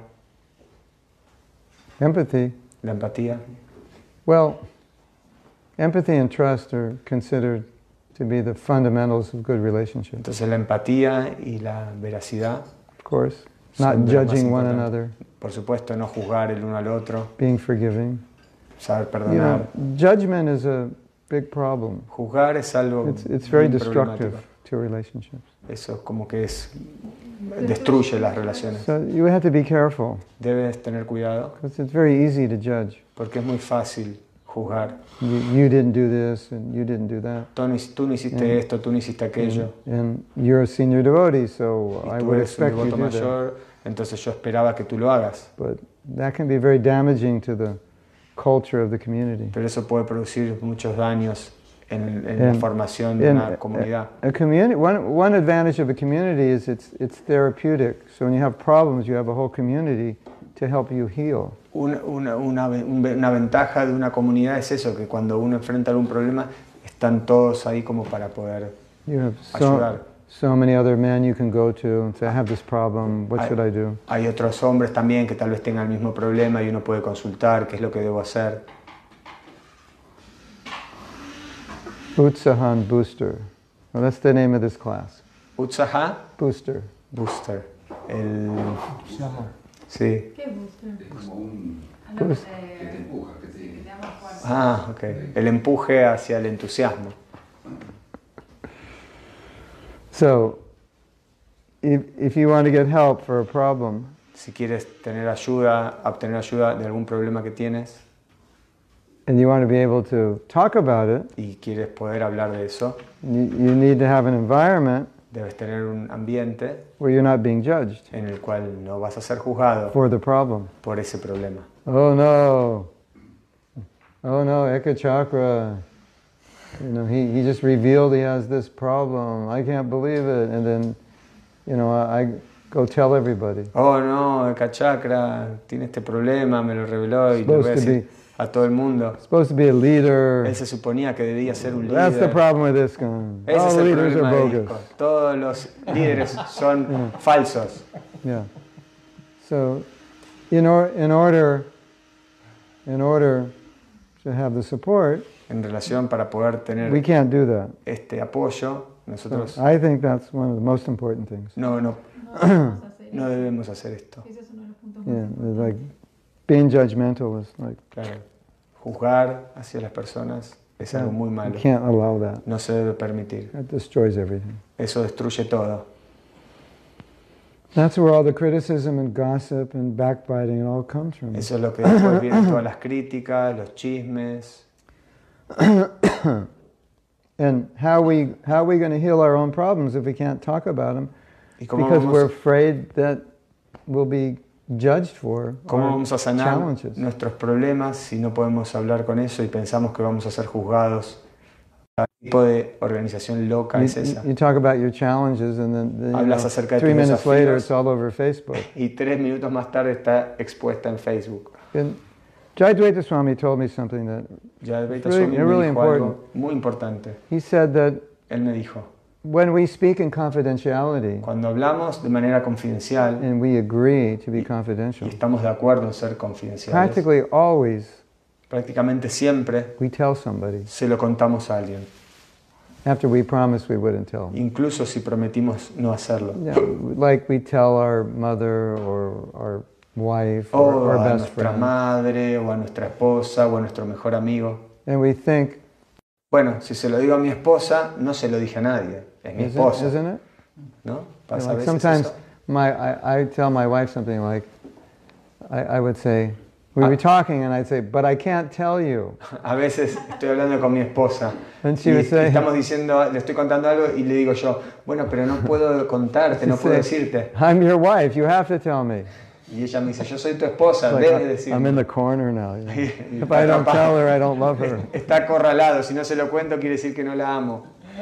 Speaker 1: Empathy.
Speaker 2: La empatía.
Speaker 1: Well, empathy and trust are considered to be the fundamentals of good relationships.
Speaker 2: Entonces la empatía y la veracidad.
Speaker 1: Of course, not judging one another.
Speaker 2: Por supuesto, no juzgar el uno al otro.
Speaker 1: Being forgiving.
Speaker 2: Saber perdonar.
Speaker 1: Judgment is a big problem.
Speaker 2: Juzgar es algo
Speaker 1: it's very destructive to relationships.
Speaker 2: Eso es como que destruye las relaciones.
Speaker 1: So you have to be careful.
Speaker 2: Debes tener cuidado.
Speaker 1: Because it's very easy to judge.
Speaker 2: Porque es muy fácil juzgar.
Speaker 1: You didn't do this and you didn't do that.
Speaker 2: Tú no hiciste esto, tú no hiciste aquello.
Speaker 1: And you're a senior devotee, so I would expect you to do
Speaker 2: mayor, entonces yo esperaba que tú lo hagas.
Speaker 1: But that can be very damaging to the culture of the community.
Speaker 2: Pero eso puede producir muchos daños en la formación de una comunidad.
Speaker 1: One advantage of a community is it's therapeutic. So when you have problems, you have a whole community to help you heal.
Speaker 2: Una ventaja de una comunidad es eso, que cuando uno enfrenta algún problema, están todos ahí como para poder ayudar.
Speaker 1: So many other men you can go to and say, I have this problem, what should I do?
Speaker 2: Hay otros hombres también que tal vez tengan el mismo problema y uno puede consultar qué es lo que debo hacer.
Speaker 1: Utsahan Booster. Well, that's the name of this class.
Speaker 2: Utsaha?
Speaker 1: Booster.
Speaker 2: Booster. Sí.
Speaker 3: ¿Qué es booster?
Speaker 8: Como un...
Speaker 1: Boost.
Speaker 8: que te empuja, que te...
Speaker 2: Ah, ok. El empuje hacia el entusiasmo.
Speaker 1: So, if you want to get help for a problem,
Speaker 2: si quieres obtener ayuda de algún problema que tienes,
Speaker 1: and you want to be able to talk about it,
Speaker 2: y quieres poder hablar de eso,
Speaker 1: you need to have an environment
Speaker 2: debes tener un ambiente
Speaker 1: where you're not being judged
Speaker 2: en el cual no vas a ser juzgado
Speaker 1: for the problem.
Speaker 2: Por ese problema.
Speaker 1: Oh no, Eka Chakra, he just revealed he has this problem. I can't believe it. And then, I go tell everybody.
Speaker 2: Oh no, Eka Chakra tiene este problema, me lo reveló y lo voy a decir a todo el mundo.
Speaker 1: Supposed to be a leader.
Speaker 2: Él se suponía que debía ser un líder.
Speaker 1: That's the problem with this guy.
Speaker 2: Ese
Speaker 1: All
Speaker 2: es el
Speaker 1: leaders are
Speaker 2: problema de
Speaker 1: bogus.
Speaker 2: Disco. Todos los líderes son falsos.
Speaker 1: Yeah. So, in order to have the support,
Speaker 2: en relación para poder tener
Speaker 1: we can't do that.
Speaker 2: Este apoyo, nosotros
Speaker 1: so I think that's one of the most important things.
Speaker 2: No debemos hacer esto.
Speaker 3: Ese es uno de los puntos
Speaker 1: Yeah, like being judgmental is like.
Speaker 2: Claro, juzgar hacia las personas es algo muy malo.
Speaker 1: You can't allow that.
Speaker 2: No se debe permitir.
Speaker 1: That destroys everything.
Speaker 2: Eso destruye todo.
Speaker 1: That's where all the criticism and gossip and backbiting it all comes from.
Speaker 2: Eso es lo que después vienen todas las críticas, los chismes.
Speaker 1: And how are we going to heal our own problems if we can't talk about them? Because we're afraid that we'll be judged for
Speaker 2: ¿Cómo vamos a sanar
Speaker 1: challenges.
Speaker 2: Nuestros problemas si no podemos hablar con eso y pensamos que vamos a ser juzgados? ¿Qué tipo de organización loca es esa?
Speaker 1: You talk about your challenges and then
Speaker 2: Hablas acerca de
Speaker 1: 3
Speaker 2: tus
Speaker 1: minutes later
Speaker 2: desafíos
Speaker 1: it's all over Facebook.
Speaker 2: Y 3 minutos más tarde está expuesta en Facebook.
Speaker 1: And Jayadvaita Swami told me something that
Speaker 2: Jayadvaita Swami me dijo algo muy importante.
Speaker 1: He said that
Speaker 2: Él me dijo,
Speaker 1: when we speak in confidentiality,
Speaker 2: cuando hablamos de manera confidencial
Speaker 1: and we agree to be confidential,
Speaker 2: y estamos de acuerdo en ser confidenciales,
Speaker 1: practically always
Speaker 2: prácticamente siempre
Speaker 1: we tell somebody
Speaker 2: se lo contamos a alguien,
Speaker 1: after we promised we wouldn't tell them.
Speaker 2: incluso si prometimos no hacerlo.
Speaker 1: Yeah, like we tell our mother or our wife
Speaker 2: O
Speaker 1: or our
Speaker 2: a
Speaker 1: best
Speaker 2: nuestra
Speaker 1: friend.
Speaker 2: madre, o a nuestra esposa, o a nuestro mejor amigo.
Speaker 1: And we think,
Speaker 2: Bueno, si se lo digo a mi esposa, no se lo dije a nadie. Es mi esposa.
Speaker 1: isn't it?
Speaker 2: ¿No?
Speaker 1: You
Speaker 2: Pasa
Speaker 1: know,
Speaker 2: a
Speaker 1: like
Speaker 2: veces
Speaker 1: sometimes
Speaker 2: eso.
Speaker 1: I tell my wife something like, I would say, we were talking and I'd say, but I can't tell you.
Speaker 2: A veces estoy hablando con mi esposa
Speaker 1: And she
Speaker 2: y
Speaker 1: would say,
Speaker 2: estamos diciendo, le estoy contando algo y le digo yo, bueno, pero no puedo contarte, no puedo decirte.
Speaker 1: I'm your wife, you have to tell me.
Speaker 2: Y ella me dice, yo soy tu esposa,
Speaker 1: It's like,
Speaker 2: debes decir.
Speaker 1: I'm in the corner now. you know.
Speaker 2: Y
Speaker 1: If I don't tell her, I don't love her.
Speaker 2: Está acorralado, si no se lo cuento quiere decir que no la amo.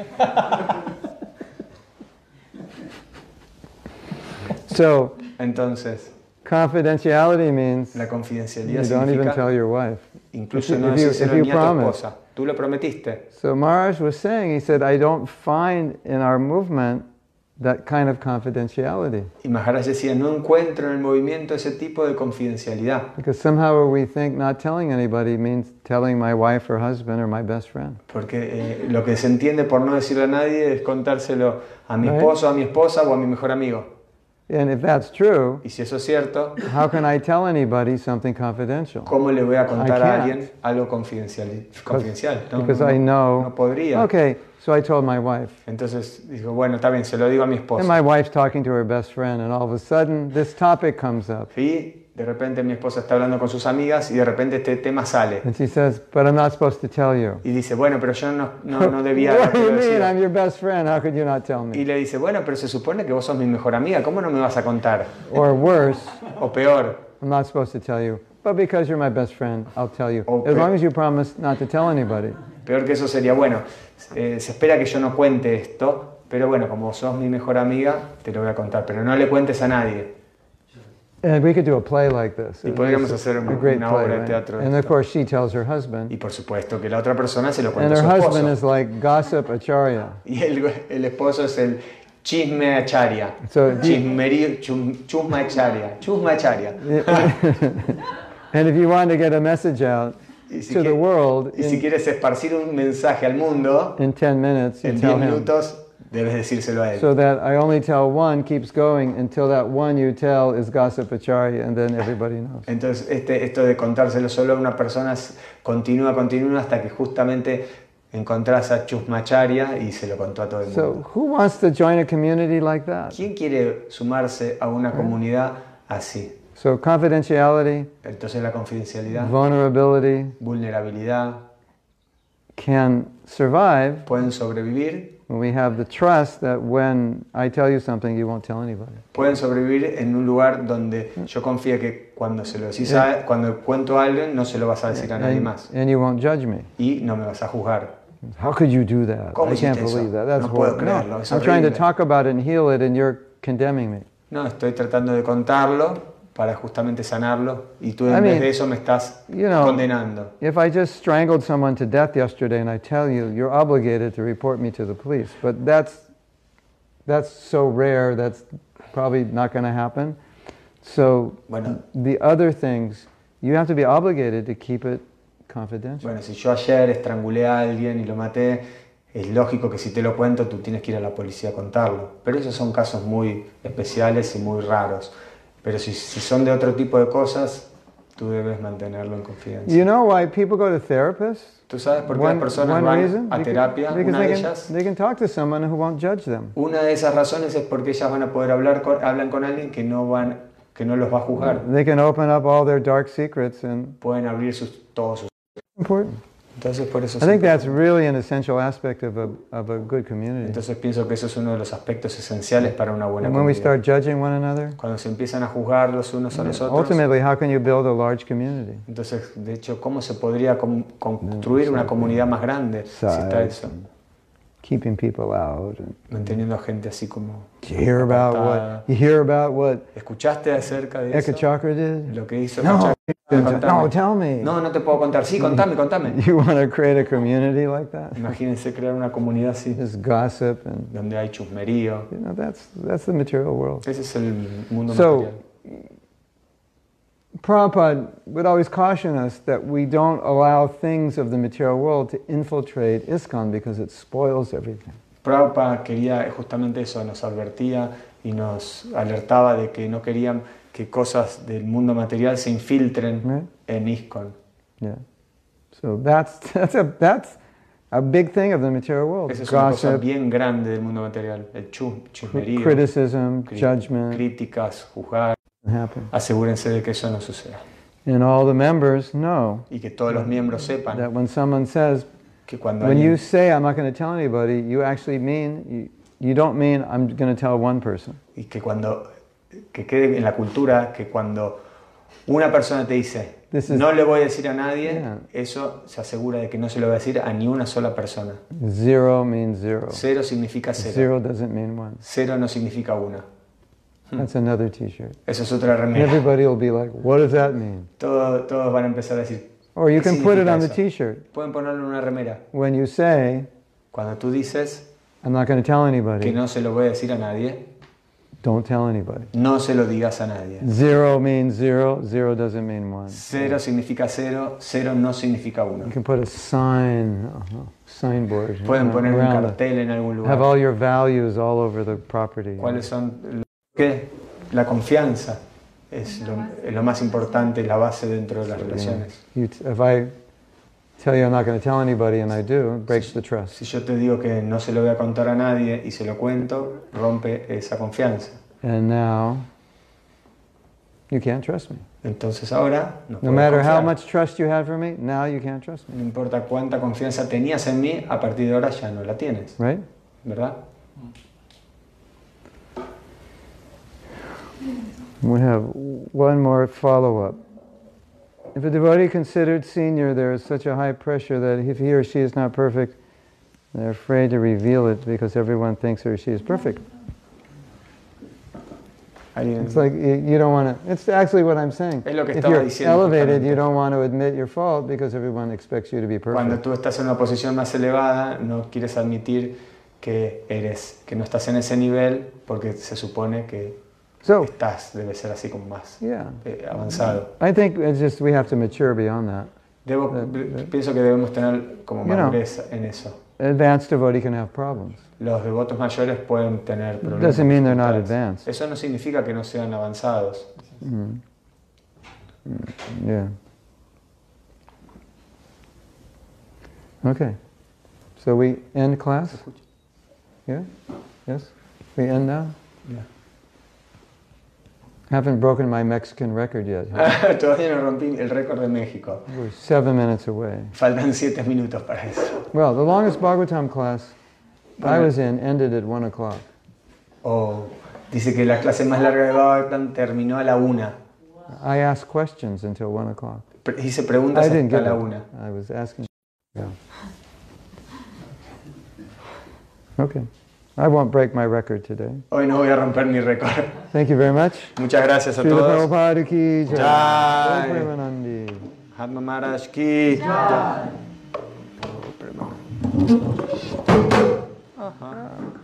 Speaker 1: So,
Speaker 2: Entonces,
Speaker 1: confidentiality means
Speaker 2: la
Speaker 1: you
Speaker 2: confidencialidad
Speaker 1: don't even tell
Speaker 2: significa
Speaker 1: your wife.
Speaker 2: incluso
Speaker 1: If
Speaker 2: no
Speaker 1: you-
Speaker 2: decírselo
Speaker 1: if you
Speaker 2: ni a tu
Speaker 1: promise.
Speaker 2: esposa. Tú lo prometiste.
Speaker 1: So Maharaj was saying, he said, I don't find in our movement that kind of confidentiality.
Speaker 2: Y Maharaj decía, no encuentro en el movimiento ese tipo de confidencialidad.
Speaker 1: Because somehow we think not telling anybody means telling my wife or husband or my best friend.
Speaker 2: Porque lo que se entiende por no decirle a nadie es contárselo a mi
Speaker 1: Right.
Speaker 2: esposo, a mi esposa o a mi mejor amigo.
Speaker 1: And if that's true,
Speaker 2: Y si eso es cierto,
Speaker 1: how can I tell anybody something confidential?
Speaker 2: ¿cómo le voy a contar
Speaker 1: I
Speaker 2: a
Speaker 1: can't.
Speaker 2: alguien algo confidencial? No,
Speaker 1: Because
Speaker 2: no,
Speaker 1: I know.
Speaker 2: no podría.
Speaker 1: Okay, so I told my wife.
Speaker 2: Entonces dijo, bueno, está bien, se lo digo a mi
Speaker 1: And
Speaker 2: esposa.
Speaker 1: my wife's talking to her best friend, and all of a sudden this topic comes up.
Speaker 2: Y de repente mi esposa está hablando con sus amigas y de repente este tema sale.
Speaker 1: And she says, but I'm not supposed to tell you.
Speaker 2: Y dice, bueno, pero yo no debía
Speaker 1: What do you
Speaker 2: haberte
Speaker 1: mean?
Speaker 2: sido.
Speaker 1: I'm your best friend. How could you not tell
Speaker 2: Y
Speaker 1: me?
Speaker 2: le dice, bueno, pero se supone que vos sos mi mejor amiga, ¿cómo no me vas a contar?
Speaker 1: Or worse,
Speaker 2: O peor,
Speaker 1: I'm not supposed to tell you. But because you're my best friend, I'll tell you.
Speaker 2: Okay.
Speaker 1: As long as you promise not to tell anybody.
Speaker 2: peor que eso sería, bueno, se espera que yo no cuente esto, pero bueno, como sos mi mejor amiga, te lo voy a contar, pero no le cuentes a nadie.
Speaker 1: And we could do a play like this.
Speaker 2: Y podríamos
Speaker 1: It's
Speaker 2: hacer
Speaker 1: a great
Speaker 2: una
Speaker 1: play,
Speaker 2: obra de
Speaker 1: right?
Speaker 2: teatro de
Speaker 1: And of
Speaker 2: esto.
Speaker 1: course, she tells her husband.
Speaker 2: Y por supuesto que la otra persona se lo
Speaker 1: And
Speaker 2: cuenta a
Speaker 1: her
Speaker 2: su
Speaker 1: husband is
Speaker 2: esposo.
Speaker 1: like gossip acharya.
Speaker 2: Y el esposo es el chisme acharya.
Speaker 1: So,
Speaker 2: Chusma acharya.
Speaker 1: And if you want to get a message out
Speaker 2: Y si,
Speaker 1: to the world
Speaker 2: y si quieres esparcir un mensaje al mundo,
Speaker 1: in 10 minutes, you
Speaker 2: en
Speaker 1: tell
Speaker 2: 10
Speaker 1: him.
Speaker 2: minutos debes decírselo a él.
Speaker 1: So that I only tell one keeps going until that one you tell is gossip acharya, and then everybody knows.
Speaker 2: Entonces, esto de contárselo solo a una persona continúa hasta que justamente encontrás a Chusmacharya y se lo contó a todo el mundo.
Speaker 1: So who wants to join a community like that?
Speaker 2: ¿Quién quiere sumarse a una comunidad así?
Speaker 1: So confidentiality,
Speaker 2: Entonces la confidencialidad,
Speaker 1: vulnerability
Speaker 2: vulnerabilidad,
Speaker 1: can survive
Speaker 2: pueden sobrevivir,
Speaker 1: when we have the trust that when I tell you something, you won't tell anybody.
Speaker 2: pueden sobrevivir en un lugar donde yo confío que cuando se lo decís cuando cuento a alguien no se lo vas a decir a nadie más
Speaker 1: And you won't judge me.
Speaker 2: y no me vas a juzgar.
Speaker 1: How could you do that?
Speaker 2: ¿Cómo
Speaker 1: I can't
Speaker 2: hiciste eso?
Speaker 1: believe that. That's
Speaker 2: No puedo
Speaker 1: horrible.
Speaker 2: creerlo, es
Speaker 1: I'm trying to
Speaker 2: horrible.
Speaker 1: talk about it and heal it, and you're condemning me.
Speaker 2: No, estoy tratando de contarlo para justamente sanarlo y tú en
Speaker 1: I
Speaker 2: vez
Speaker 1: mean,
Speaker 2: de eso me estás
Speaker 1: you know,
Speaker 2: condenando.
Speaker 1: If I just strangled someone to death yesterday and I tell you, you're obligated to report me to the police. But that's so rare, that's probably not going to happen. So
Speaker 2: Bueno.
Speaker 1: the other things, you have to be obligated to keep it confidential.
Speaker 2: Bueno, si yo ayer estrangulé a alguien y lo maté, es lógico que si te lo cuento tú tienes que ir a la policía a contarlo. Pero esos son casos muy especiales y muy raros. Pero si son de otro tipo de cosas, tú debes mantenerlo en confidencia.
Speaker 1: You know why people go to therapists?
Speaker 2: ¿Tú sabes por qué las personas van
Speaker 1: reason?
Speaker 2: a terapia?
Speaker 1: Because
Speaker 2: Una de ellas,
Speaker 1: they can talk to someone who won't judge them.
Speaker 2: una de esas razones es porque ellas van a poder hablan con alguien que no los va a juzgar.
Speaker 1: They can open up all their dark secrets, and
Speaker 2: Pueden abrir todos sus...
Speaker 1: important.
Speaker 2: Entonces por eso
Speaker 1: I think that's really an essential aspect of a good community.
Speaker 2: Entonces pienso que eso es uno de los aspectos esenciales para una buena
Speaker 1: And when we
Speaker 2: comunidad.
Speaker 1: start judging one another,
Speaker 2: Cuando se empiezan a juzgar los unos a los otros,
Speaker 1: ultimately, how can you build a large community?
Speaker 2: entonces, de hecho, ¿cómo se podría construir una comunidad más grande si está eso?
Speaker 1: Keeping people out. And
Speaker 2: Manteniendo a gente así como...
Speaker 1: you hear about what
Speaker 2: ¿Escuchaste acerca de
Speaker 1: Eka
Speaker 2: eso?
Speaker 1: Chakra did?
Speaker 2: Lo que hizo
Speaker 1: No,
Speaker 2: Eka Chakra. Contame.
Speaker 1: no, tell me.
Speaker 2: No, no te puedo contar. Sí, contame.
Speaker 1: You want to create a community like that?
Speaker 2: Imagínense crear una comunidad así,
Speaker 1: Just gossip and
Speaker 2: donde hay chusmerío.
Speaker 1: that's the material world.
Speaker 2: Ese es el mundo
Speaker 1: So,
Speaker 2: material.
Speaker 1: Prabhupada would always caution us that we don't allow things of the material world to infiltrate ISKCON because it spoils everything.
Speaker 2: Prabhupada quería justamente eso, nos advertía y nos alertaba de que no querían que cosas del mundo material se infiltren en ISKCON.
Speaker 1: Yeah. So that's a big thing of the material world.
Speaker 2: Esa es una cosa
Speaker 1: Gossip,
Speaker 2: bien grande del mundo material, el chusmerío,
Speaker 1: criticism, judgment
Speaker 2: críticas, juzgar.
Speaker 1: happen.
Speaker 2: Asegúrense de que eso no suceda.
Speaker 1: And all the members know
Speaker 2: Y que todos los miembros sepan
Speaker 1: that when someone says,
Speaker 2: que cuando
Speaker 1: when you
Speaker 2: alguien,
Speaker 1: say I'm not going to tell anybody, you actually mean, you don't mean I'm going to tell one person.
Speaker 2: y que cuando que quede en la cultura que cuando una persona te dice,
Speaker 1: This is-
Speaker 2: no le voy a decir a nadie,
Speaker 1: Yeah.
Speaker 2: eso se asegura de que no se lo va a decir a ni una sola persona.
Speaker 1: Zero means zero.
Speaker 2: Cero significa cero.
Speaker 1: Zero doesn't mean one.
Speaker 2: Cero no significa una.
Speaker 1: That's another t-shirt.
Speaker 2: Eso es otra
Speaker 1: And
Speaker 2: remera.
Speaker 1: everybody will be like, what does that mean?
Speaker 2: Todos van a empezar a decir,
Speaker 1: Or you
Speaker 2: ¿qué
Speaker 1: can put it
Speaker 2: significa
Speaker 1: on the
Speaker 2: eso?
Speaker 1: t-shirt.
Speaker 2: Pueden ponerlo en una remera.
Speaker 1: When you say,
Speaker 2: Cuando tú dices
Speaker 1: I'm not going to tell
Speaker 2: que
Speaker 1: anybody,
Speaker 2: no se lo voy a decir a nadie,
Speaker 1: don't tell anybody.
Speaker 2: no se lo digas a nadie.
Speaker 1: Zero means zero. Zero doesn't mean one.
Speaker 2: Cero significa cero, cero no significa uno.
Speaker 1: You can put a signboard
Speaker 2: Pueden poner un
Speaker 1: around it.
Speaker 2: cartel en algún
Speaker 1: Have
Speaker 2: lugar.
Speaker 1: all your values all over the property.
Speaker 2: ¿Cuáles son? ¿Qué? La confianza es lo más importante, la base dentro de las relaciones.
Speaker 1: If I tell you I'm not going to tell anybody and I do, it breaks the trust.
Speaker 2: Si yo te digo que no se lo voy a contar a nadie y se lo cuento, rompe esa confianza.
Speaker 1: And now you can't trust me.
Speaker 2: Entonces ahora no
Speaker 1: No
Speaker 2: puedes
Speaker 1: matter how
Speaker 2: confiar.
Speaker 1: much trust you have for me, now you can't trust me.
Speaker 2: No importa cuánta confianza tenías en mí, a partir de ahora ya no la tienes,
Speaker 1: Right?
Speaker 2: ¿verdad?
Speaker 1: We have one more follow-up. If a devotee considered senior, there is such a high pressure that if he or she is not perfect, they're afraid to reveal it because everyone thinks he or she is perfect.
Speaker 2: Alguien-
Speaker 1: It's like you don't want to. It's actually what I'm saying.
Speaker 2: Es lo que
Speaker 1: If
Speaker 2: estaba
Speaker 1: you're
Speaker 2: diciendo
Speaker 1: elevated,
Speaker 2: justamente.
Speaker 1: you don't want to admit your fault because everyone expects you to be
Speaker 2: Cuando
Speaker 1: perfect.
Speaker 2: tú estás en una posición más elevada, no quieres admitir que no estás en ese nivel porque se supone que
Speaker 1: So,
Speaker 2: debe ser así como más
Speaker 1: yeah,
Speaker 2: avanzado.
Speaker 1: I think it's just we have to mature beyond that.
Speaker 2: Pienso que debemos tener como
Speaker 1: You know.
Speaker 2: madurez en eso.
Speaker 1: Advanced devotee can have problems.
Speaker 2: Los devotos mayores pueden tener problemas.
Speaker 1: Doesn't mean they're not
Speaker 2: dificultades.
Speaker 1: advanced.
Speaker 2: Eso no significa que no sean avanzados.
Speaker 1: Yeah. Okay. So we end class? Yeah? Yes? We end now?
Speaker 2: Yeah.
Speaker 1: Haven't broken my Mexican record yet. Huh?
Speaker 2: Todavía no rompí el récord de México.
Speaker 1: We're 7 minutes away.
Speaker 2: Faltan 7 minutos para eso.
Speaker 1: Well, the longest Bhagavatam class I was in ended at 1 o'clock.
Speaker 2: Oh, dice que la clase más larga de Bhagavatam terminó a la 1.
Speaker 1: I asked questions until 1 o'clock.
Speaker 2: Hice preguntas
Speaker 1: I didn't
Speaker 2: hasta
Speaker 1: get
Speaker 2: la
Speaker 1: it.
Speaker 2: 1.
Speaker 1: I was asking. Yeah. Okay. I won't break my record today.
Speaker 2: Hoy no voy a romper mi récord.
Speaker 1: Thank you very much.
Speaker 2: Muchas gracias a
Speaker 1: Srila
Speaker 2: todos.
Speaker 1: Prabhupada ki jai.
Speaker 2: Jai.
Speaker 1: Jai Premanandi.
Speaker 2: Hatma Maharaj ki jai. Ajá.